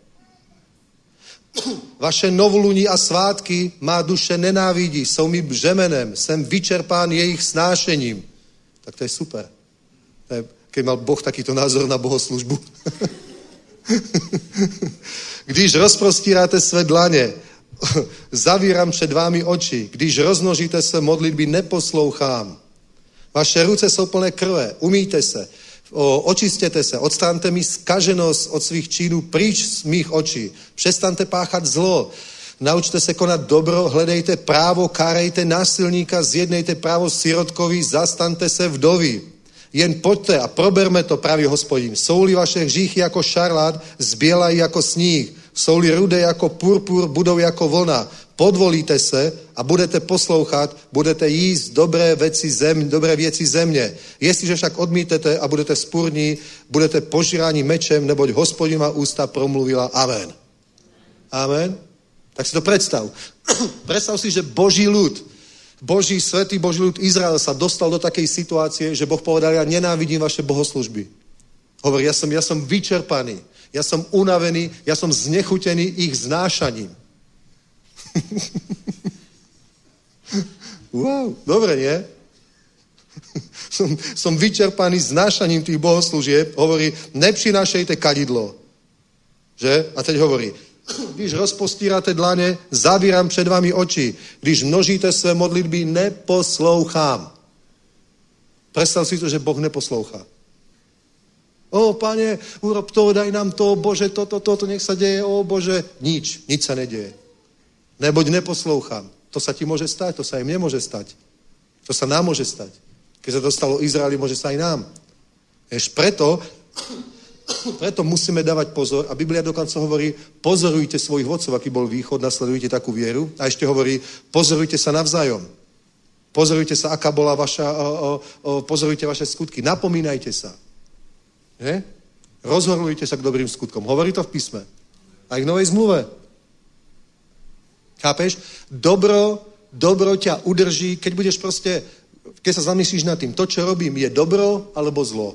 Vaše novoluní a svátky má duše nenávidí, jsou mi břemenem, jsem vyčerpán jejich snášením. Tak to je super. To je, keď mal Boh takýto názor na bohoslužbu. Když rozprostíráte své dlaně, zavírám před vámi oči. Když roznožíte se modlitby, neposlouchám. Vaše ruce jsou plné krve, umýjte se, O, očistěte se, odstráňte mi zkaženost od svých činů pryč z mých očí. Přestaňte páchat zlo, naučte se konat dobro, hledejte právo, kárejte násilníka, zjednejte právo sirotkovi, zastaňte se vdovy. Jen pojďte a proberme to, pravý Hospodin. Jsou-li vaše hříchy jako šarlát, zbělají jako sníh. Jsou-li rudé jako purpur, budou jako vlna. Podvolíte se a budete poslouchat, budete jíst dobré věci země, dobré věci země. Jestliže však odmítete a budete spurní, budete požíráni mečem, neboť Hospodin má ústa promluvila. Amen. Amen. Tak si to predstav. Predstav si, že Boží ľud, Boží, svätý Boží ľud Izrael sa dostal do takej situácie, že Boh povedal, ja nenávidím vaše bohoslužby. Hovorí, ja som, ja som vyčerpaný, ja som unavený, ja som znechutený ich znášaním. Wow, dobre, nie? som, som vyčerpaný znášaním tých bohoslúžieb. Hovorí, nepřinášejte kadidlo. Že? A teď hovorí, když rozpostírate dlane, zavírám před vami oči. Když množíte své modlitby, neposlouchám. Predstav si to, že Boh neposlouchá. O, Pane, urob to, daj nám to, Bože, toto, toto, nech sa deje, o, Bože. Nič, nič sa nedeje. Neboť neposlouchám. To sa ti môže stať, to sa im nemôže stať. To sa nám môže stať. Keď sa to stalo Izraeli, môže sa aj nám. Jež preto, preto musíme dávať pozor a Biblia dokonca hovorí, pozorujte svojich vodcov, aký bol východ, nasledujte takú vieru a ešte hovorí, pozorujte sa navzájom. Pozorujte sa, aká bola vaša, o, o, o, pozorujte vaše skutky, napomínajte sa. Nie? Rozhorľujte sa k dobrým skutkom. Hovorí to v písme. Aj v Novej zmluve. Chápeš? Dobro, dobro ťa udrží, keď budeš proste, keď sa zamyslíš nad tým, to, čo robím, je dobro alebo zlo.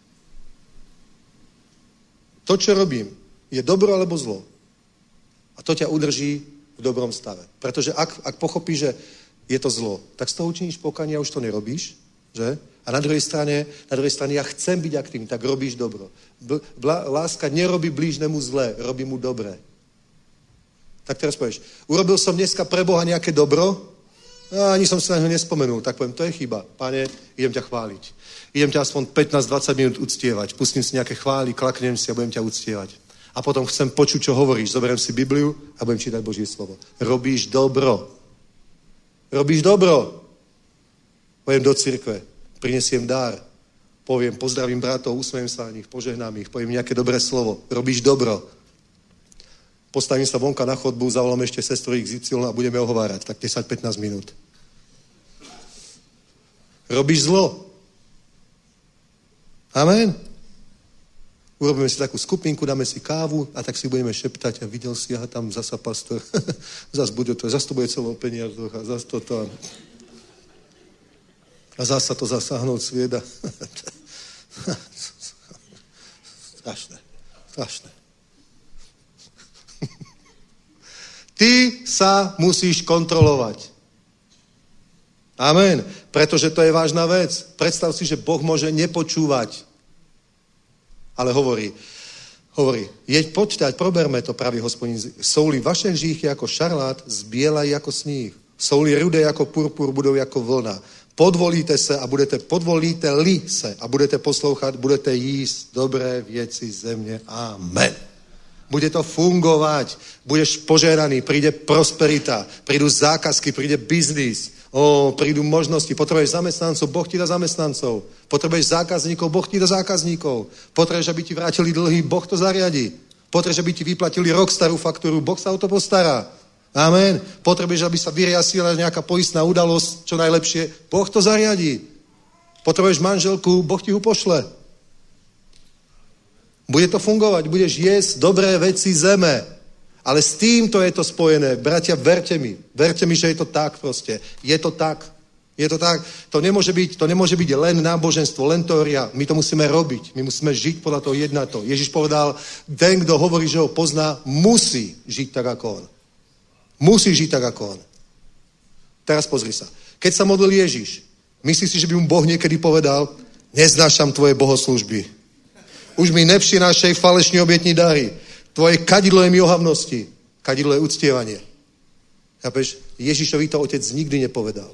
To, čo robím, je dobro alebo zlo. A to ťa udrží v dobrom stave. Pretože ak, ak pochopíš, že je to zlo, tak z toho učiníš pokánie a už to nerobíš, že? A na druhej strane, na druhej strane ja chcem byť aktívny, tak robíš dobro. Bl- láska nerobí blížnemu zlé, robí mu dobré. Tak teraz povieš, urobil som dneska pre Boha nejaké dobro? A ani som si na ňo nespomenul. Tak poviem, to je chyba. Pane, idem ťa chváliť. Idem ťa aspoň pätnásť dvadsať minút uctievať. Pustím si nejaké chvály, klaknem si a budem ťa uctievať. A potom chcem počuť, čo hovoríš. Zoberiem si Bibliu a budem čítať Božie slovo. Robíš dobro. Robíš dobro. Poviem do cirkve. Prinesiem dar. Poviem, pozdravím bratov, usmejem sa na nich, požehnám ich, poviem nejaké dobré slovo. Robíš dobro. Postavím sa vonka na chodbu, zavolám ešte sestru iks ypsilon a budeme ohovárať. Tak desať pätnásť minút. Robíš zlo. Amen. Urobíme si takú skupinku, dáme si kávu a tak si budeme šeptať a videl si, aha, tam zasa pastor. Zas bude to, zas to bude celou peniazoch a zas to tam. A zasa to zasáhnout svieda. Strašné. Strašné. Ty sa musíš kontrolovať. Amen. Pretože to je vážna vec. Predstav si, že Boh môže nepočúvať. Ale hovorí, hovorí, jeď počítať, proberme to, pravý Hospodin. Jsou-li vaše hříchy jako šarlát, zbielají jako sníh. Jsou-li rudé jako purpur, budou jako vlna. Podvolíte se a budete, podvolíte-li se a budete poslouchat, budete jíst dobré věci země. Amen. Bude to fungovať, budeš požehnaný, príde prosperita, prídu zákazky, príde biznis, o, prídu možnosti, potrebuješ zamestnancov, Boh ti dá zamestnancov, potrebuješ zákazníkov, Boh ti dá zákazníkov, potrebuješ, aby ti vrátili dlhy, Boh to zariadi, potrebuješ, aby ti vyplatili rok starú faktúru, Boh sa o to postará. Amen. Potrebuješ, aby sa vyriasila nejaká poistná udalosť, čo najlepšie, Boh to zariadi. Potrebuješ manželku, Boh ti ju pošle. Bude to fungovať, budeš jesť dobré veci zeme. Ale s týmto je to spojené. Bratia, verte mi. Verte mi, že je to tak proste. Je to tak. Je to tak. To nemôže byť, to nemôže byť len náboženstvo, len teória. My to musíme robiť. My musíme žiť podľa toho jednato. Ježiš povedal, ten, kto hovorí, že ho pozná, musí žiť tak ako on. Musí žiť tak ako on. Teraz pozri sa. Keď sa modlil Ježiš, myslíš si, že by mu Boh niekedy povedal, neznášam tvoje bohoslužby. Už mi nepřinášej falešní obětní dary. Tvoje kadidlo je mi ohavnosti. Kadidlo je uctievanie. Chápeš? Ježišovi to otec nikdy nepovedal.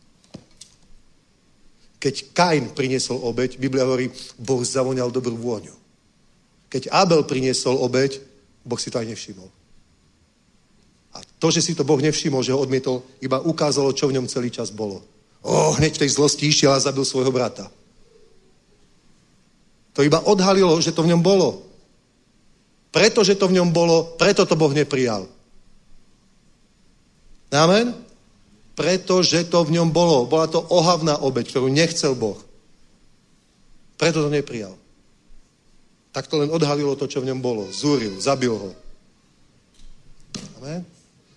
Keď Kain priniesol obeť, Biblia hovorí, Boh zavoňal dobrú vôňu. Keď Abel priniesol obeť, Boh si to aj nevšimol. A to, že si to Boh nevšimol, že ho odmietol, iba ukázalo, čo v ňom celý čas bolo. O, hneď v tej zlosti išiel a zabil svojho brata. To iba odhalilo, že to v ňom bolo. Pretože to v ňom bolo, preto to Boh neprijal. Amen? Pretože to v ňom bolo. Bola to ohavná obeť, ktorú nechcel Boh. Preto to neprijal. Tak to len odhalilo to, čo v ňom bolo. Zúril, zabil ho. Amen?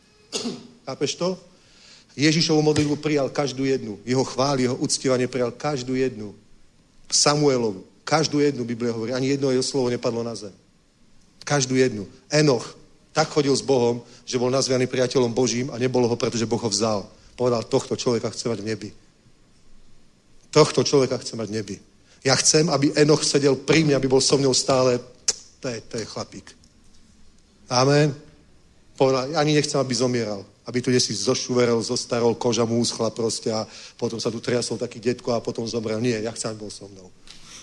Chápeš to? Ježišovu modlitbu prijal každú jednu. Jeho chvály, jeho uctievanie prijal každú jednu. Samuelovu. Každú jednu, Biblia hovorí. Ani jedno jeho slovo nepadlo na zem. Každú jednu. Enoch tak chodil s Bohom, že bol nazvaný priateľom Božím a nebolo ho, pretože Boh ho vzal. Povedal, tohto človeka chce mať v nebi. Tohto človeka chce mať v nebi. Ja chcem, aby Enoch sedel pri mne, aby bol so mnou stále. To je, to je chlapík. Amen. Povedal, ani nechcem, aby zomieral. Aby tu si zošuverel, zostarol, koža mu uschla proste a potom sa tu triasol taký detko a potom zomrel. Nie, ja chcem, aby bol so mnou.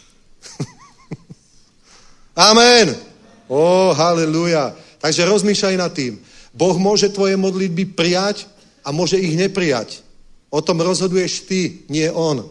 Amen. Ó, haleluja. Takže rozmýšľaj nad tým. Boh môže tvoje modlitby prijať a môže ich neprijať. O tom rozhoduješ ty, nie on.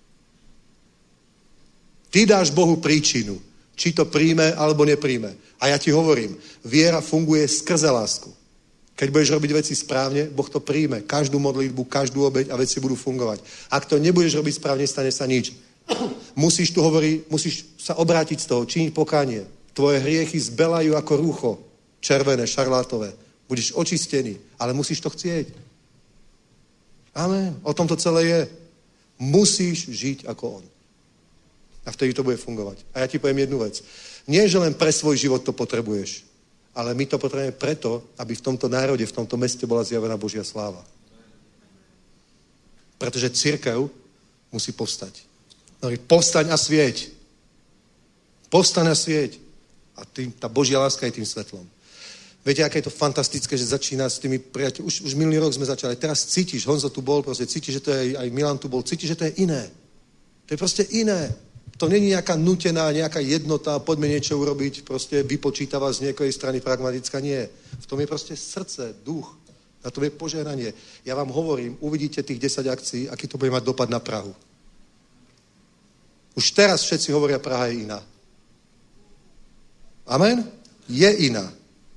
Ty dáš Bohu príčinu, či to príjme alebo nepríjme. A ja ti hovorím, viera funguje skrze lásku. Keď budeš robiť veci správne, Boh to príjme. Každú modlitbu, každú obeť a veci budú fungovať. Ak to nebudeš robiť správne, stane sa nič. Musíš tu hovoriť, musíš sa obrátiť z toho, činiť pokánie. Tvoje hriechy zbelajú ako rúcho, červené, šarlátové. Budeš očistený, ale musíš to chcieť. Amen. O tom to celé je. Musíš žiť ako on. A vtedy to bude fungovať. A ja ti poviem jednu vec. Nie, že len pre svoj život to potrebuješ, ale my to potrebujeme preto, aby v tomto národe, v tomto meste bola zjavená Božia sláva. Pretože cirkev musí povstať. Povstaň a svieť. Povstaň a svieť. A tým, tá Božia láska je tým svetlom. Viete, aké je to fantastické, že začína s tými priateľmi. Už, už minulý rok sme začali. Teraz cítiš, Honzo tu bol, proste cítiš, že to je, aj Milan tu bol, cítiš, že to je iné. To je proste iné. To není nejaká nutená, nejaká jednota, poďme niečo urobiť, proste vypočítava z niekojej strany pragmatická. Nie. V tom je proste srdce, duch. Na tom je požehnanie. Ja vám hovorím, uvidíte tých desať akcií, aký to bude mať dopad na Prahu. Už teraz všetci hovoria, Praha je iná. Amen? Je iná.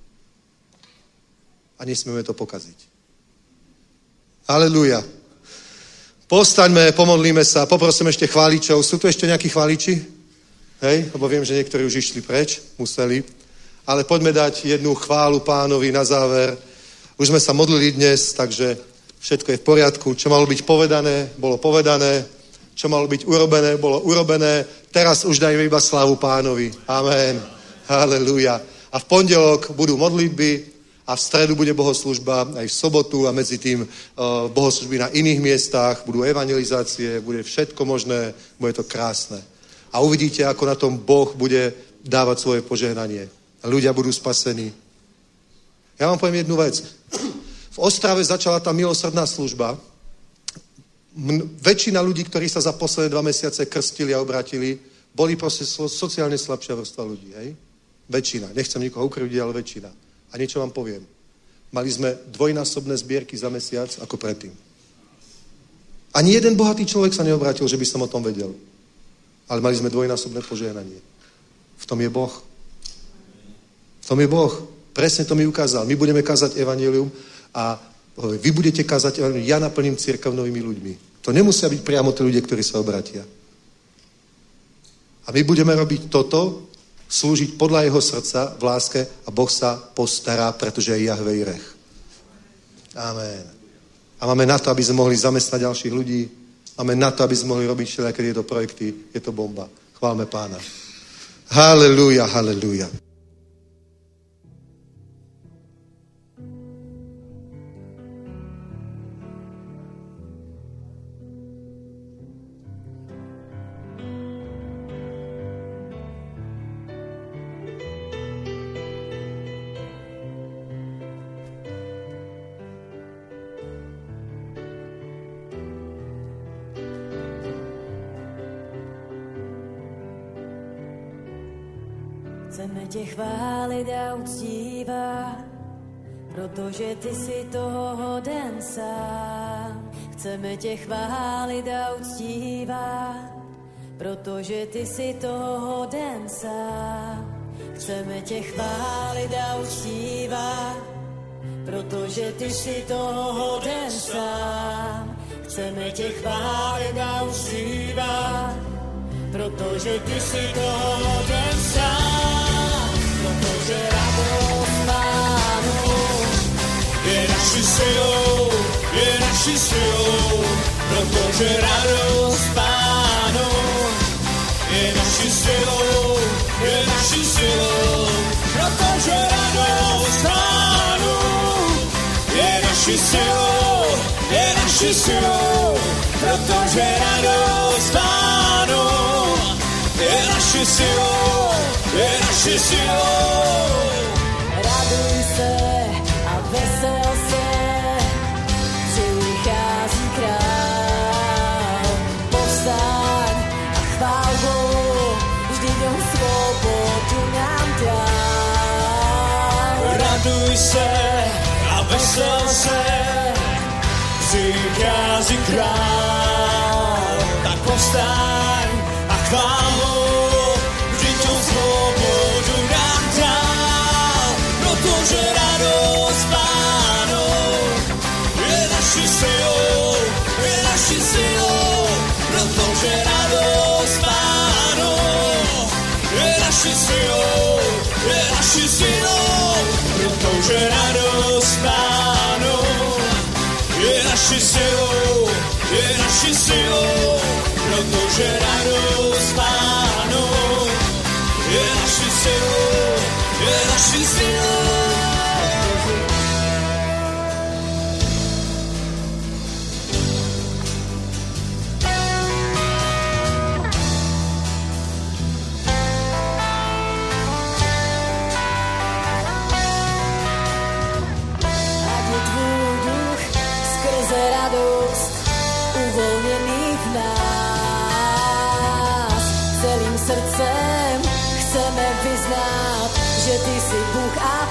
A nesmieme to pokaziť. Aleluja. Postaňme, pomodlíme sa, poprosím ešte chváličov. Sú tu ešte nejakí chváliči? Hej, lebo viem, že niektorí už išli preč, museli. Ale poďme dať jednu chválu Pánovi na záver. Už sme sa modlili dnes, takže všetko je v poriadku. Čo malo byť povedané, bolo povedané. Čo malo byť urobené, bolo urobené. Teraz už dajme iba slávu Pánovi. Amen. Halelúja. A v pondelok budú modlitby a v stredu bude bohoslužba aj v sobotu a medzi tým uh, bohoslužby na iných miestach, budú evangelizácie, bude všetko možné, bude to krásne. A uvidíte, ako na tom Boh bude dávať svoje požehnanie. A ľudia budú spasení. Ja vám poviem jednu vec. V Ostrave začala tá milosrdná služba. M- väčšina ľudí, ktorí sa za posledné dva mesiace krstili a obratili, boli proste so- sociálne slabšia vrstva ľudí. Hej? Väčšina. Nechcem nikoho ukrivdiť, ale väčšina. A niečo vám poviem. Mali sme dvojnásobné zbierky za mesiac ako predtým. Ani jeden bohatý človek sa neobrátil, že by som o tom vedel. Ale mali sme dvojnásobné požehnanie. V tom je Boh. V tom je Boh. Presne to mi ukázal. My budeme kázať evanjelium a vy budete kázať evanjelium. Ja naplním cirkev novými ľuďmi. To nemusia byť priamo tí ľudia, ktorí sa obratia. A my budeme robiť toto, slúžiť podľa jeho srdca v láske a Boh sa postará, pretože je Jahve Jireh. Amen. A máme na to, aby sme mohli zamestnať ďalších ľudí. Máme na to, aby sme mohli robiť všelijaké tieto projekty. Je to bomba. Chválme Pána. Halelúja, halelúja. Chceme tě chválit a uctívat, protože ty jsi toho hoden sám. Chceme tě chválit a uctívat, protože ty jsi toho hoden sám. Chceme tě chválit a uctívat, protože ty jsi toho hoden sám. Chceme tě chválit a uctívat, protože ty jsi toho hoden sám, protože radost Pánu je naší silou. naší silou, protože radost Pánu je naší silou, je naší silou, protože radost Pánu je naší silou, je naší silou, protože radost Pánu je naší silou, je naší silou. Raduj se a vesel se, přichází král. Povstaň a chvál Bohu, vždyť on svobodu nám dal. Raduj se a vesel se, přichází král. Tak povstaň a chvál Bohu, vždyť on svobodu nám dal. Protože radost Pánu je naší silou, je naší silou. Protože radost Pánu je naší silou, je naší silou. Protože radost Pánu je naší silou, je naší silou. Protože radost Pánu je naší silou, je naší silou. Ať je tvůj duch skrze radost uvolněný v nás. Celým srdcem chceme vyznát, že ty jsi Bůh a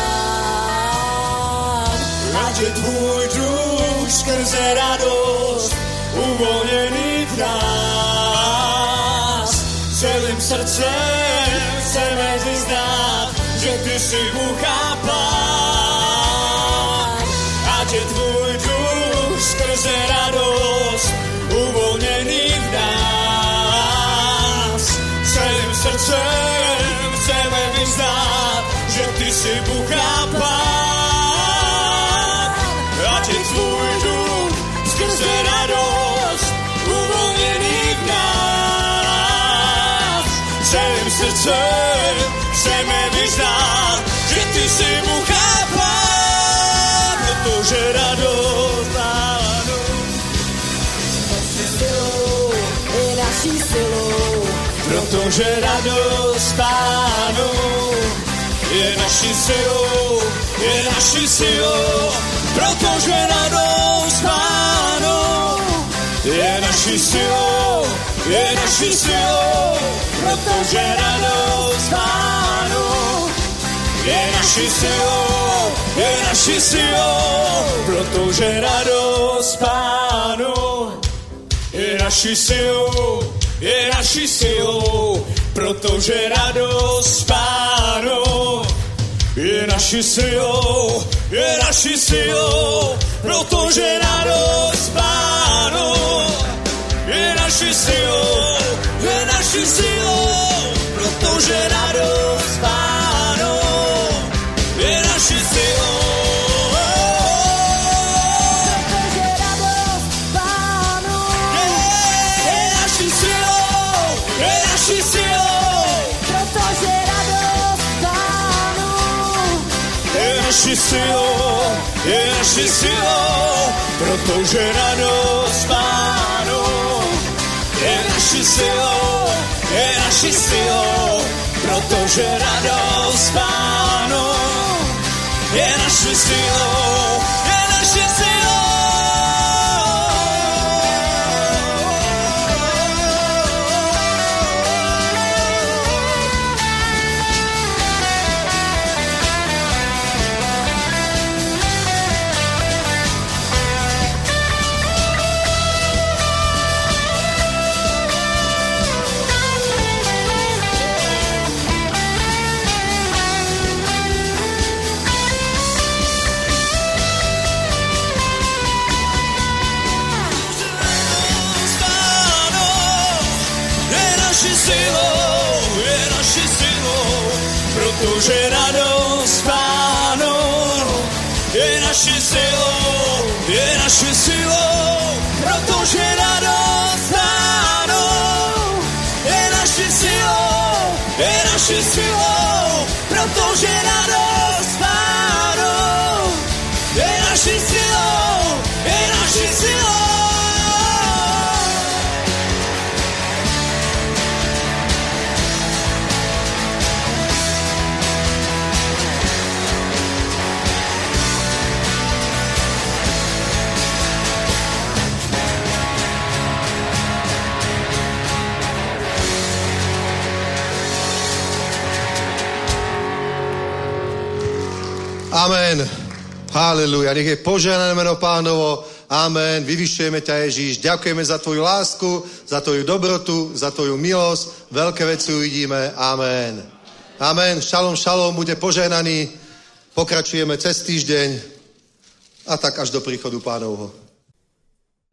Pán. Ať je tvůj duch skrze radost uvolněný v nás. Celým srdcem chceme vyznát, že ty jsi Bůh a Pán. Ať je tvůj duch skrze radost uvolněný v nás. Celým srdcem chceme vyznát, že ty jsi Bůh a Pán. Ať je tvůj duch skrze radost uvolněný v nás. Celým srdcem chceme vyznát, že ty jsi Bůh a Pán. Protože radost Pánu Je naší silou, protože radost Pánu je naší silou, je naší silou, protože radost Pánu je naší silou, je naší silou, protože radost Pánu je naší silou, je naší silou, protože radost Pánu je naší silou, je naší silou, protože radost Pánu je naší silou, je naší silou, protože radost Pánu je naší silou, je naší silou, protože radost Pánu je naší silou. Naší silou, je naší silou, protože radost Pánu je naší silou, je naší silou, protože radost Pánu je naší silou, je naší silou. Protože radost Pánu je naší silou, je naší naši silou, protože radost Pánou je naši silou, je naši silou, protože radost Pánou je naši silou, je naši silou. Amen. Haleluja. Nech je požehnané meno Pánovo. Amen. Vyvyšujeme ťa, Ježíš. Ďakujeme za tvoju lásku, za tvoju dobrotu, za tvoju milosť. Veľké veci uvidíme. Amen. Amen. Šalom, šalom. Bude požehnaný. Pokračujeme cez týždeň a tak až do príchodu Pánovho.